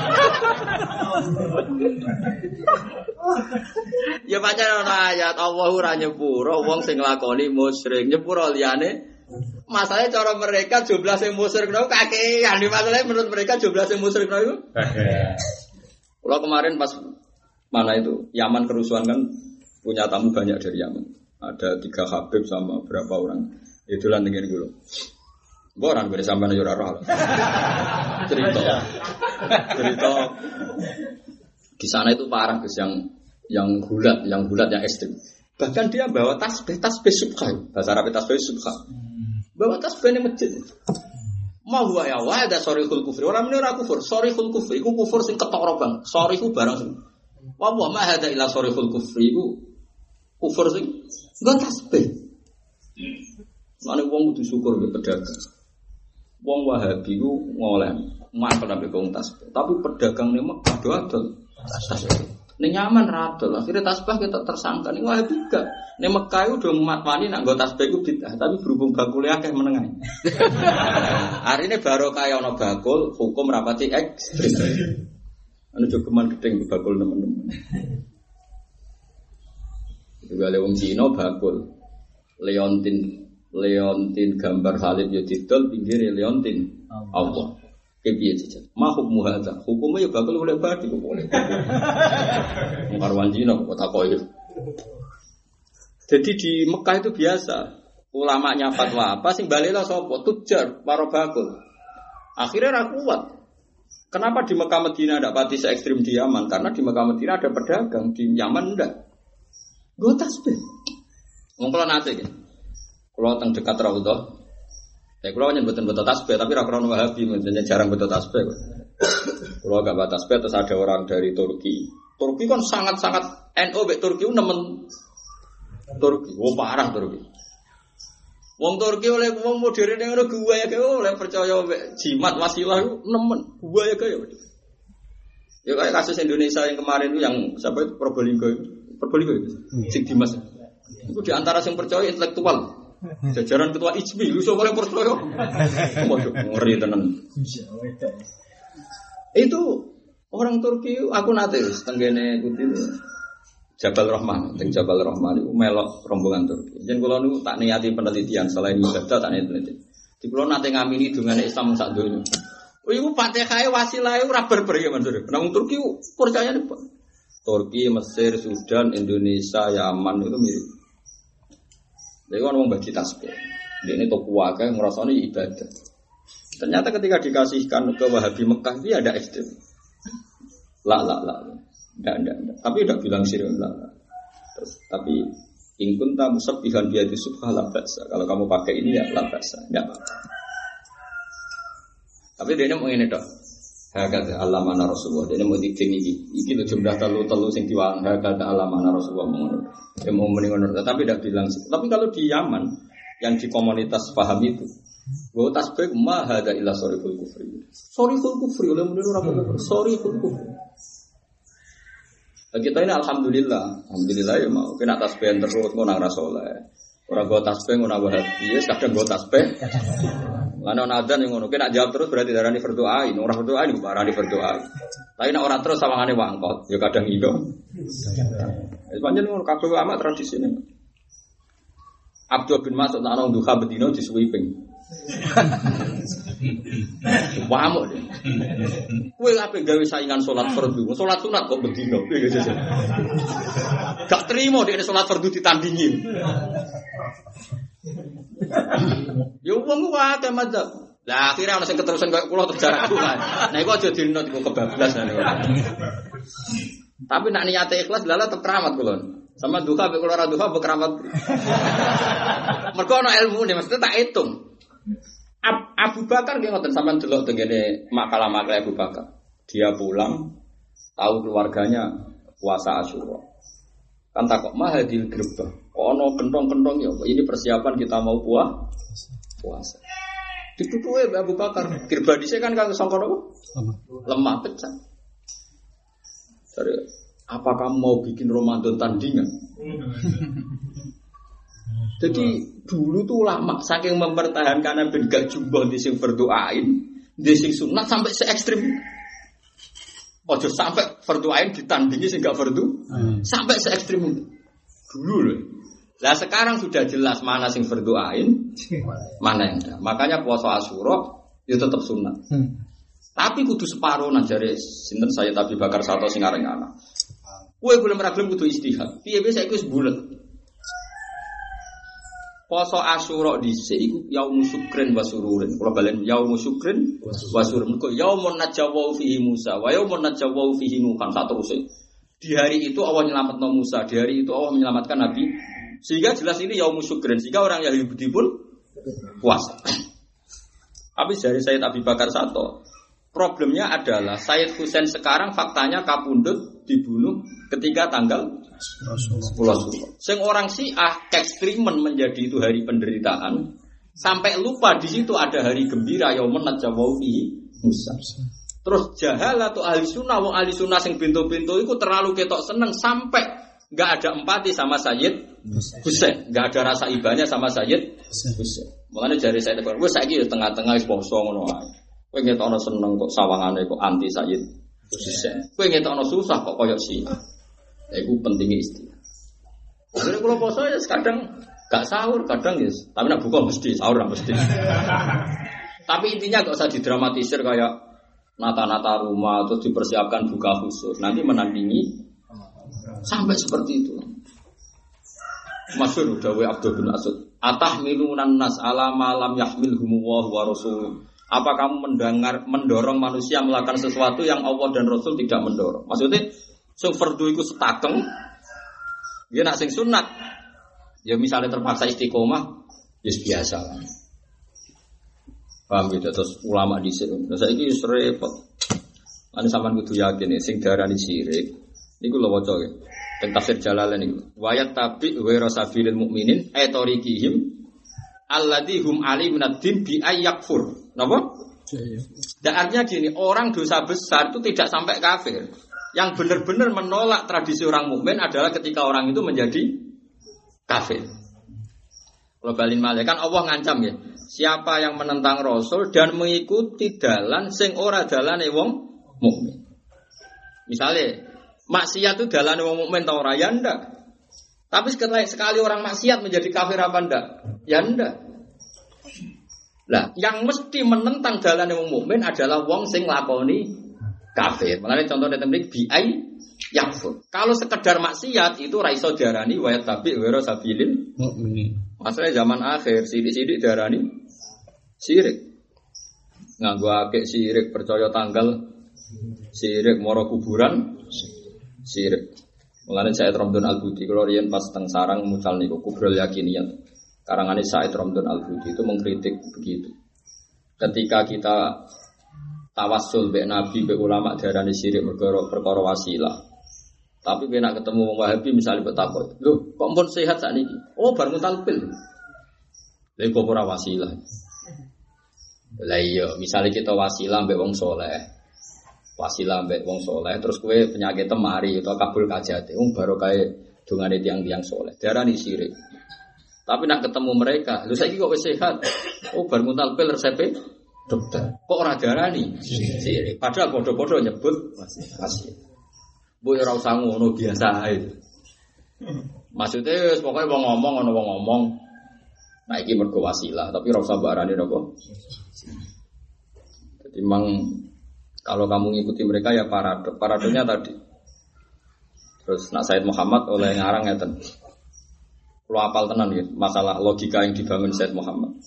Ya pancen ana ayat Allah ora nyepuro wong sing nglakoni musyrik, nyepuro liyane. Masalahnya cara mereka jumlah sing musyrik niku kakean. Masalahnya menurut mereka jumlah sing musyrik niku kakean. Kalau kemarin pas mana itu Yaman kerusuhan kan punya tamu banyak dari Yaman. Ada tiga Habib sama berapa orang. Itulah dengan gue. Gue orang gue sampai nanya orang cerita, cerita di sana itu parah guys, yang yang gulat, yang gulat yang ekstrim. Bahkan dia bawa tasbih, tasbih subha, bahasa Arab tasbih subha. Bawa tasbih di masjid. Mau wa ya wa ada sorihul kufri. Orang ini orang kufur, sorihul kufri. Iku kufur sing ketok bang. Sorihu barang sing. Wa wa ma hada ila sorihul kufri. Iku kufur sing enggak tasbih. Mane wong kudu syukur mbek pedagang. Wong Wahabi ku ngoleh mantel ambek wong tasbih. Tapi pedagang nek ado-ado tasbih. Nek nyaman ra adol. Akhire tasbih ketok tersangka ning Wahabi gak. Nek Mekah udah matwani nak nggo tasbih ku bid'ah, tapi berhubung bakule akeh menengah. Arine barokah ana bakul, hukum rapati ekstrim. Anu jogeman gedeng bakul nemen-nemen. Juga le wong Cina bakul. Leontin, Leontin gambar salib yo didol pinggire Leontin Allah. Kepiye jajan? Mahuk muhadza. Hukumnya ya bakal oleh badi kok boleh. Karwan Cina kok takoki. Jadi di Mekah itu biasa. Ulamanya fatwa apa sing balela sapa? Tujar para bakul. Akhirnya ra kuat. Kenapa di Mekah Madinah ndak pati se ekstrim di Yaman? Karena di Mekah Madinah ada pedagang, di Yaman ndak. Go tasbih. Wong kula nate iki. Kula teng dekat Raudhah. Ya kula nyebut betul tasbih tapi ra krono Wahabi, maksudnya jarang betul tasbih. Kula gak batas tasbih terus ada orang dari Turki. Turki kan sangat-sangat N U mek Turki nemen Turki. Oh parah Turki. Wong Turki oleh wong modern yang ngono gua ya oleh percaya mek jimat wasilah ku nemen. Gua ya kaya. Ya kayak kasus Indonesia yang kemarin itu yang siapa itu Probolinggo itu. Probolinggo itu. Sing Dimas. Itu di antara yang percaya intelektual. Jajaran ketua I J M I lu sok oleh percaya. Waduh, ngeri tenan. Itu orang Turki aku nate tenggene kudu Jabal Rahman, teng Jabal Rahman itu melok rombongan Turki. Jen kula niku tak niati penelitian selain ibadah tak niati penelitian. Di kula nate ngamini dungane Islam sak donya. Oh iku Fatihah wasilah ora berber ya Mansur. Nang Turki percaya nih Pak. Turki, Mesir, Sudan, Indonesia, Yaman itu mirip. Jadi kan ngomong bagi tasbih. Ini toko wakai ngerasanya ibadah. Ternyata ketika dikasihkan ke Wahabi Mekah dia ada ekstrim. Lah lah lah. Enggak enggak enggak. Tapi udah bilang sirun lah. Terus, tapi ingkun tamu sepihan dia di subhah la ba'sa. Kalau kamu pakai ini ya la ba'sa. Enggak apa-apa. Tapi dia ini mau ini dong. Hakata alamana Rasulullah. Dia mau diting iki. Iki lho jumlah telu-telu sing diwang. Hakata alamana Rasulullah menurut. Dia mau menurut. Tapi tidak bilang sih. Tapi kalau di Yaman yang di komunitas paham itu, bahwa tasbih ma hada illa soriful kufri. Soriful kufri oleh menurut orang kufri. Soriful kufri. Kita ini alhamdulillah, alhamdulillah ya mau. Kena tasbih terus ngonang rasoleh. Orang go tasbih ngonang Wahabi. Kadang go tasbih. Lan ana adzan yang ngono, kena jawab terus berarti darani berdoain, ora berdoain kok barani berdoa. Tapi nek ora terus sawangane wangkot, ya kadang iya. Wis pancen ngono kabeh ulama tradisi ini. Abdul bin Mas'ud ana duha bedino disuwiping. Wamuk deh. Kowe ape gawe saingan salat fardu, salat sunat kok bedino. Gak terima dek salat fardu ditandingi. Ya wong wae madzhab. Lah akhirnya ana sing keterusan koyo kula terjarak kan. Nah iku aja dinot iku kebablas nah. Tapi nek niate ikhlas lala tetep keramat kula. Sama duha mek kula ora duha mbok keramat. Mergo ana ilmune mesti tak hitung. Abu Bakar nggih ngoten sampean delok tengene makalah-makalah Abu Bakar. Dia pulang tahu keluarganya puasa Asyura. Kan takok mahadil gerbah. Ono kentong-kentong ya, ini persiapan kita mau puah, puasa. Ditutuke Abu Bakar, gerbah dhisik kan kang sangka apa? Lemah pecah. Jadi, apa kamu mau bikin Ramadan tandingan? Jadi dulu tuh lama saking mempertahankan ben gak jumbo di sing berdoain, di sing sunat sampai se ekstrim. Ojo sampai berdoain ditandingi sing gak fardu, hmm. sampai se ekstrim itu. Dulu loh. Lah sekarang sudah jelas mana sing berdoain, mana yang enggak. Makanya puasa Asyura itu tetap sunat. Hmm. Tapi kudu separuh nah jare sinten saya Abi Bakar Sato sing areng anak. Kowe gelem ra gelem kudu istihad. Piye-piye saiki wis bulet. Poso Asyura dhisik iku yaum syukrin wa sururin. Kula balen yaum syukrin wa sururin. Kok yaumun najawwa fihi Musa wa yaumun najawwa fihi Nuh kan saterusé. Di hari itu Allah menyelamatkan Musa, di hari itu Allah menyelamatkan Nabi. Sehingga jelas ini yaum syukrin. Sehingga orang Yahudi pun puasa. Habis dari Sayyid Abi Bakar Sato. Problemnya adalah Sayyid Husain sekarang faktanya kapundhut dibunuh ketika tanggal sepuluh Asyura. Sing orang Syiah ekstremen menjadi itu hari penderitaan sampai lupa di situ ada hari gembira yaumun najawau fi Musa. Terus jahalatu ahli sunnah wong ahli sunnah sing pintu-pintu itu terlalu ketok seneng sampai enggak ada empati sama Sayyid Husain, enggak ada rasa ibahnya sama Sayyid Husain. Mulane jare Sayyid Bakar, wis saiki tengah-tengah wis poso ngono wae. Kowe ngetokno seneng kok sawangane kok anti Sayyid Husain. Kowe ngetokno susah kok koyo Syiah. Ya, itu pentingnya istilah. Jadi kalau poso ya kadang gak sahur, kadang ya. Tapi nak buka mesti sahur lah mesti. Tapi intinya gak usah didramatisir kayak nata-nata rumah atau dipersiapkan buka khusus. Nanti menandingi sampai seperti itu. Masyhur dawe Abdul bin Asud. Atahmilunan nas ala ma lam yahmilhumullahu wa rasuluh. Apa kamu mendengar mendorong manusia melakukan sesuatu yang Allah dan Rasul tidak mendorong? Maksudnya sing fardhu iku setakeng, ya nak sing sunat, ya misalnya terpaksa istiqomah, ya biasa lah. Paham gitu, terus ulama dhisik. Nah saiki wis repot. Ane sampean kudu yakin sing darani syirik, niku lho waca nggih. Teng tafsir Jalalain niku. Wayat tabi wa rasabilil mukminin etorikihim alladzi hum ali minad-din bi ayyakfur. Napa? Dan artinya gini, orang dosa besar itu tidak sampai kafir. Yang benar-benar menolak tradisi orang mukmin adalah ketika orang itu menjadi kafir. Kalau balin malih kan Allah ngancam ya. Siapa yang menentang Rasul dan mengikuti dalan sing ora dalane wong mukmin. Misalnya maksiat itu dalane wong mukmin ta ora ya ndak. Tapi sekali sekali orang maksiat menjadi kafir apa ndak? Ya ndak. Lah, yang mesti menentang dalane wong mukmin adalah wong sing lakoni kafir. Mulane contoh nek temrik bi'ai yakfur. Kalau sekedar maksiat itu ra iso diarani wa tabi wa rasabilin mukminin. Masalah zaman akhir sidik-sidik diarani syirik. Nganggo akeh syirik, percaya tanggal syirik, moro kuburan syirik. Mulane Said Ramdan Al-Budi kalau riyen pas teng sarang mucal niku kubrul yakiniyat. Karangane Said Ramdan Al-Budi itu mengkritik begitu. Ketika kita tawassul be nabi be ulama darani syirik mergo perkara wasilah. Tapi nek ketemu wong Wahabi misalnya bertakut, "Lho, kok pun sehat sakniki?" Oh, bar mutalpil. Lha kok ora wasilah. Lah iya, misalnya kita wasilah mbek wong saleh. Wasilah mbek wong saleh terus kowe penyakit temari utawa kabul kajate, wong barokahe dongane tiyang-tiyang saleh. Darani syirik. Tapi nek ketemu mereka, "Lho saiki kok wis sehat?" Oh, bar mutalpil resepe dokter, kok ora darani syirik? Padahal bodoh-bodoh nyebut wasilah. Bu ora usah ngono biasa ae. Maksudnya pokoknya wong ngomong ana wong ngomong. Nah iki mergo wasilah, tapi ora usah barani napa. Jadi memang kalau kamu ngikuti mereka ya parade. Paradenya tadi. Terus nak Said Muhammad oleh ngarang ngeten. Kulo apal tenan nggih masalah logika yang dibangun Said Muhammad.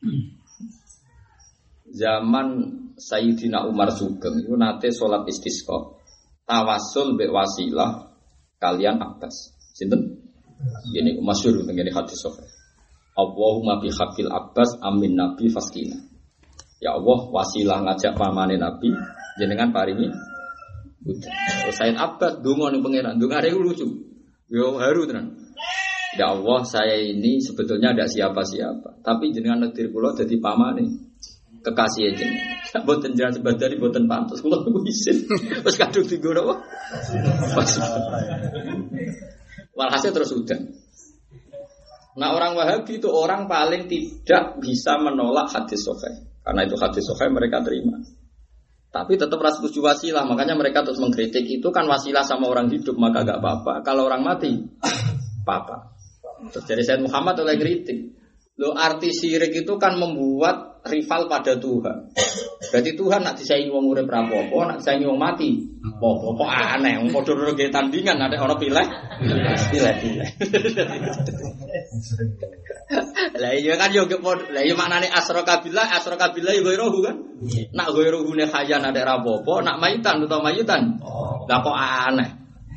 Zaman Sayyidina Umar Sugeng itu nate sholat istisqa tawassul mbek wasilah kalian Abbas. Sinten? Gini masyhur ngene hadis sahih. Allahumma bi haqqil Abbas amin nabi faskina. Ya Allah wasilah ngajak pamane nabi jenengan paringi udah. Terus Sayyid Abbas donga ning pangeran, dongane lucu. Yo haru tenan. Ya Allah saya ini sebetulnya ada siapa-siapa, tapi jenengan nedir kula dadi pamane. Kekasih aja, boten jangan sebadari boten pantas. Kalau aku isin, terus kadung tiga apa? Walhasil terus udah. Nah orang Wahabi itu orang paling tidak bisa menolak hadis sahih, karena itu hadis sahih mereka terima. Tapi tetap ras setuju wasilah, makanya mereka terus mengkritik itu kan wasilah sama orang hidup maka gak apa-apa. Kalau orang mati, apa-apa. Terus dari Said Muhammad oleh kritik. Lo arti syirik itu kan membuat rival pada Tuhan. Berarti Tuhan nak disaingi wong urip ra apa-apa, nak disaingi wong mati. Apa-apa kok aneh, wong padha nggih tandingan ada ana pilih. Pilih-pilih. Lah iya kan yo padha. Lah iya maknane asraka billah, asraka billah yo ghairuhu kan. Nak ghairuhune khayan ada ra apa-apa, nak mayitan utawa mayitan. Lah kok aneh.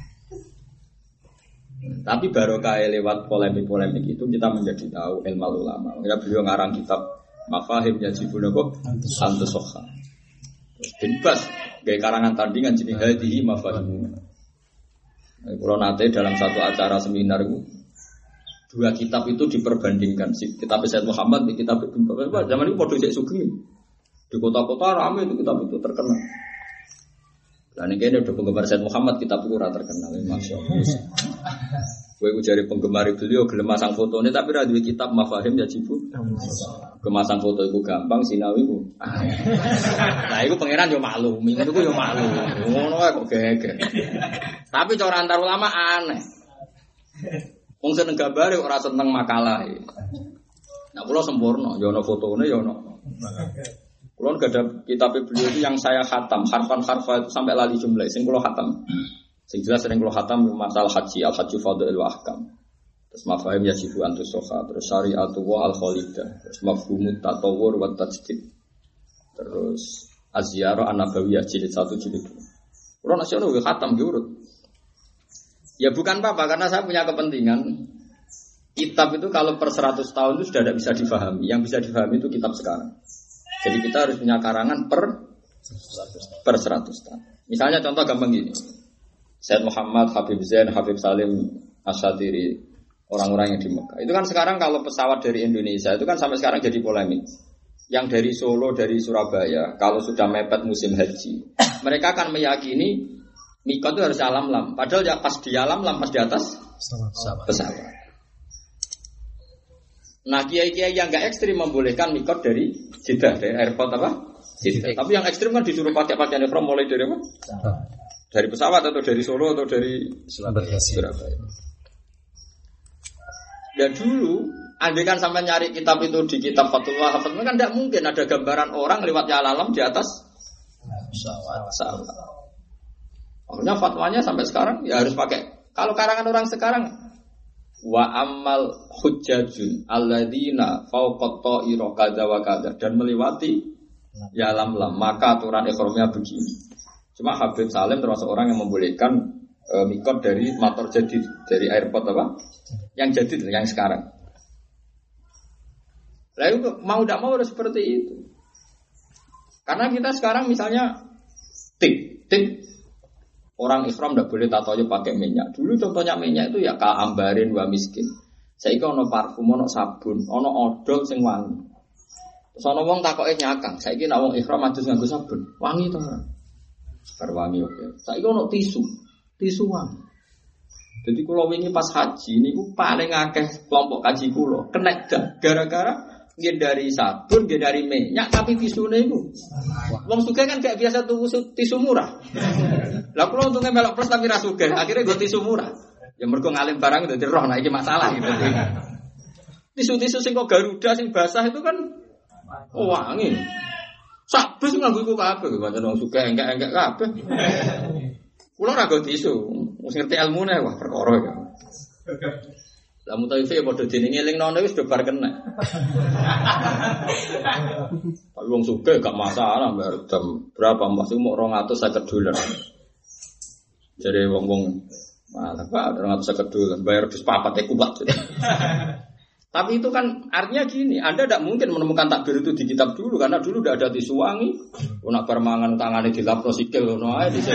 Tapi barokah lewat polemik-polemik itu kita menjadi tahu ilmu ulama. Ya beliau ngarang kitab Mafahim Yajibun kok Santus Sokha. Bebas gaya karangan tandingan jenis hadihi mafahim. Kalau nanti dalam satu acara seminar itu dua kitab itu diperbandingkan. Kitab Sayyid Muhammad di kitab Ibn Battah. Zaman itu podo Syekh Sugeng. Di kota-kota ramai itu kitab itu terkenal. Dan ini ada penggemar Sayyid Muhammad, kitab itu rata terkenal, masya Allah. Gue ucari penggemar beliau gelem masang foto ini, tapi radio kitab Mafahim Yajibun. Kemasang foto itu gampang, sinawi itu. Nah itu pangeran yo malu, itu yo malu. Ngono kok geger. Tapi cara antar ulama aneh. Wong seneng gambare ora seneng makalah. Nah kula sempurna, yo ono fotone yo ono. Kulon gak ada kitab beliau itu yang saya khatam, harfan-harfa itu sampai lali jumlah. Sing kulo khatam, sing jelas sering kulo khatam masalah haji, al haji fadhil wa ahkam. Terus mafahim yajibu antus soha, terus syariatu wa al khalidah, terus mafhumut tatawur wa tajdid, terus azyara an-nabawiyah jilid satu jilid dua. Kulon nasional gue khatam diurut. Ya bukan apa-apa, karena saya punya kepentingan. Kitab itu kalau per seratus tahun itu sudah tidak bisa difahami. Yang bisa difahami itu kitab sekarang. Jadi kita harus punya karangan per per seratus tahun. Misalnya contoh gampang gini. Sayyid Muhammad, Habib Zain, Habib Salim Asyadiri, orang-orang yang di Mekah. Itu kan sekarang kalau pesawat dari Indonesia itu kan sampai sekarang jadi polemik. Yang dari Solo, dari Surabaya, kalau sudah mepet musim haji, mereka akan meyakini mikot itu harus alam lam. Padahal ya pas di alam lam, pas di atas pesawat. Nah, kiai-kiai yang enggak ekstrim membolehkan mikot dari Jeddah, dari airport apa? Jeddah. Tapi yang ekstrim kan disuruh pakai pakaian ihram mulai dari apa? Dari pesawat atau dari Solo atau dari Surabaya. Dan dulu, andai kan sampai nyari kitab itu di kitab Fathul Wahab, kan tidak mungkin ada gambaran orang lewat alam di atas pesawat. pesawat. Makanya fatwanya sampai sekarang ya harus pakai. Kalau karangan orang sekarang wa amal hujjajun alladzina fawqa ta'ira kadza wa kadza dan melewati ya lam lam maka aturan ihramnya begini. Cuma Habib Salim termasuk orang yang membolehkan e, mikot dari motor jadid dari airport apa? Yang jadid yang sekarang. Lalu mau tidak mau harus seperti itu. Karena kita sekarang misalnya tip tip orang ihram tidak boleh tatonya pakai minyak. Dulu contohnya minyak itu ya kaambarin wa miskin. Saiki ono parfum, ono sabun, ono odol sing wangi. Terus ono wong takoke nyakang. Saiki nek wong ihram adus nganggo sabun, wangi to ora? Bar wangi oke. Saiki ono tisu, tisu wangi. Jadi kula wingi pas haji niku paling akeh kelompok kaji kula kena gara-gara nggih dari sabun, nggih dari minyak, tapi tisune iku. Wong sugih kan gak biasa tuku tisu murah. Lah kula untunge melok plus tapi ra sugih, akhire nggo tisu murah. Ya mergo ngalim barang dadi roh nek iki masalah gitu. Tisu-tisu sing kok Garuda sing basah itu kan wangi. Sak bis nganggo iku kabeh, pancen wong sugih enggak-enggak kabeh. Kula ra nggo tisu, wis ngerti ilmune wah perkara ya. Lah mutawife padha dene ngelingno wis do bar kena. Tapi wong sugih gak masalah bayar jam berapa Mas umur dua ratus lima puluh dolar. Jadi wong-wong malah Pak dua ratus lima puluh dolar bayar dus papat e kuat. Tapi itu kan artinya gini, Anda tidak mungkin menemukan takbir itu di kitab dulu karena dulu tidak ada tisu wangi. Nak permangan tangane dilapno sikil ngono ae dhisik.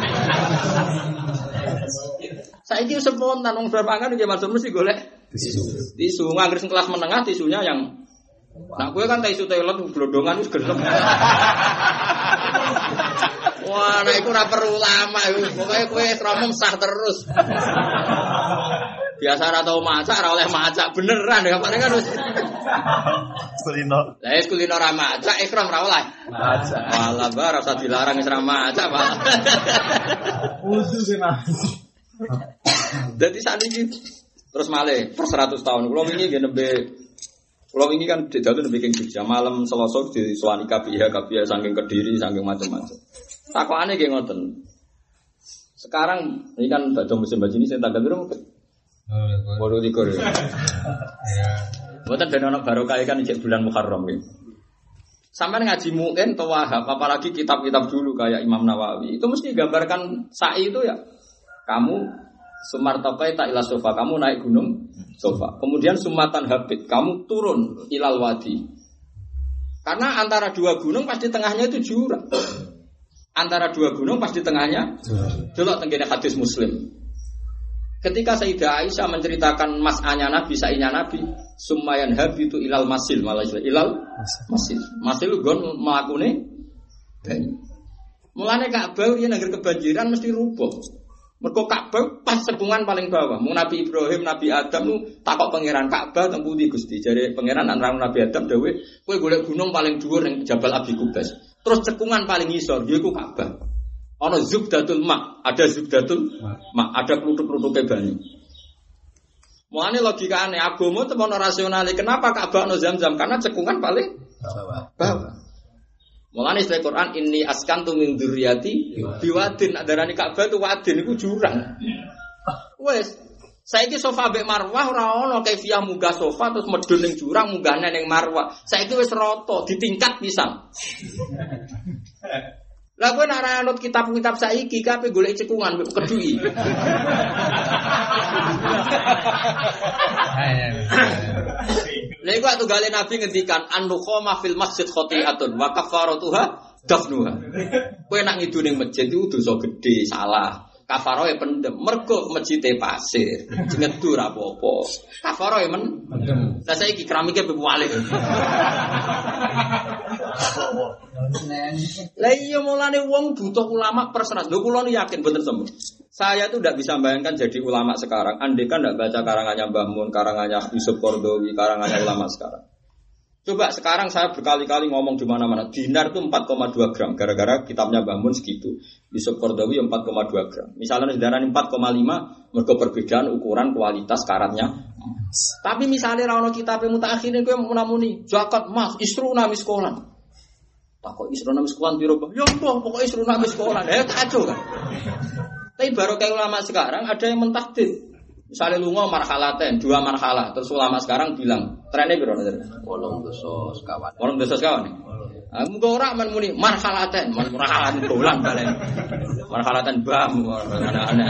Saiki spontan wong berpangan nggih maksud mesti golek tisu. Tisu nganggur sing kelas menengah tisunya yang nah kowe kan tisu toilet glodongan wis gelem. Wah, nek iku ora perlu lama iku. Pokoke kowe romom sah terus. Biasa ora tau masak, ora oleh masak beneran ya paling kan wis. Kulino. Lah wis kulino ora masak, ikram ora oleh. Masak. Malah bar ora dilarang wis ora masak, Pak. Wudu sih, Mas. Jadi saat ini terus malih per seratus tahun. Kalau ini gini nembe Kalau ini kan jatuh bikin Jogja malam Selasa di Suwani K P I H K P I H saking Kediri saking macam-macam. Takokane nggih ngoten. Sekarang ini kan badhe musim haji ini saya tanggal berapa mungkin? Baru tiga ya. Mboten ben ana barokah kan cek bulan Muharram iki. Sampeyan ngaji mungkin atau wahab apalagi kitab-kitab dulu kayak Imam Nawawi. Itu mesti gambarkan sa'i itu ya. Kamu sumartapai tak ila sofa, kamu naik gunung sofa. Kemudian sumatan habit, kamu turun ilal wadi. Karena antara dua gunung pasti tengahnya itu jurang. Antara dua gunung pasti tengahnya. Delok tenggene hadis Muslim. Ketika Sayyidah Aisyah menceritakan mas'anya Nabi, sa'inya Nabi, summayan habitu ilal masil, malah ilal masil. Masil gon mlakune banyu. Mulane Ka'bah yen anggar kebanjiran mesti rubuh. Mergo Ka'bah pas cekungan paling bawah. Mung Nabi Ibrahim, Nabi Adam nu takok pangeran Ka'bah teng pundi Gusti? Jare pangeran antara Nabi Adam dawuh, kowe golek gunung paling dhuwur ning Jabal Abi Qubais. Terus cekungan paling ngisor yaiku Ka'bah. Ana zubdatul ma, ada zubdatul ma, ada kluthuk-kluthuke banyu. Mulane logikane agama temono rasionale. Kenapa Ka'bah ono Zam-Zam? Karena cekungan paling bawah. Bawah. Mulane istilah Quran inni askantu min dzurriyyati biwadin, adarane Ka'bah itu wadin iku jurang. Wes, saiki sofa mbek Marwah ora ono kaifiah munggah sofa terus medhun ning jurang munggahne ning Marwah. Saiki wis rata, ditingkat pisan. Lah kowe nek ora anut kitab-kitab saiki kabeh golek cekungan mbek kedui. Lha iku tunggale Nabi ngendikan an-nukhama fil masjid khati'atun wa kafaratuha dafnuha. Kowe nek ngidu ning masjid itu dosa gedhe, salah. Kafaroe pendem, mergo masjide pasir. Ngedu ora apa-apa. Kafaroe mendem. Lah saiki keramike mbek walik. Lah iya mulane wong butuh ulama perseratus. Lho kula yakin bener sembuh. Saya tuh tidak bisa bayangkan jadi ulama sekarang. Andai kan tidak baca karangannya Mbah Mun, karangannya Yusuf Qaradawi, karangannya ulama sekarang. Coba sekarang saya berkali-kali ngomong di mana-mana. Dinar itu empat koma dua gram. Gara-gara kitabnya Mbah Mun segitu. Yusuf Qaradawi empat koma dua gram. Misalnya dinar empat koma lima, mergo perbedaan ukuran kualitas karatnya. Tapi misalnya rawono kitab mutaakhirin kowe munamuni zakat mas isruna miskolan. Tak kok isruna miskolan piro, Bang? Ya apa pokoke isruna miskolan. Eh kacau kan. Tapi baru kayak ulama sekarang ada yang mentakdir. Misalnya lunga marhalaten, dua marhalah. Terus ulama sekarang bilang, trennya berapa? Wolong dosa sekawan. Wolong dosa sekawan. Ah, muga ora men muni marhalaten, marhalaten bolan balen. Marhalaten bam, anak-anak.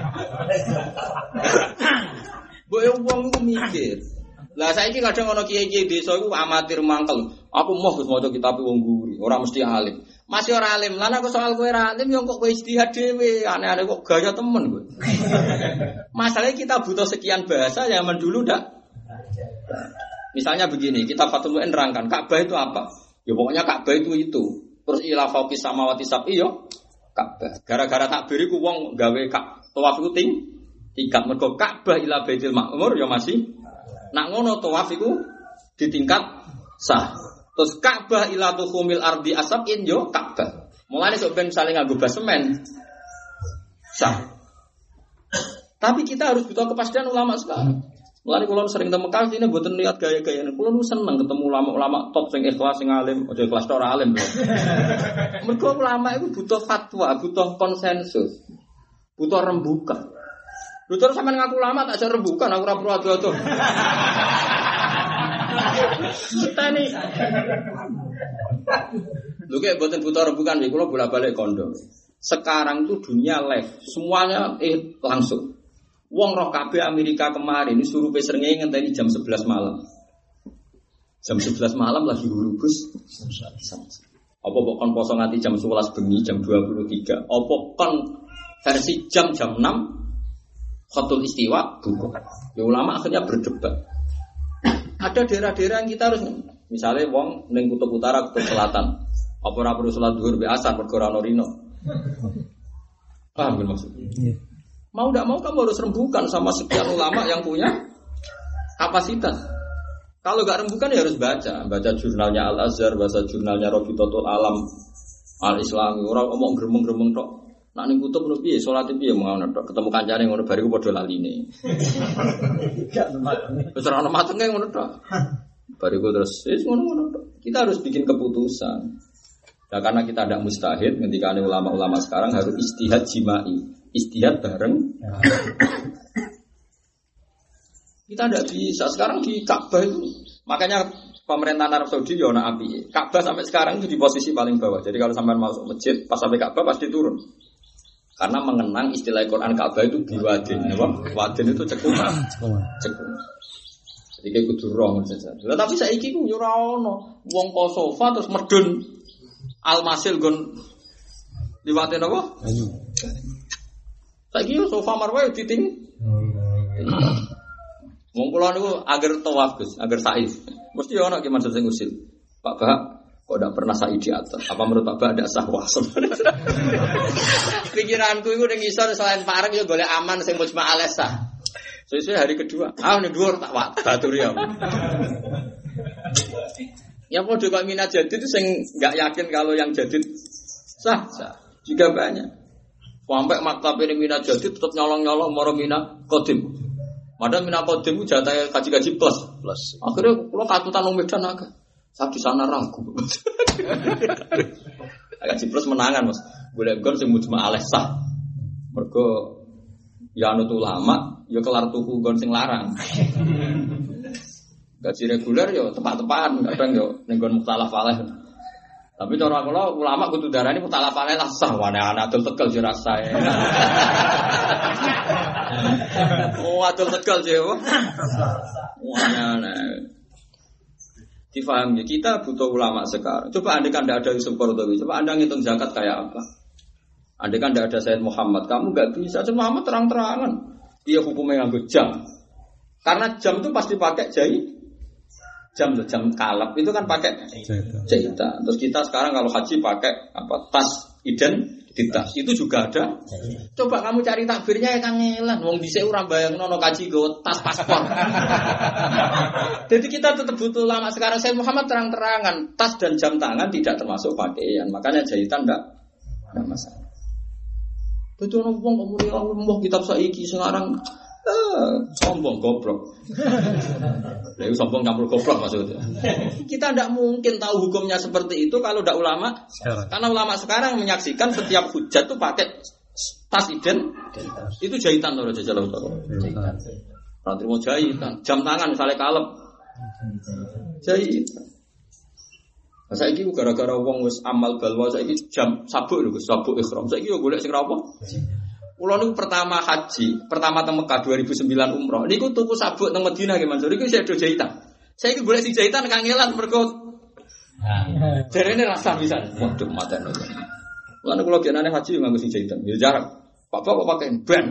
Boyo wong iku mikir. Lah saiki kadang ana kiai-kiai desa iku amatir mangkel. Aku mau Gus maca kitab wong guri, ora mesti alim. Masih ora alim. Lah nek soal kowe ora alim yo kok kowe ijtihad dhewe, aneh-aneh kok gaya temen kowe. Masalahnya kita butuh sekian bahasa zaman dulu ndak. Misalnya begini, kita Fathul Mu'in nerangkan Ka'bah itu apa? Ya pokoknya Ka'bah itu itu. Terus ila fauqis samawati sab'i yo Ka'bah. Gara-gara takbir iku wong gawe tawaf iku ting tingkat mergo Ka'bah ila Baitul Ma'mur ya masih. Nak ngono tawaf iku ditingkat sah. Terus Ka'bah ila tuhumil ardi asabin yo Ka'bah. Mulane sok ben saling nganggo basemen. Sah. Tapi kita harus butuh kepastian ulama sekarang. Mulane kula sering teng Mekah ini mboten niat gaya-gayane. Kula nu seneng ketemu ulama-ulama top sing ikhlas sing alim, aja ikhlas ora alim. Mergo ulama itu butuh fatwa, butuh konsensus. Butuh rembukan. Lho terus sampean ngaku ulama tak jar rembukan, aku ora perlu ado-ado. Kita ini lho kayak boten butuh rembukan iki kula bolak-balik kondo. Sekarang tuh dunia live, semuanya eh langsung. Wong roh kabeh Amerika kemarin ini suruh pesernya ngenteni jam sebelas malam. Jam sebelas malam lagi hurubus. Apa kok kon poso nganti jam sebelas bengi, jam dua puluh tiga. Apa kon versi jam jam enam Khatul Istiwa buka. Ya ulama akhirnya berdebat. Ada daerah-daerah yang kita harus misalnya wong ning kutub utara, kutub selatan. Apa ora perlu salat zuhur be asar perkara ora rino. Paham kan maksudnya? Yeah. Mau tidak mau kamu harus rembukan sama sekian ulama yang punya kapasitas. Kalau nggak rembukan ya harus baca, baca jurnalnya Al Azhar, baca jurnalnya Rabitatul Alam Al Islami. Orang ngomong gremeng-gremeng tok. Nak ning kutub ngono piye salat piye ngono tok. Ketemu kancane ngono bariku padha laline. Gak mateng. Wis ora ono matenge ngono tok. Bariku terus, eh, ngono-ngono. Kita harus bikin keputusan. Nah, karena kita ada mustahid, ketika ulama-ulama sekarang harus istihad jimai, istihad bareng. Kita tidak bisa sekarang di Ka'bah itu, makanya pemerintahan Arab Saudi ya ana api. Ka'bah sampai sekarang itu di posisi paling bawah. Jadi kalau sampai masuk masjid, pas sampai Ka'bah pasti turun. Karena mengenang istilah Quran Ka'bah itu biwadin, apa? Wadin itu cekung, cekung. Jadi kayak kudu rong saja. Lah tapi saiki ku yo ora ono wong kok sofa terus medun almasil gon liwatin apa? Saiki yo sofa marwah diting. Wong kula niku agar tawaf Gus, agar sa'i. Mesti ono ki maksud sing usil. Pak Bah, kok ndak pernah sa'i di atas? Apa menurut Pak Bah ada sahwah sebenarnya? Pikiranku iku ning isor selain pareng yo golek aman sing mujma' alesah. Sesuai hari kedua, ah ning dhuwur tak wak batur ya. Yang mau juga minat jadid itu sing enggak yakin kalau yang jadid sah, sah. Juga banyak. Sampai maktab ini minat jadid tetap nyolong-nyolong moro minat qadim. Padahal minat qadim itu jatah kaji-kaji plus. Plus. Akhirnya kalau katutan wong Medan agak saya di sana ragu. Kaji plus menangan, Mas. Boleh gon sing mujma' alaih sah. Mergo ya anut ulama, ya kelar tuku gon sing larang. Gaji reguler ya tepat-tepatan, kadang ya ning gon mukhtalaf alaih. Tapi cara kula ulama kudu darani mukhtalaf alaih lah sah, wane ana adol Tegal yo rasa. Oh, adol Tegal je apa? Wane ana. Difahami, kita butuh ulama sekarang. Coba andai kan tidak ada Yusuf Qaradawi, coba Anda ngitung zakat kayak apa? Andai kan tidak ada Sayyid Muhammad, kamu nggak bisa. Sayyid Muhammad terang-terangan, dia hukumnya nganggo jam. Karena jam itu pasti pakai jahit. Jam tuh jam kalap itu kan pakai jahitan. Terus kita sekarang kalau haji pakai apa tas identitas itu juga ada. Coba kamu cari takbirnya ya kangelan. Wong dhisik ora bayangno ono kaji go tas paspor. Jadi kita tetap butuh lama sekarang. Saya Muhammad terang-terangan tas dan jam tangan tidak termasuk pakaian. Makanya jahitan enggak enggak masalah. Itu ono wong kok muni Allah kitab saiki sekarang eh sombong goblok. Lha iku sombong campur goblok maksudnya. Kita tidak mungkin tahu hukumnya seperti itu kalau tidak ulama sekarang. Karena ulama sekarang menyaksikan setiap hujat itu pakai tas ident. Itu jahitan lho jajal utara. Jahitan. Nanti mau jahitan, jam tangan misalnya kalep. Jahitan. Nah, saiki gara-gara wong wis amal balwa saiki jam sabuk lho Gus, sabuk ihram. Saiki yo golek sing ra apa? Kulo niku pertama haji, pertama teng Mekah dua ribu sembilan umroh. Niku tuku sabuk teng Madinah nggih Mansur. Iku isih do jahitan. Saiki golek sing jahitan kangelan mergo jarene rasa pisan. Waduh mateno. Lan kulo genane haji nganggo sing jahitan. Ya jarak. Bapak kok pakai ban.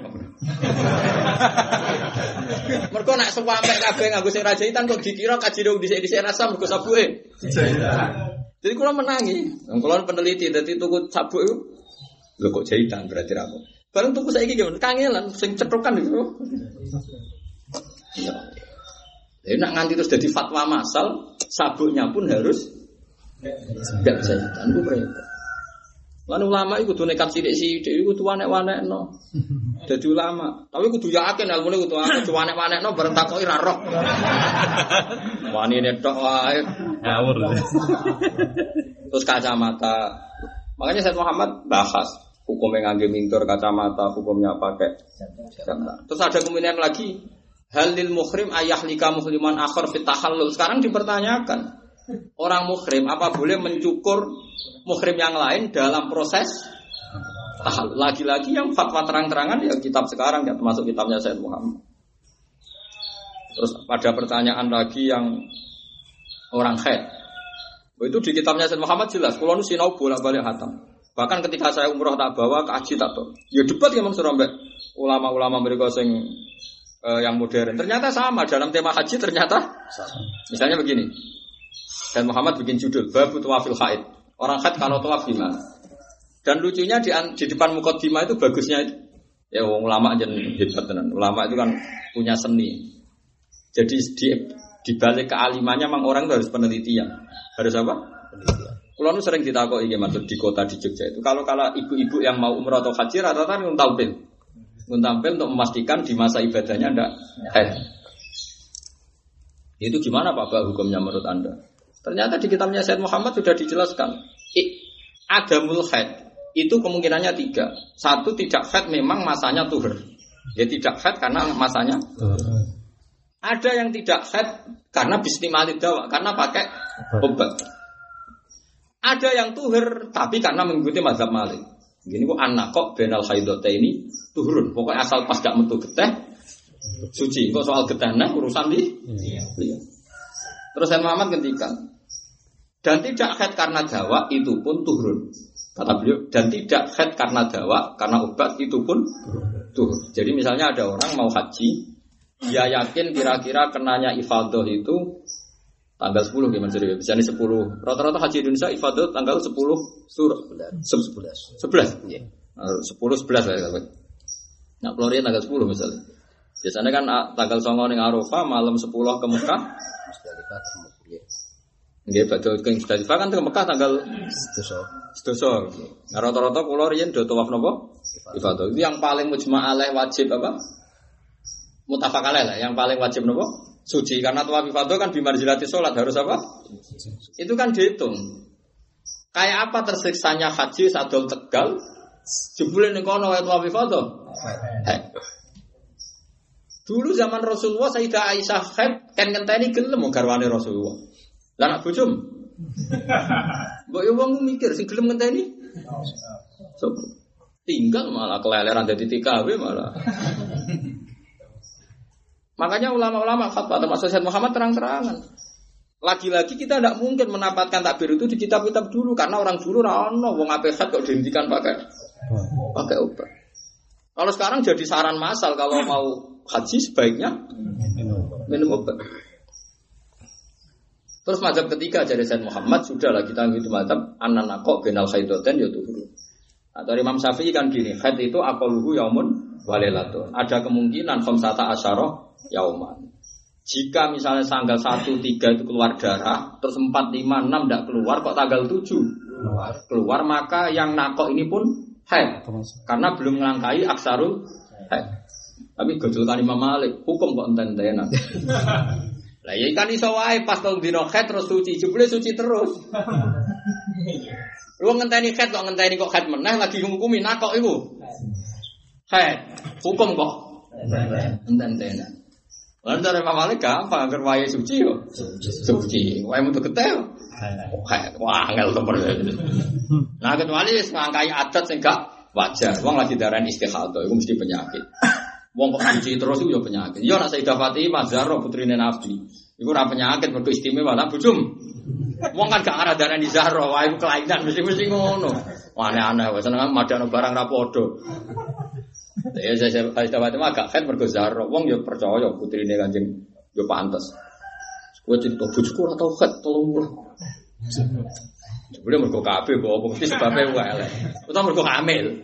Mergo nek sampe kabeh nganggo sing ra jahitan kok dikira kaji dong dhisik-dhisik rasa mergo sabuke jahitan. Jadi kulo menangi. Kulo peneliti dadi tuku sabuk iku lho kok jahitan berarti ra. Barang tuku saiki gimana? Kangelan, sing cethukan gitu. Ya. Jadi nak nganti terus jadi fatwa masal, sabuknya pun harus enggak jahitan. Itu mereka. Lan ulama iku kudu nekat sithik-sithik, iku kudu wanek-wanekno. Dadi ulama. Tapi kudu yakin ilmune kudu kudu wanek-wanekno bareng takoki ra roh. Wani netok wae ngawur. Terus kacamata. Makanya Sayyid Muhammad bahas hukumnya ngangge mintor kacamata, hukumnya pakai kacamata. Terus ada kemudian lagi halil muhrim ayahlika muhliman akhir fit tahallul. Sekarang dipertanyakan orang muhrim apa boleh mencukur muhrim yang lain dalam proses tahallul. Lagi-lagi yang fatwa terang-terangan ya kitab sekarang ya termasuk kitabnya Sayyid Muhammad. Terus pada pertanyaan lagi yang orang haid. Oh, itu di kitabnya Sayyid Muhammad jelas. Kalau nu sinau bolak-balik hatam. Bahkan ketika saya umroh tak bawa ke haji tak tahu. Ya debat ya Mansur ambek ulama-ulama mereka sing uh, yang modern. Ternyata sama dalam tema haji ternyata sama. Misalnya begini. Dan Muhammad bikin judul bab tawafil haid. Orang haid kalau tawaf gimana? Dan lucunya di, di depan mukaddimah itu bagusnya itu. Ya ulama aja hebat tenan. Ulama itu kan punya seni. Jadi di di balik kealimannya memang orang itu harus penelitian. Harus apa? Penelitian. Kalau nu sering ditakoki iki maksud di kota di Jogja itu kalau kalau ibu-ibu yang mau umroh atau haji rata-rata ngun tampil. Ngun tampil untuk memastikan di masa ibadahnya ndak haid. Itu gimana Pak Bah hukumnya menurut Anda? Ternyata di kitabnya Sayyid Muhammad sudah dijelaskan. Adamul haid itu kemungkinannya tiga. Satu, tidak haid memang masanya tuhur. Ya tidak haid karena masanya tuhur. Ada yang tidak haid karena bisnimalid dawa, karena pakai obat. Ada yang tuhur tapi karena mengikuti mazhab Malik. Gini kok anak kok benal haidote ini tuhurun. Pokoknya asal pas gak metu geteh suci. Kok soal getahnya urusan di iya. Terus Sayyid Muhammad ngendikan dan tidak haid karena dawa itu pun tuhurun. Kata beliau dan tidak haid karena dawa karena obat itu pun tuhur. Jadi misalnya ada orang mau haji, dia yakin kira-kira kenanya ifadah itu tanggal sepuluh gimana sih? Misalnya sepuluh. Rata-rata haji Indonesia ifadah tanggal sepuluh surah. sebelas. sebelas. Iya. sepuluh sebelas lah. Nah, keluarnya tanggal sepuluh misalnya. Biasanya kan tanggal sembilan ning Arafah, malam sepuluh ke Mekah. Musdalifah kemudian. Nggih, badhe keng Musdalifah kan ke Mekah tanggal sedasa. Sedasa. Nah, rata-rata kula riyen do tawaf napa? Ifadah. Itu yang paling mujma' alaih wajib apa? Mutafaq alaih lah, yang paling wajib napa? Suci, karena tawaf ifadah kan bimanzilati sholat harus apa? Itu kan dihitung. Kayak apa tersiksanya haji sadol Tegal? Jebule ning kono wae tawaf ifadah. Dulu zaman Rasulullah Sayyidah Aisyah haid kan ngenteni gelem garwane Rasulullah. Lah nak bojom. Mbok yo wong mikir sing gelem ngenteni. So, tinggal malah keleleran dadi T K W malah. Makanya ulama-ulama fatwa termasuk Sayyid Muhammad terang-terangan. Lagi-lagi kita tidak mungkin mendapatkan takbir itu di kitab-kitab dulu karena orang dulu ra ono wong ape khat kok dihentikan pakai pakai obat. Kalau sekarang jadi saran massal kalau mau haji sebaiknya minum obat. Terus mazhab ketiga dari Sayyid Muhammad sudahlah kita ngitung mazhab annanaqo binal khaidatain ya tuhur. Atau Imam Syafi'i kan gini, haid itu aqalluhu yaumun walailatun. Ada kemungkinan khamsata asyara yauman. Jika misalnya tanggal satu, tiga itu keluar darah, terus empat, lima, enam tidak keluar, kok tanggal tujuh keluar, keluar maka yang nakok ini pun haid. Karena belum melangkai aksarul haid. Tapi gojolkan Imam Malik, hukum kok enten-entenan. Lah ya kan iso wae pas tong dino haid terus suci, jebule suci terus. Lu ngenteni haid kok ngenteni kok haid meneh lagi ngukumi nakok iku. Haid, hukum kok enten-entenan. Lan dari Imam Malik gampang agar wae suci yo. Suci, wae metu getih. Haid, wah angel temen. Nah kecuali wis ngangkai adat sing gak wajar. Wong lagi darani istihadah iku mesti penyakit. Wong kok suci terus iku yo penyakit. Yo nek Sayyidah Fatimah Zahra putrine Nabi. Iku ora penyakit mergo istimewa lah bojom. Wong kan gak arah darani Zahra, wae iku kelainan mesti-mesti ngono. Aneh-aneh wae seneng madano barang ra padha. Ya saya Sayyidah Fatimah agak khat mergo Zahra. Wong yo percaya putrine Kanjeng yo pantes. Kowe cerita bojoku ora tau khat telur. Jebule mergo kabeh kok mesti sebabe wae elek. Utawa mergo hamil.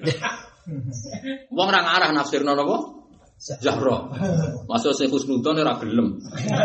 Wong ora ngarah nafsirno napa? Zahra. Masuk Syekh Husnudzon ora gelem.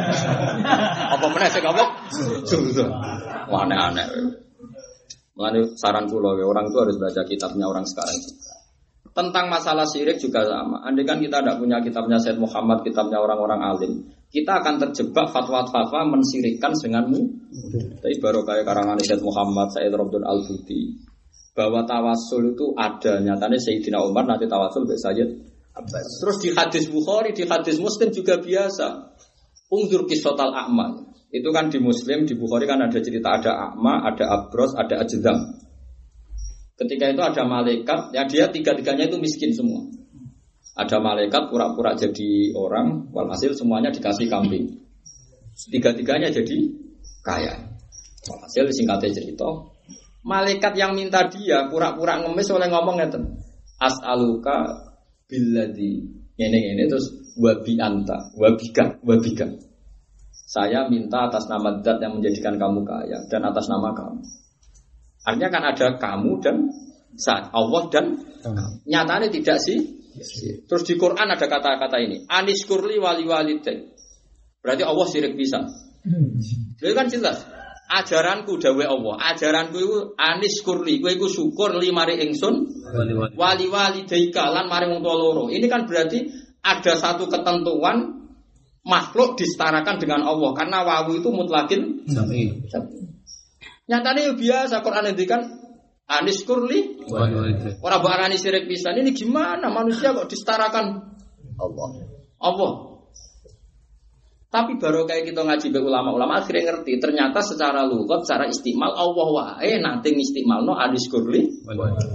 Apa meneh sing apa? Sudah. Aneh-aneh. Mulane saran kula orang itu harus baca kitabnya orang sekarang juga. Tentang masalah syirik juga sama. Andai kan kita tidak punya kitabnya Sayyid Muhammad, kitabnya orang-orang alim, kita akan terjebak fatwa-fatwa mensyrikkan denganmu. Tapi baru kayak karangan Sayyid Muhammad, Sayyid Rabdul Al-Budi, bahwa tawasul itu ada. Nyatanya Sayyidina Umar nanti tawasul ke Sayyid Abbas. Terus di hadis Bukhari, di hadis Muslim juga biasa. Ungzur kisotal a'ma. Itu kan di Muslim, di Bukhari kan ada cerita ada a'ma, ada abros, ada ajdam. Ketika itu ada malaikat, ya dia tiga-tiganya itu miskin semua. Ada malaikat pura-pura jadi orang, walhasil semuanya dikasih kambing. Tiga-tiganya jadi kaya. Walhasil singkatnya cerita, malaikat yang minta dia pura-pura ngemis oleh ngomong ngeten, as'aluka billadzi ngene-ngene terus wabi anta, wabika, wabika. Saya minta atas nama zat yang menjadikan kamu kaya dan atas nama kamu. Artinya kan ada kamu dan saat Allah dan kamu. Nyatanya tidak sih. Terus di Quran ada kata-kata ini. Aniskurli wali walidai. Berarti Allah syirik bisa. Itu kan jelas. Ajaranku dawe Allah. Ajaranku itu aniskurli. Kowe iku syukur li mari ingsun wali walidai lan mari wong tuwa loro. Ini kan berarti ada satu ketentuan makhluk disetarakan dengan Allah karena wawu itu mutlakin. Nyatanya ya biasa Quran ngendikan anis kurli orang barani sirik pisan. Ini gimana manusia kok disetarakan Allah. Allah. Tapi baru kayak kita ngaji be ulama-ulama akhirnya ngerti ternyata secara lughat, secara istimal Allah wae nanti istimalno anis kurli.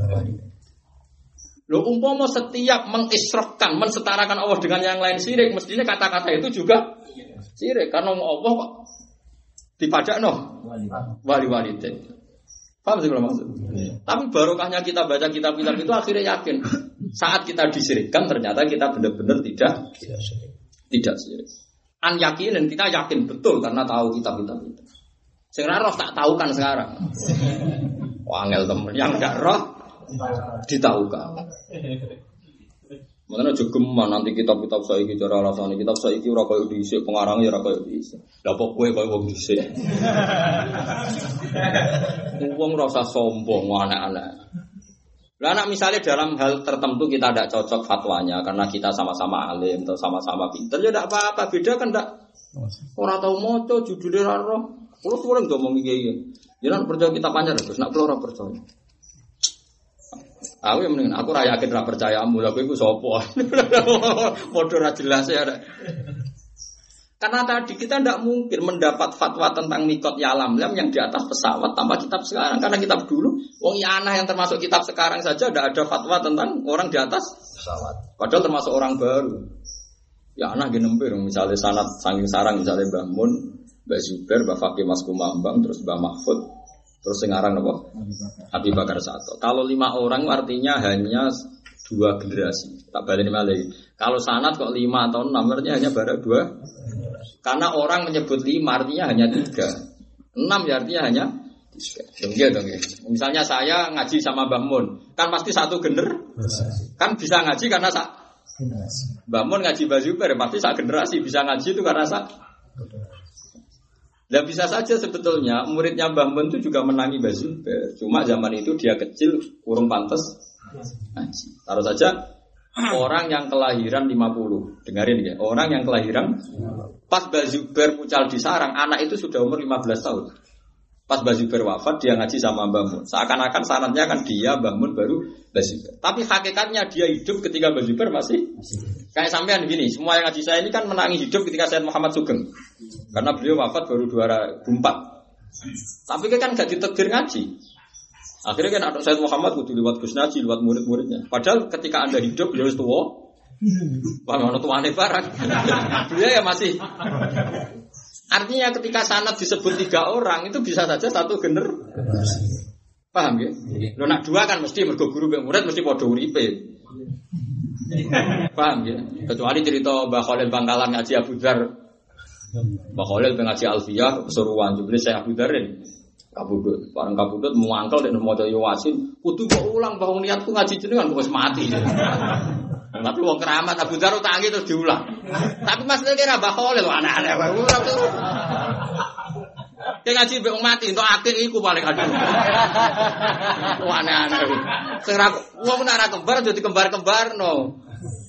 Lo umpama setiap mengisrofkan, mensetarakan Allah dengan yang lain syirik, mestinya kata-kata itu juga syirik karena Allah kok dipadakno wali-wali itu. Paham sih kalau maksud? Hmm. Tapi barokahnya kita baca kitab-kitab itu akhirnya yakin saat kita disyirikkan ternyata kita benar-benar tidak tidak syirik. Tidak syirik. An yakin dan kita yakin betul karena tahu kitab-kitab itu. Sekarang roh tak tahu kan sekarang. Wangel temen yang enggak roh ditahukan. Makanya jogeman nanti kitab-kitab saiki cara alasane kitab saiki ora koyo dhisik pengarang ya ora koyo dhisik. Lah apa kowe koyo wong dhisik. Wong ora usah sombong anak-anak. Lah anak misalnya dalam hal tertentu kita tidak cocok fatwanya karena kita sama-sama alim atau sama-sama pinter ya tidak apa-apa, beda kan ndak. Ora tau maca judule ora roh. Kulo suwe ngomong iki. Jangan percaya kitab anyar terus nak kulo ora percaya. Aku yang mendingan, aku raya yakin ra percaya amu, aku itu sopo. Modor ra jelas ya. Karena tadi kita tidak mungkin mendapat fatwa tentang mikot yalam lam yang di atas pesawat tanpa kitab sekarang. Karena kitab dulu, wong Yana yang termasuk kitab sekarang saja tidak ada fatwa tentang orang di atas pesawat. Padahal termasuk orang baru. Yana gini nempir, misalnya sanad saking sarang, misalnya Mbah Mun, Mbah Zubair, Mbah Fakih Mas Kumambang, terus Mbah Mahfud. Terus sekarang apa? Abi Bakar Sato. Kalau lima orang artinya hanya dua generasi. Tak balik lagi. Kalau sanad kok lima atau enam artinya hanya baru dua. Karena orang menyebut lima artinya hanya tiga. Enam ya artinya hanya tiga. Dongge dongge. Misalnya saya ngaji sama Mbah Mun, kan pasti satu gener. Kan bisa ngaji karena sak. Mbah Mun ngaji Mbah Zubair pasti sak generasi bisa ngaji itu karena sak. Dan bisa saja sebetulnya muridnya Mbah Mun itu juga menangi Mbah Zubair. Cuma zaman itu dia kecil, kurang pantas ngaji. Taruh saja orang yang kelahiran lima puluh. Dengarin ya, orang yang kelahiran pas Mbah Zubair pucal di sarang, anak itu sudah umur lima belas tahun. Pas Mbah Zubair wafat, dia ngaji sama Mbah Mun. Seakan-akan sanadnya kan dia Mbah Mun baru Mbah Zubair. Tapi hakikatnya dia hidup ketika Mbah Zubair masih kayak sampean begini. Semua yang ngaji saya ini kan menangi hidup ketika Sayyid Muhammad Sugeng. Karena beliau wafat baru dua ribu empat. Tapi kan gak ditakdir ngaji. Akhirnya kan ada Sayyid Muhammad kudu liwat Gus Naji, liwat murid-muridnya. Padahal ketika Anda hidup beliau tua. Wah, ono tuane barang. Beliau ya masih. Artinya ketika sanad disebut tiga orang itu bisa saja satu gener. Paham ya? Lo nak dua kan mesti mergo guru mbek murid mesti padha uripe. Paham ya? Kecuali cerita Mbah Khalil Bangkalan ngaji Abu Dzar. Mbah Khalil ngaji Alfiyah keseruan jebule saya Abu Dzar ini. Kabudut, bareng kabudut muangkel dan maca Yasin, kudu kok ulang bahwa niatku ngaji jenengan kok wis mati. Tapi wong keramat Abu Dzar tangi terus diulang. Tapi maksudnya kira Mbah Khalil aneh-aneh wae. Ki ngaji mbek wong mati entuk akeh iku paling aduh. Aneh-aneh. Sing ra wong nek ora kembar dadi kembar-kembarno.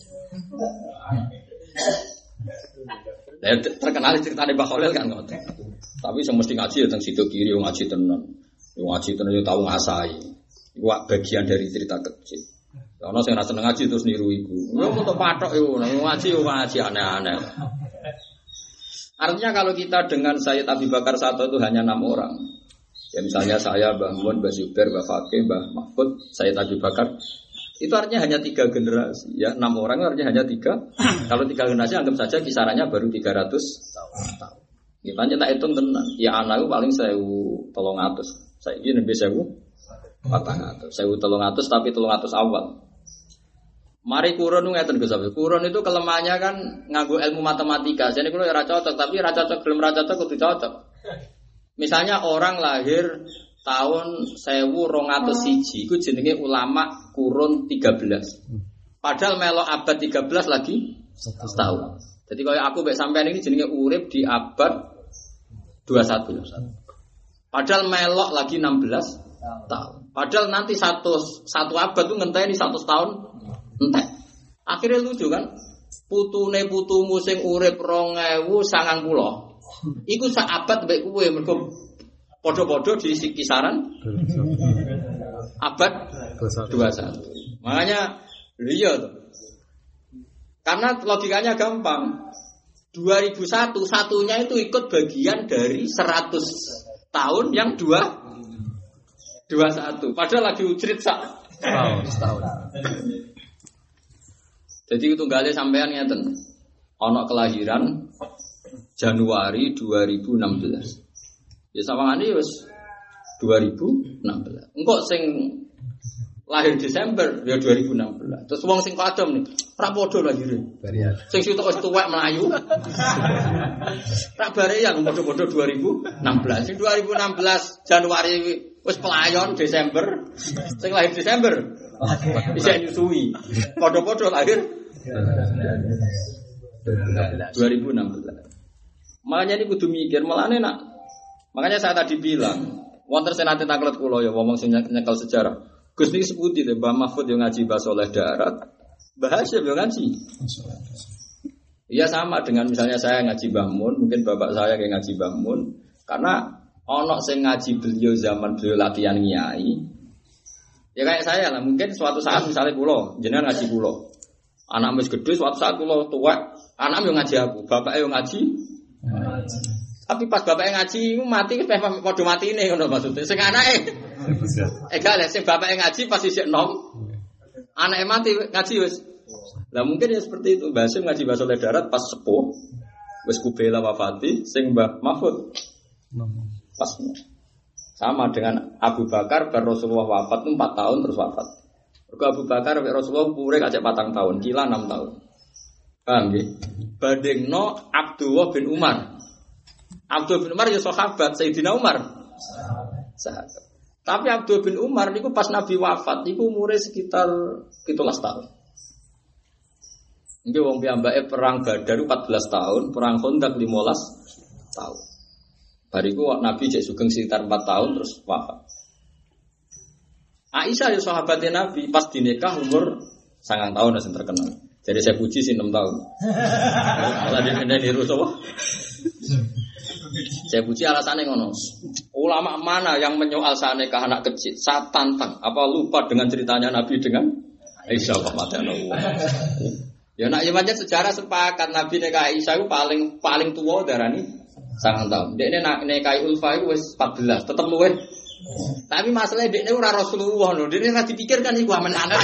Terkenal ceritane Mbah Khalil kan ngoten. Tapi saya mesti ngaji tentang situ kiri, ngaji tenan, ngaji tenan yo tahu ngasai. Iku bagian dari cerita kecil. Karena saya rasa ngaji terus niru ibu. Yo untuk patok yo, ngaji yo ngaji aneh-aneh. Artinya kalau kita dengan Sayyid Abi Bakar Sato itu hanya enam orang. Ya misalnya saya, Mbah Mun, Mbah Zubair, Mbah Fakih, Mbah Mahfud, Sayyid Abi Bakar. Itu artinya hanya tiga generasi. Ya enam orang artinya hanya tiga. Kalau tiga generasi anggap saja kisarannya baru tiga ratus tahun. Kita tak hitung tenan. Ya anakku paling sewu tolong atus. Saya ini lebih sewu patang atus. Sewu tolong atus tapi tolong atus awal. Mari kurun ngeten Gus Abdul. Kurun itu kelemahannya kan nganggo ilmu matematika. Jadi kalau ya cocok tapi ra cocok belum ra cocok kudu cocok. Misalnya orang lahir tahun sewu rong atus siji, itu jenenge ulama kurun tiga belas. Padahal melo abad tiga belas lagi setahun. Jadi kalau aku mbek sampean ini jenenge urip di abad dua puluh satu. Padahal melok lagi enam belas tahun. Padahal nanti satu satu abad tuh ngenteni satu tahun entek. Akhirnya lucu kan? putune putumu sing urip rong ewu sangang puluh. Iku sak abad mbek kowe mergo padha-padha di kisaran abad dua puluh satu. Makanya iya tuh. Karena logikanya gampang. dua ribu satu satunya itu ikut bagian dari seratus tahun yang dua dua puluh satu. Padahal lagi ujrit sak tahun. Jadi itu tunggalnya sampean ngeten. Ana kelahiran Januari dua ribu enam belas. Ya sawangane wis dua ribu enam belas. Engko sing lahir Desember ya dua ribu enam belas. Terus wong sing kadom nih, ra padha lahire. Sing sitok wis tuwek mlayu. Ra bare yang padha-padha dua ribu enam belas. Sing dua ribu enam belas Januari wis pelayon Desember. Sing lahir Desember bisa nyusui. Padha-padha lahir dua ribu enam belas. Makanya ini kudu mikir, malane nak. Makanya saya tadi bilang, wonten senate taklet kula ya ngomong sing nyekel sejarah. Gus niki seputi lho, Mbah Mahfud yang ngaji Mbah Saleh Darat, Mbah Hasyim yang ngaji. Iya sama dengan misalnya saya ngaji Mbah Mun, mungkin bapak saya yang ngaji Mbah Mun, karena ono sing ngaji beliau zaman beliau latihan nyai. Ya kayak saya lah, mungkin suatu saat misalnya kula, jenengan ngaji kula. Anak wis gede, suatu saat kula tuwek, anak yo ngaji aku, bapak yo ngaji. Tapi pas bapak ngaji mati wis padha matine ngono maksudnya. Sing anake eh gak lek sing bapak ngaji pas isih nom. Anake mati ngaji wis. Lah mungkin ya seperti itu. Mbah Hasyim ngaji Mbah Saleh Darat pas sepuh. Wis kubela wafati sing Mbah Mahfud. Pas sama dengan Abu Bakar bar Rasulullah wafat empat tahun terus wafat. Mergo Abu Bakar mek Rasulullah umure kacek patang tahun, kila enam tahun. Paham nggih? Bandingno Abdullah bin Umar. Abdul bin Umar ya sahabat Sayyidina Umar. Sahabat. Tapi Abdul bin Umar niku pas Nabi wafat niku umure sekitar tujuh belas tahun. Nggih wong piyambake perang Badar empat belas tahun, perang Khandaq lima belas tahun. Bariku Nabi jek sugeng sekitar empat tahun terus wafat. Aisyah ya sahabatnya Nabi pas dinikah umur sangang tahun sing terkenal. Jadi saya puji sih enam tahun. Malah dia niru sapa? Saya puji alasannya ngono. Ulama mana yang menyoal nikah anak kecil? Saya tantang. Apa lupa dengan ceritanya Nabi dengan Aisyah radhiyallahu anha? Ya nak ibadah sejarah sepakat Nabi nikah Aisyah itu paling paling tua darani sangang tahun. Dia ini nak nikah Ulfa itu wis empat belas, tetap luwe. Tapi masalahnya dia ini ora Rasulullah loh. Dia ini ora dipikirkan iku aman anak.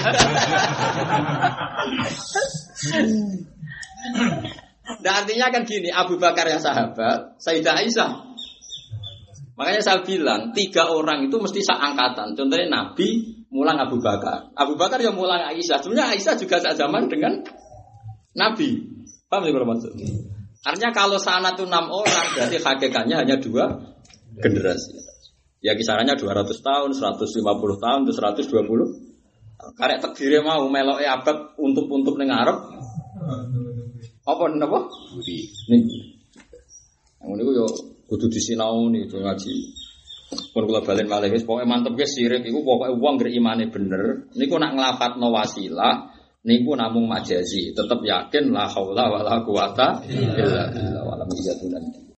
Nah artinya kan gini, Abu Bakar yang sahabat, Sayyidah Aisyah. Makanya saya bilang tiga orang itu mesti seangkatan. Contohnya Nabi mulang Abu Bakar, Abu Bakar yang mulang Aisyah. Sebenarnya Aisyah juga sezaman dengan Nabi. Paham ya kalau maksud? Artinya kalau sana itu enam orang, berarti hakikatnya hanya dua generasi. Ya kisarannya dua ratus tahun, seratus lima puluh tahun, terus seratus dua puluh. Karek takdire mau melok abad untuk-untuk ning ngarep. Apa napa? Budi. Niki. Yang niku yo kudu disinaoni itu ngaji. Pun kula balen malih wis pokoke mantep ge sirik iku pokoke wong ngger imane bener. Niku nak nglafatno wasilah niku namung majazi. Tetep yakin la haula wala quwata illa billah wala